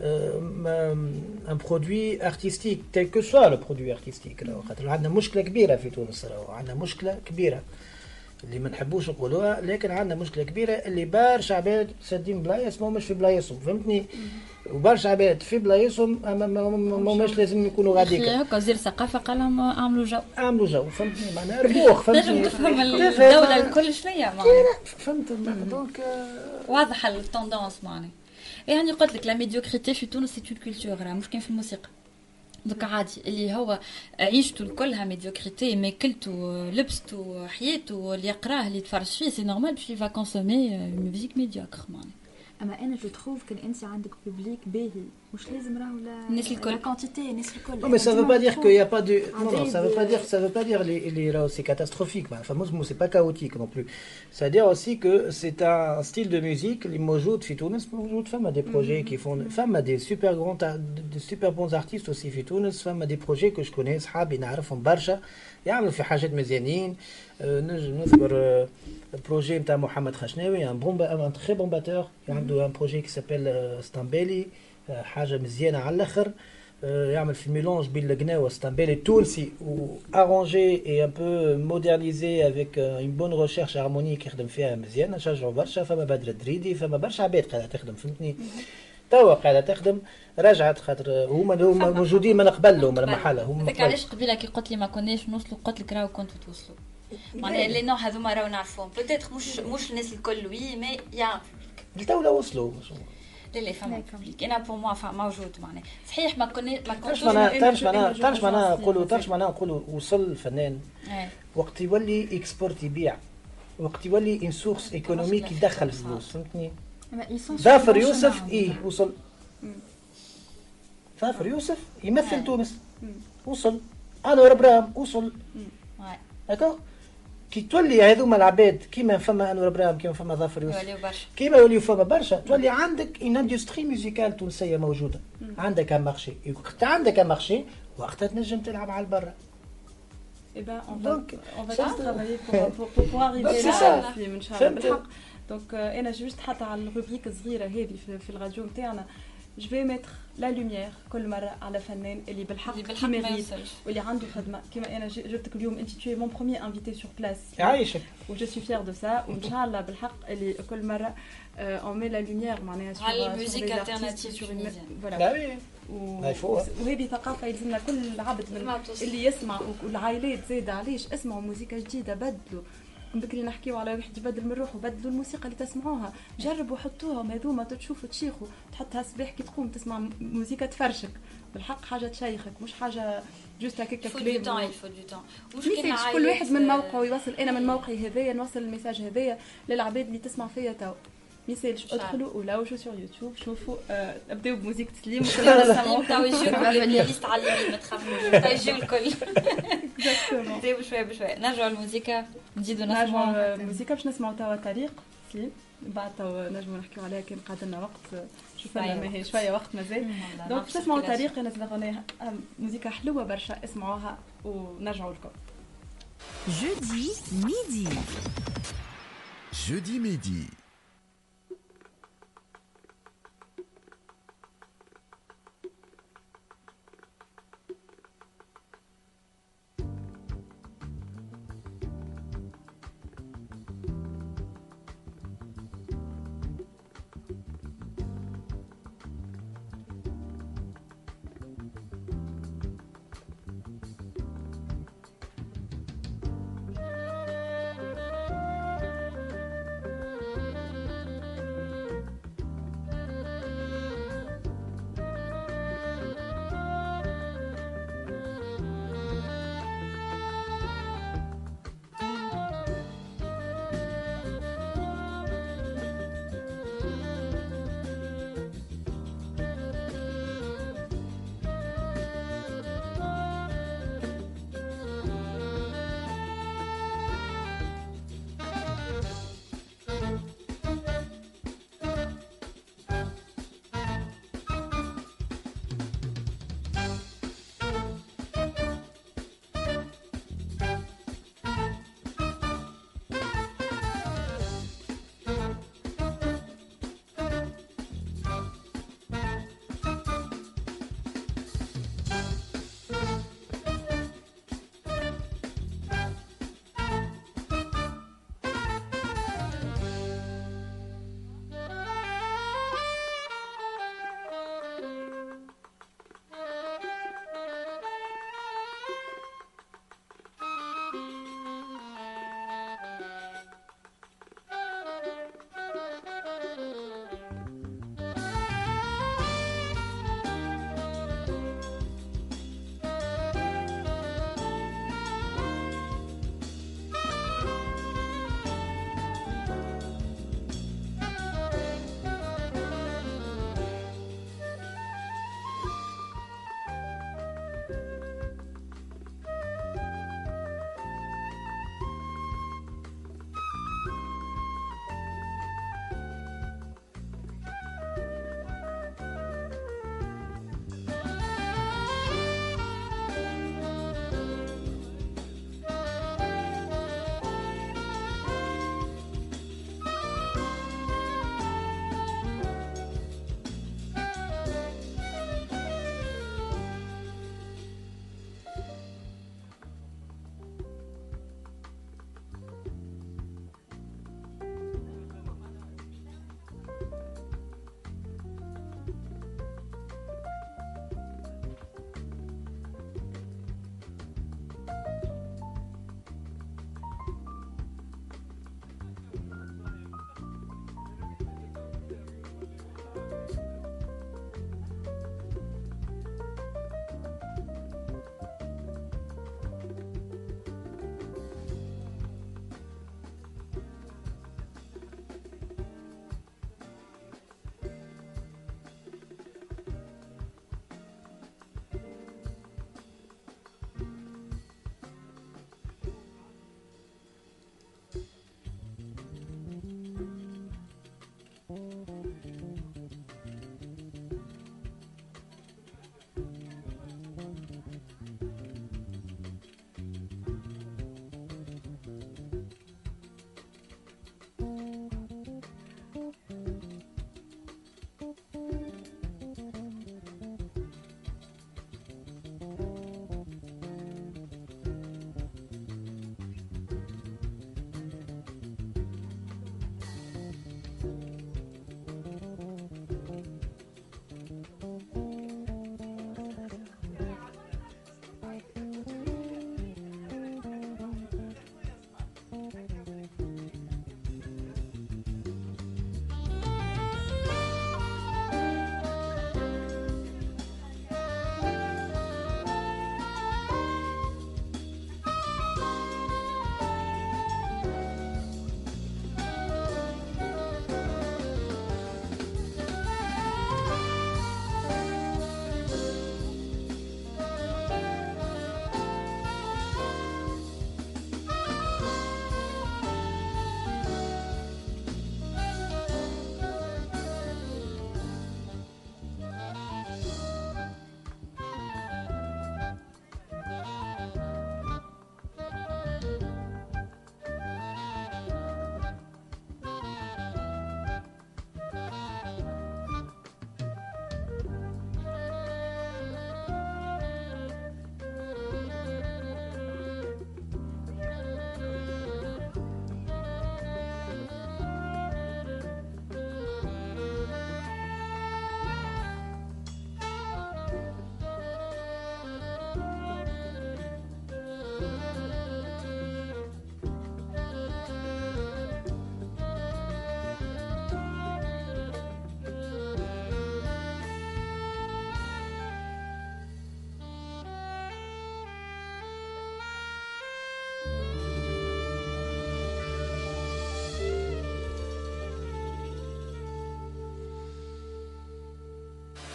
ان برودوي ارتستيك تيل كو سوا لو برودوي ارتستيك خاطر عندنا مشكله كبيره في تونس راهو عندنا مشكله كبيره اللي ما نحبوش نقولوها لكن عندنا مشكله كبيره اللي برشا عباد سادين بلايص ماهمش في بلايصهم فهمتني وبرشا عباد في بلايصهم ماهمش لازم يكونوا غاديك هكا وزير الثقافه قال لهم اعملوا جو اعملوا جو فهمتني معناها ربوخ فهمتني لازم تفهم الدوله الكل شنيا معناها فهمت دونك واضحه التوندونس معناها يعني قلت لك لا ميديوكريتي في تونس سي اون كولتور راه مش كاين في الموسيقى دوك عادي اللي هو عيشته كلها ميديوكريتي ماكلته لبسته حياته اللي يقراه اللي يتفرج فيه سي نورمال باش يفا كونسومي ميوزيك ميديوكر معناها اما انا جو تروف كان انت عندك بوبليك باهي مش لازم راهو الناس الكل كونتيتي الناس الكل mais ça veut pas dire qu'il y a pas de non non ça veut pas dire ça veut pas dire les les راهو c'est catastrophique enfin moi c'est pas chaotique non plus ça veut dire aussi que c'est un style de musique اللي موجود في تونس موجود فما des projets qui font فما des super grands des super bons artistes aussi في تونس فما des projets que je connais صحابي نعرفهم برشا يعملوا في حاجات مزيانين نجم نذكر البروجي نتاع محمد خشناوي ان بون ان تري بون باتور عنده ان بروجي كي سابيل ستامبيلي حاجه مزيانه على الاخر يعمل في ميلونج بين القناوه ستامبيلي التونسي و ارونجي اي ان بو مودرنيزي افيك اون بون ريشيرش هارمونيك يخدم فيها مزيان نشجعوا برشا فما بدر الدريدي فما برشا عباد قاعده تخدم فهمتني توا قاعده تخدم رجعت خاطر هما هما موجودين من قبل لهم المحله هما هذاك علاش قبيله كي قلت لي ما كناش نوصلوا قلت لك راهو كنتوا توصلوا معناها لي نوع هذوما راهو نعرفوهم بوتيتر مش مش الناس الكل وي مي يا الدوله وصلوا لا لا فما بوبليك انا بور موا موجود معناها صحيح ما كنا ما كنتوش تعرفش معناها تعرفش معناها نقولوا تعرفش معناها نقولوا وصل الفنان وقت يولي اكسبورت يبيع وقت يولي ان سورس ايكونوميك يدخل فلوس فهمتني ظافر يوسف ايه وصل ظافر يوسف يمثل تونس وصل انور ابراهيم وصل هكا كي تولي هذوما العباد كيما فما انور ابراهيم كيما فما ظافر يوسف كيما يوليو فما برشا تولي عندك ان اندستري ميوزيكال تونسيه موجوده عندك ان مارشي وقت عندك ان مارشي وقتها تنجم تلعب على البرا اي با اون فا اون فا ترافايي بور بور اريفي لا ان شاء الله بالحق دونك انا جوست حتى على الروبريك الصغيره هذه في الراديو نتاعنا جو في ميتر لا لوميير كل مره على فنان اللي بالحق كيما واللي عنده خدمه كيما انا جبتك اليوم انت tu es mon premier invité sur place يعيشك و جو سوي فير دو سا وان شاء الله بالحق اللي كل مره اون مي لا لوميير معناها sur على الموسيقى الالتيرناتيف فوالا وهذه ثقافه يلزمنا كل عبد اللي يسمع والعائلات زاد علاش اسمعوا موسيقى جديده بدلوا بكري نحكيو على واحد يبدل من روحه بدلوا الموسيقى اللي تسمعوها جربوا حطوهم هذوما تشوفوا تشيخوا تحطها الصباح كي تقوم تسمع موسيقى تفرشك بالحق حاجه تشيخك مش حاجه جوست هكاك كلام مش كل واحد من موقعه يوصل انا من موقعي هذايا نوصل الميساج هذايا للعباد اللي تسمع فيا تو ميسالش ادخلوا ولا وشو سور يوتيوب شوفوا آه ابداو بموسيقى تسليم وكلنا نسمعوا تاو يجيو ليست على اليمين ما تخافوش تاو يجيو الكل نبداو بشويه بشويه نرجعوا للموسيقى نزيدوا نسمعوا الموسيقى باش نسمعوا توا طريق سليم بعد توا نجموا نحكيو عليها كان قعد لنا وقت شوفنا ما هي شويه وقت مازال دونك تسمعوا طريق نزل اغنيه موسيقى حلوه برشا اسمعوها ونرجعوا لكم Jeudi midi. Jeudi midi.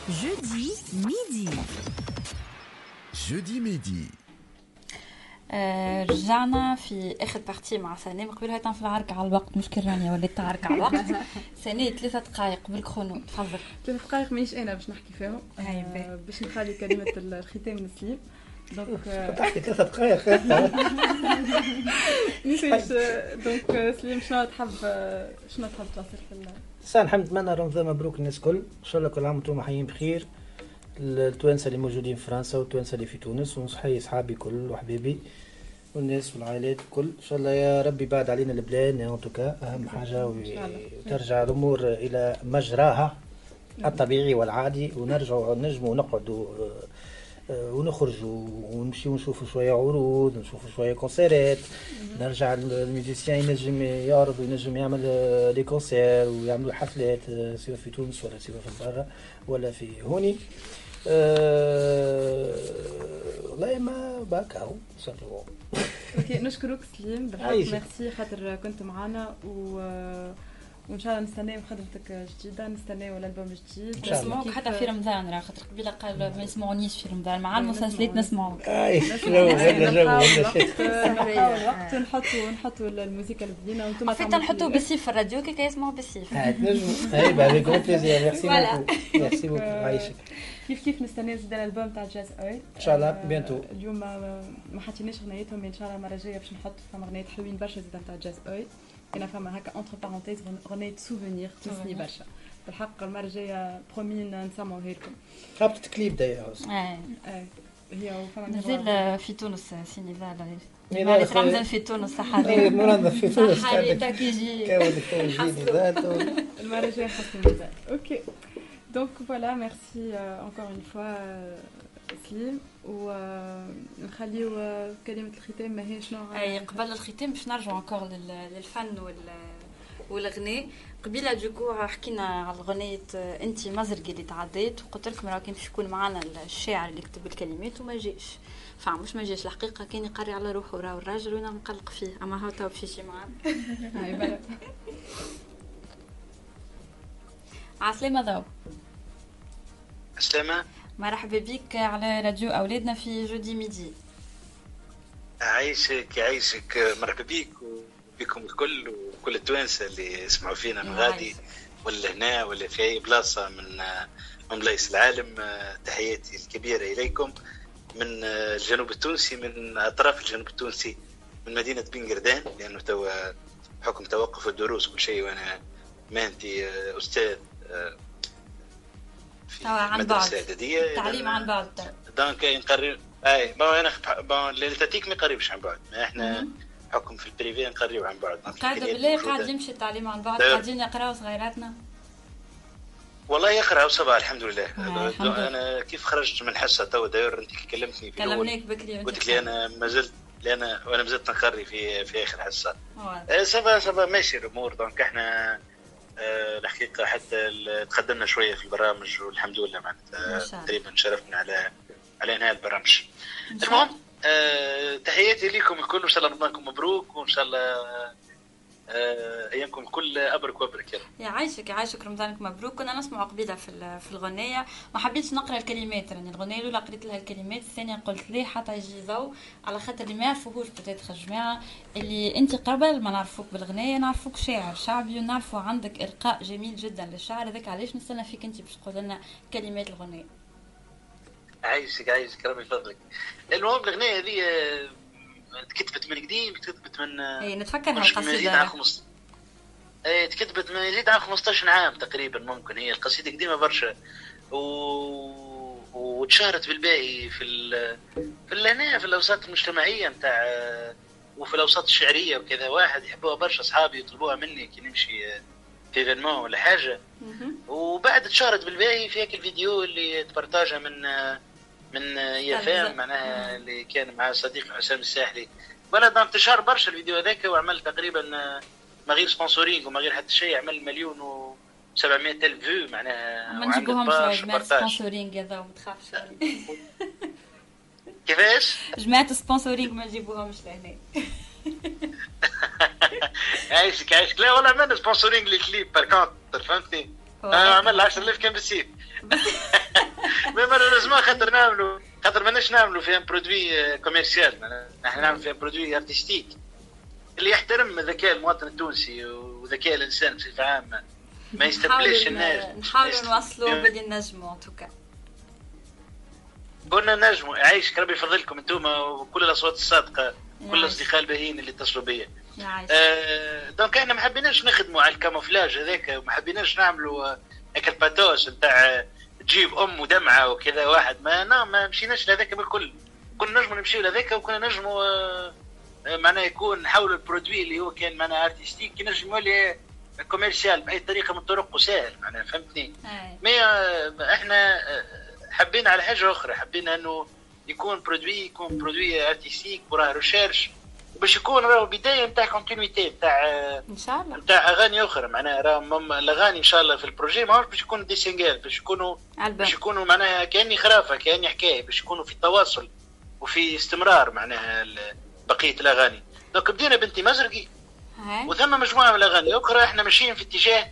Jeudi midi. Jeudi midi. آه رجعنا في اخر بارتي مع سناء. قبل هاي في العركة على الوقت، مش كرانية وليت تعرك على الوقت. سناء ثلاثة دقائق بالكرونو، تفضل. ثلاث دقائق مانيش انا باش نحكي فيهم، آه باش نخلي كلمة الختام لسليم. دونك تحكي ثلاثة دقائق. نيش دونك سليم شنو تحب شنو تحب توصل في سان الحمد نتمنى رمضان مبروك للناس الكل، ان شاء الله كل عام وانتم حيين بخير. التوانسه اللي موجودين في فرنسا والتوانسه اللي في تونس، ونصحي اصحابي كل وحبيبي والناس والعائلات الكل، ان شاء الله يا ربي بعد علينا البلان ان توكا اهم حاجه، وترجع الامور الى مجراها الطبيعي والعادي، ونرجعوا نجموا نقعدوا ونخرجوا ونمشي ونشوفوا شويه عروض، نشوفوا شويه كونسيرات، نرجع الميوزيسيان ينجم يعرض وينجم يعمل لي كونسير ويعملوا حفلات سواء في تونس ولا سواء في برا ولا في هوني. أه... والله ما باك اهو سامبلومون. اوكي نشكرك سليم بالحق، ميرسي خاطر كنت معنا، و وان شاء الله نستناو خدمتك جديده، نستناو الالبوم جديد نسمعوك حتى في رمضان، راه خاطر قبيله قال ما يسمعونيش في رمضان، مع المسلسلات نسمعوك. اي وقت نحطوا نحطوا الموسيقى البدينه وانتم فيت نحطوا بالسيف في الراديو كي يسمعوا بالسيف. نجموا اي با بيكون بليزير. ميرسي بوكو ميرسي بوكو عايشك. كيف كيف نستناو زيد الالبوم تاع جاز اوي ان شاء الله بيانتو. اليوم ما حطيناش غنيتهم، ان شاء الله المره الجايه باش نحط فما غنيات حلوين برشا زيد تاع جاز اوي. انا فما هكا اونتر بارونتيز غنية سوفونير تونسني برشا بالحق. المره الجايه برومين نسمعوها لكم. خابط كليب داير اي اي هي وفما نزل في تونس سينيفال مالي رمضان في تونس صحاري. اي رمضان في تونس صحاري تاكيجي كاولك توجيني ذاته المره الجايه حسن مزال. اوكي دونك فوالا ميرسي انكور اون فوا سليم، ونخليو كلمة الختام ماهي شنو. اي قبل الختام باش نرجعوا انكور للفن وال والغناء. قبيله دوكو حكينا على اغنيه انت مزرقي اللي تعديت، وقلت لكم راه كان باش يكون معنا الشاعر اللي كتب الكلمات وما جاش، فمش ما جاش الحقيقه، كان يقري على روحه راه الراجل وانا نقلق فيه، اما هو تو باش يجي معنا. هاي بلا عسلامه ذو. عسلامه، مرحبا بك على راديو أولادنا في جودي ميدي. عايشك عايشك، مرحبا بك وبكم الكل وكل التوانسة اللي يسمعوا فينا من غادي ولا هنا ولا في أي بلاصة من من بلايص العالم. تحياتي الكبيرة إليكم من الجنوب التونسي، من أطراف الجنوب التونسي، من مدينة بنقردان، لأنه توا بحكم توقف الدروس كل شيء، وأنا مهنتي أستاذ في مدرسة إعدادية، تعليم عن بعد. دونك نقرب اي بون انا بون للتاتيك ما قريبش عن بعد، احنا حكم في البريفي نقريو عن بعد. قاعد بالله قاعد يمشي التعليم عن بعد، قاعدين يقراو صغيراتنا والله يقراو صباح الحمد لله. آه انا كيف خرجت من الحصه تو داير انت كلمتني في كلمناك بكري قلت لي انا ما زلت لان وانا مازلت نقري في في اخر حصه. آه صباح صباح ماشي الامور. دونك احنا آه الحقيقه حتى تقدمنا شويه في البرامج والحمد لله، معناتها تقريبا شرفنا على على انهاء البرامج. المهم آه تحياتي لكم الكل، وان شاء الله رمضانكم مبروك، وان شاء الله آه ايامكم الكل ابرك وابرك. يلا يعيشك يعيشك رمضانك مبروك. كنا نسمع قبيله في في الغنيه، ما حبيتش نقرا الكلمات، يعني الغنيه الاولى قريت لها الكلمات، الثانيه قلت ليه حتى يجي ضوء على خاطر اللي ما يعرفوهوش بتاتخ الجماعه اللي انت قبل ما نعرفوك بالغنيه نعرفوك شاعر شعبي، ونعرفوا عندك القاء جميل جدا للشعر، هذاك علاش نستنى فيك انت باش تقول لنا كلمات الغنيه. عايشك عايشك ربي يفضلك. المهم الأغنية هذه تكتبت من قديم، تكتبت من اي نتفكرها القصيدة خمس... اي تكتبت من يزيد عن خمسطاش عام تقريبا، ممكن هي القصيدة قديمة برشا، و... وتشهرت بالباقي في ال... في هنا في الأوساط المجتمعية نتاع وفي الأوساط الشعرية وكذا، واحد يحبوها برشا أصحابي يطلبوها مني كي نمشي في ايفينمون ولا حاجة. وبعد تشهرت بالباقي في هيك الفيديو اللي تبرتاجها من من يافام معناها اللي كان مع صديق حسام الساحلي، ولا دام انتشار برشا الفيديو هذاك، وعمل تقريبا ما غير سبونسورينغ وما غير حتى شيء، عمل مليون وسبعمائة ألف فيو معناها. ما نجيبوهمش جماعة سبونسورينغ هذا وما تخافش. كيفاش؟ جماعة سبونسورينغ ما نجيبوهمش لهنا. عايشك عايشك. لا والله عملنا سبونسورينغ للكليب باركونتر فهمتني. عمل عشرة آلاف كان بالسيف. ما لازم خاطر نعملوا خاطر ماناش نعملوا في ان برودوي كوميرسيال، نحن نعمل في ان برودوي ارتستيك اللي يحترم ذكاء المواطن التونسي وذكاء الانسان بصفه عامه، ما يستبلش الناس. نحاولوا نوصلوا باللي نجموا ان توكا. قلنا نجموا يعيشك ربي يفضلكم انتم وكل الاصوات الصادقه كل الاصدقاء الباهيين اللي اتصلوا بيا. آه دونك احنا ما حبيناش نخدموا على الكاموفلاج هذاك وما حبيناش نعملوا هيك الباتوس نتاع تجيب ام ودمعه وكذا واحد ما نا ما مشيناش لهذاك بالكل. كنا نجموا نمشيو لهذاك وكنا نجموا آه معناه يكون نحاولوا البرودوي اللي هو كان معناه ارتستيك ينجم يولي كوميرسيال باي طريقه من الطرق وسهل معناه فهمتني. مي آه احنا آه حبينا على حاجه اخرى، حبينا انه يكون برودوي يكون برودوي ارتستيك وراه ريشيرش باش يكون راهو بدايه نتاع كونتينيتي نتاع ان شاء الله نتاع اغاني اخرى معناها راه الاغاني ان شاء الله في البروجي ماهوش باش يكونوا دي سينجال باش يكونوا باش يكونوا معناها كاني خرافه كاني حكايه باش يكونوا في تواصل وفي استمرار معناها بقيه الاغاني. دونك بدينا بنتي مزرقي وثم مجموعه من الاغاني اخرى. احنا ماشيين في اتجاه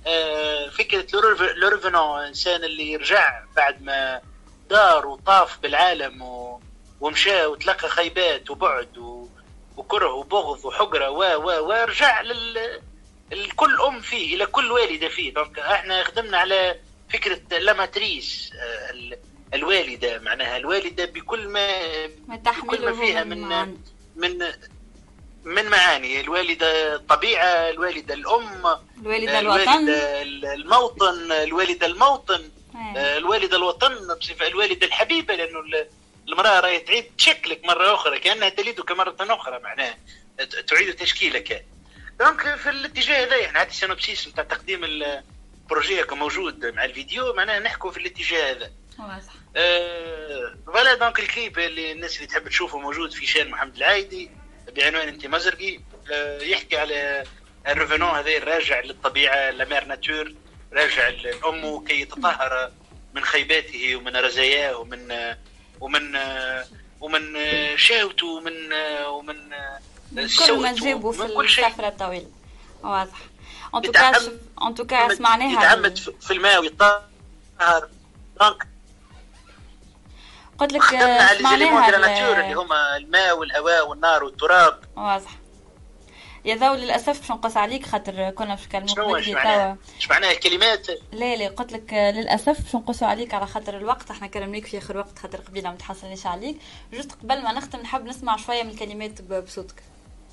آه فكره لورفنون انسان اللي رجع بعد ما دار وطاف بالعالم و... ومشى وتلقى خيبات وبعد و... وكره وبغض وحقره و و ورجع لل الكل ام فيه الى كل والده فيه. دونك احنا خدمنا على فكره لاماتريس ال... الوالده معناها الوالده بكل ما بكل ما فيها من من من, من معاني الوالده الطبيعه الوالده الام الوالده الوطن الموطن الوالده الموطن الوالده الوطن بصفه الوالده الحبيبه لانه المراه راهي تعيد شكلك مره اخرى كانها تلدك مره اخرى معناها تعيد تشكيلك. دونك في الاتجاه هذا احنا هذا السينوبسيس نتاع تقديم البروجي موجود مع الفيديو معناها نحكوا في الاتجاه هذا. واضح. أه فوالا دونك الكليب اللي الناس اللي تحب تشوفه موجود في شان محمد العايدي بعنوان انت مزرقي. أه يحكي على الريفونون هذا الراجع للطبيعه لامير ناتور راجع لامه كي يتطهر من خيباته ومن رزاياه ومن ومن ومن شهوته ومن ومن كل ما جابوا في السفرة الطويلة. واضح. ان توكا ان توكا سمعناها يتعمد في الماء ويطهر. دونك قلت لك سمعناها اللي هما الماء والهواء والنار والتراب. واضح. يا ذو للاسف باش نقص عليك خاطر كنا باش نكلموك بدري توا. ايش معناها الكلمات؟ لا لا قلت لك للاسف باش نقصوا عليك على خاطر الوقت. احنا كلمناك في اخر وقت خاطر قبيله ما تحصلناش عليك. جست قبل ما نختم نحب نسمع شويه من الكلمات بصوتك.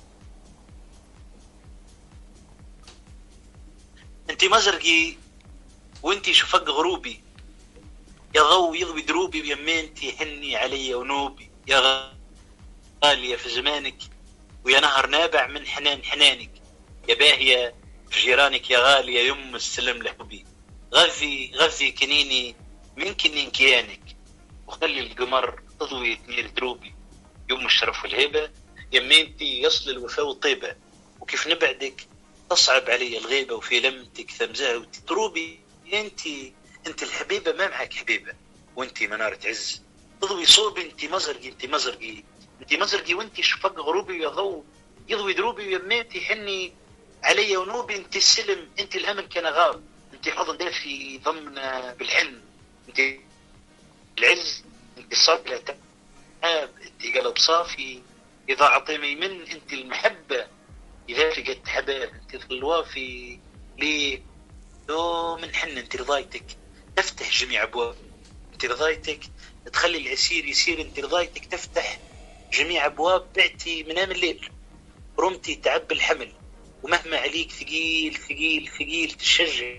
انت مزرقي وانت شفق غروبي يا ضو يضوي دروبي ويمانتي حني علي ونوبي يا غاليه في زمانك ويا نهر نابع من حنان حنانك يا باهية في جيرانك يا غالية يم السلم لحبي غذي غذي كنيني من كنين كيانك وخلي القمر تضوي تنير دروبي يوم الشرف والهيبة يمينتي يصل الوفاء والطيبة وكيف نبعدك تصعب علي الغيبة وفي لمتك ثمزة وتروبي انتي انت الحبيبة ما معك حبيبة وانتي منارة عز تضوي صوبي انتي مزرقي انتي مزرقي انتي مزرقي وانتي شفق غروبي يا ضو يضوي دروبي ويميتي حني علي ونوبي انتي السلم انتي الامل كان غاب انتي حضن دافي ضمن بالحلم انتي العز انتي الصبر لا تعب انتي قلب صافي اذا عطيني من انتي المحبة اذا فقدت حباب انتي الوافي لي يوم من حن انتي رضايتك تفتح جميع ابواب انتي رضايتك تخلي العسير يسير انتي رضايتك تفتح جميع ابواب بعتي منام الليل رمتي تعب الحمل ومهما عليك ثقيل ثقيل ثقيل تشجع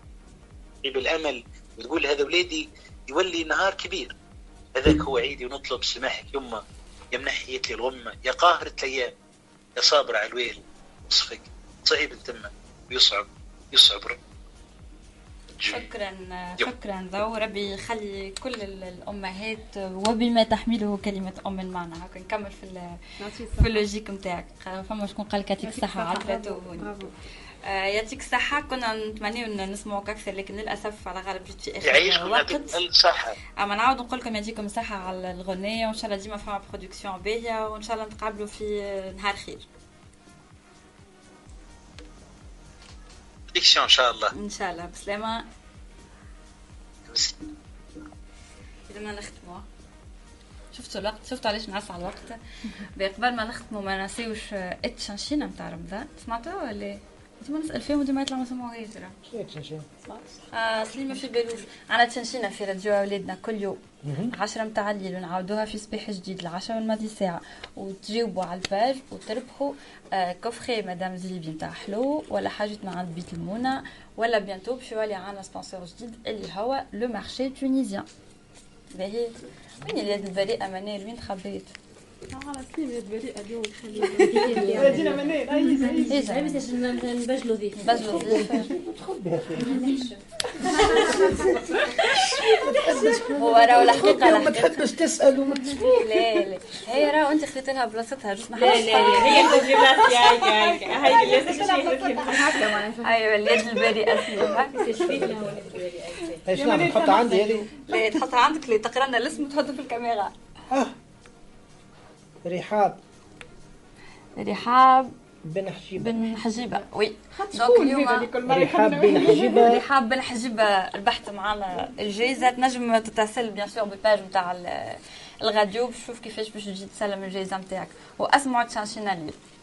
بالامل وتقول هذا ولادي يولي نهار كبير هذاك هو عيدي ونطلب سماحك يمه يا منحيت لي الغمه يا قاهرة الايام يا صابر على الويل وصفك صعيب انتمه ويصعب يصعب رب. شكرا شكرا ذو ربي يخلي كل الامهات وبما تحمله كلمه ام المعنى. هكا نكمل في في اللوجيك نتاعك. فما شكون قال لك يعطيك الصحه عطرته يعطيك الصحه. كنا نتمنى نسمعوك اكثر لكن للاسف على غالب جيت في اخر يعيشكم يعطيك الصحه. اما نعاود نقول لكم يعطيكم الصحه على الغنيه وان شاء الله ديما فما برودكسيون باهيه وان شاء الله نتقابلوا في نهار خير ان شاء الله. ان شاء الله بسلامه. قبل ما نختموا شفتوا الوقت شفتوا علاش نعس على الوقت قبل ما نختموا ما نسيوش التشنشينه نتاع رمضان سمعتوها ولا ديما نسال فيهم وديما يطلع ما سمعوهاش ترى شنو التشنشين؟ اه سليمه في بالوش عندنا تشنشينه في راديو اولادنا كل يوم عشرة متاع الليل ونعاودوها في صباح جديد العشرة والماضي ساعه وتجاوبوا على الباج وتربحوا آه كوفخي مدام زيبي نتاع حلو ولا حاجه من عند بيت المونه ولا بيانتو باش يولي عندنا سبونسور جديد اللي هو لو مارشي تونيزيان. باهي وين اليد البريئه منال وين خبيت؟ على سليم يد بريئه اليوم خلينا جينا منال اي اي بس نبجلوا ضيف بجلوا ضيف هو راه الحقيقه ما تحبش تسال وما لا لا هي راه انت خليت لها بلاصتها جوست ما لا لا هي اللي في بلاصتي هاي هاي هاي اللي ايوه اليد البريئه فيها ايش نعمل نحطها عندي هذه؟ لا تحطها عندك اللي تقرا لنا الاسم وتحطه في الكاميرا. رحاب رحاب بن حجيبة بن حجيبة وي دونك اليوم رحاب بن حجيبة رحاب بن حجيبة البحث معنا الجائزة تنجم تتسل بيان سور بالباج نتاع الراديو باش تشوف كيفاش باش تجي تسلم الجائزة نتاعك واسمعوا تشانشينا لي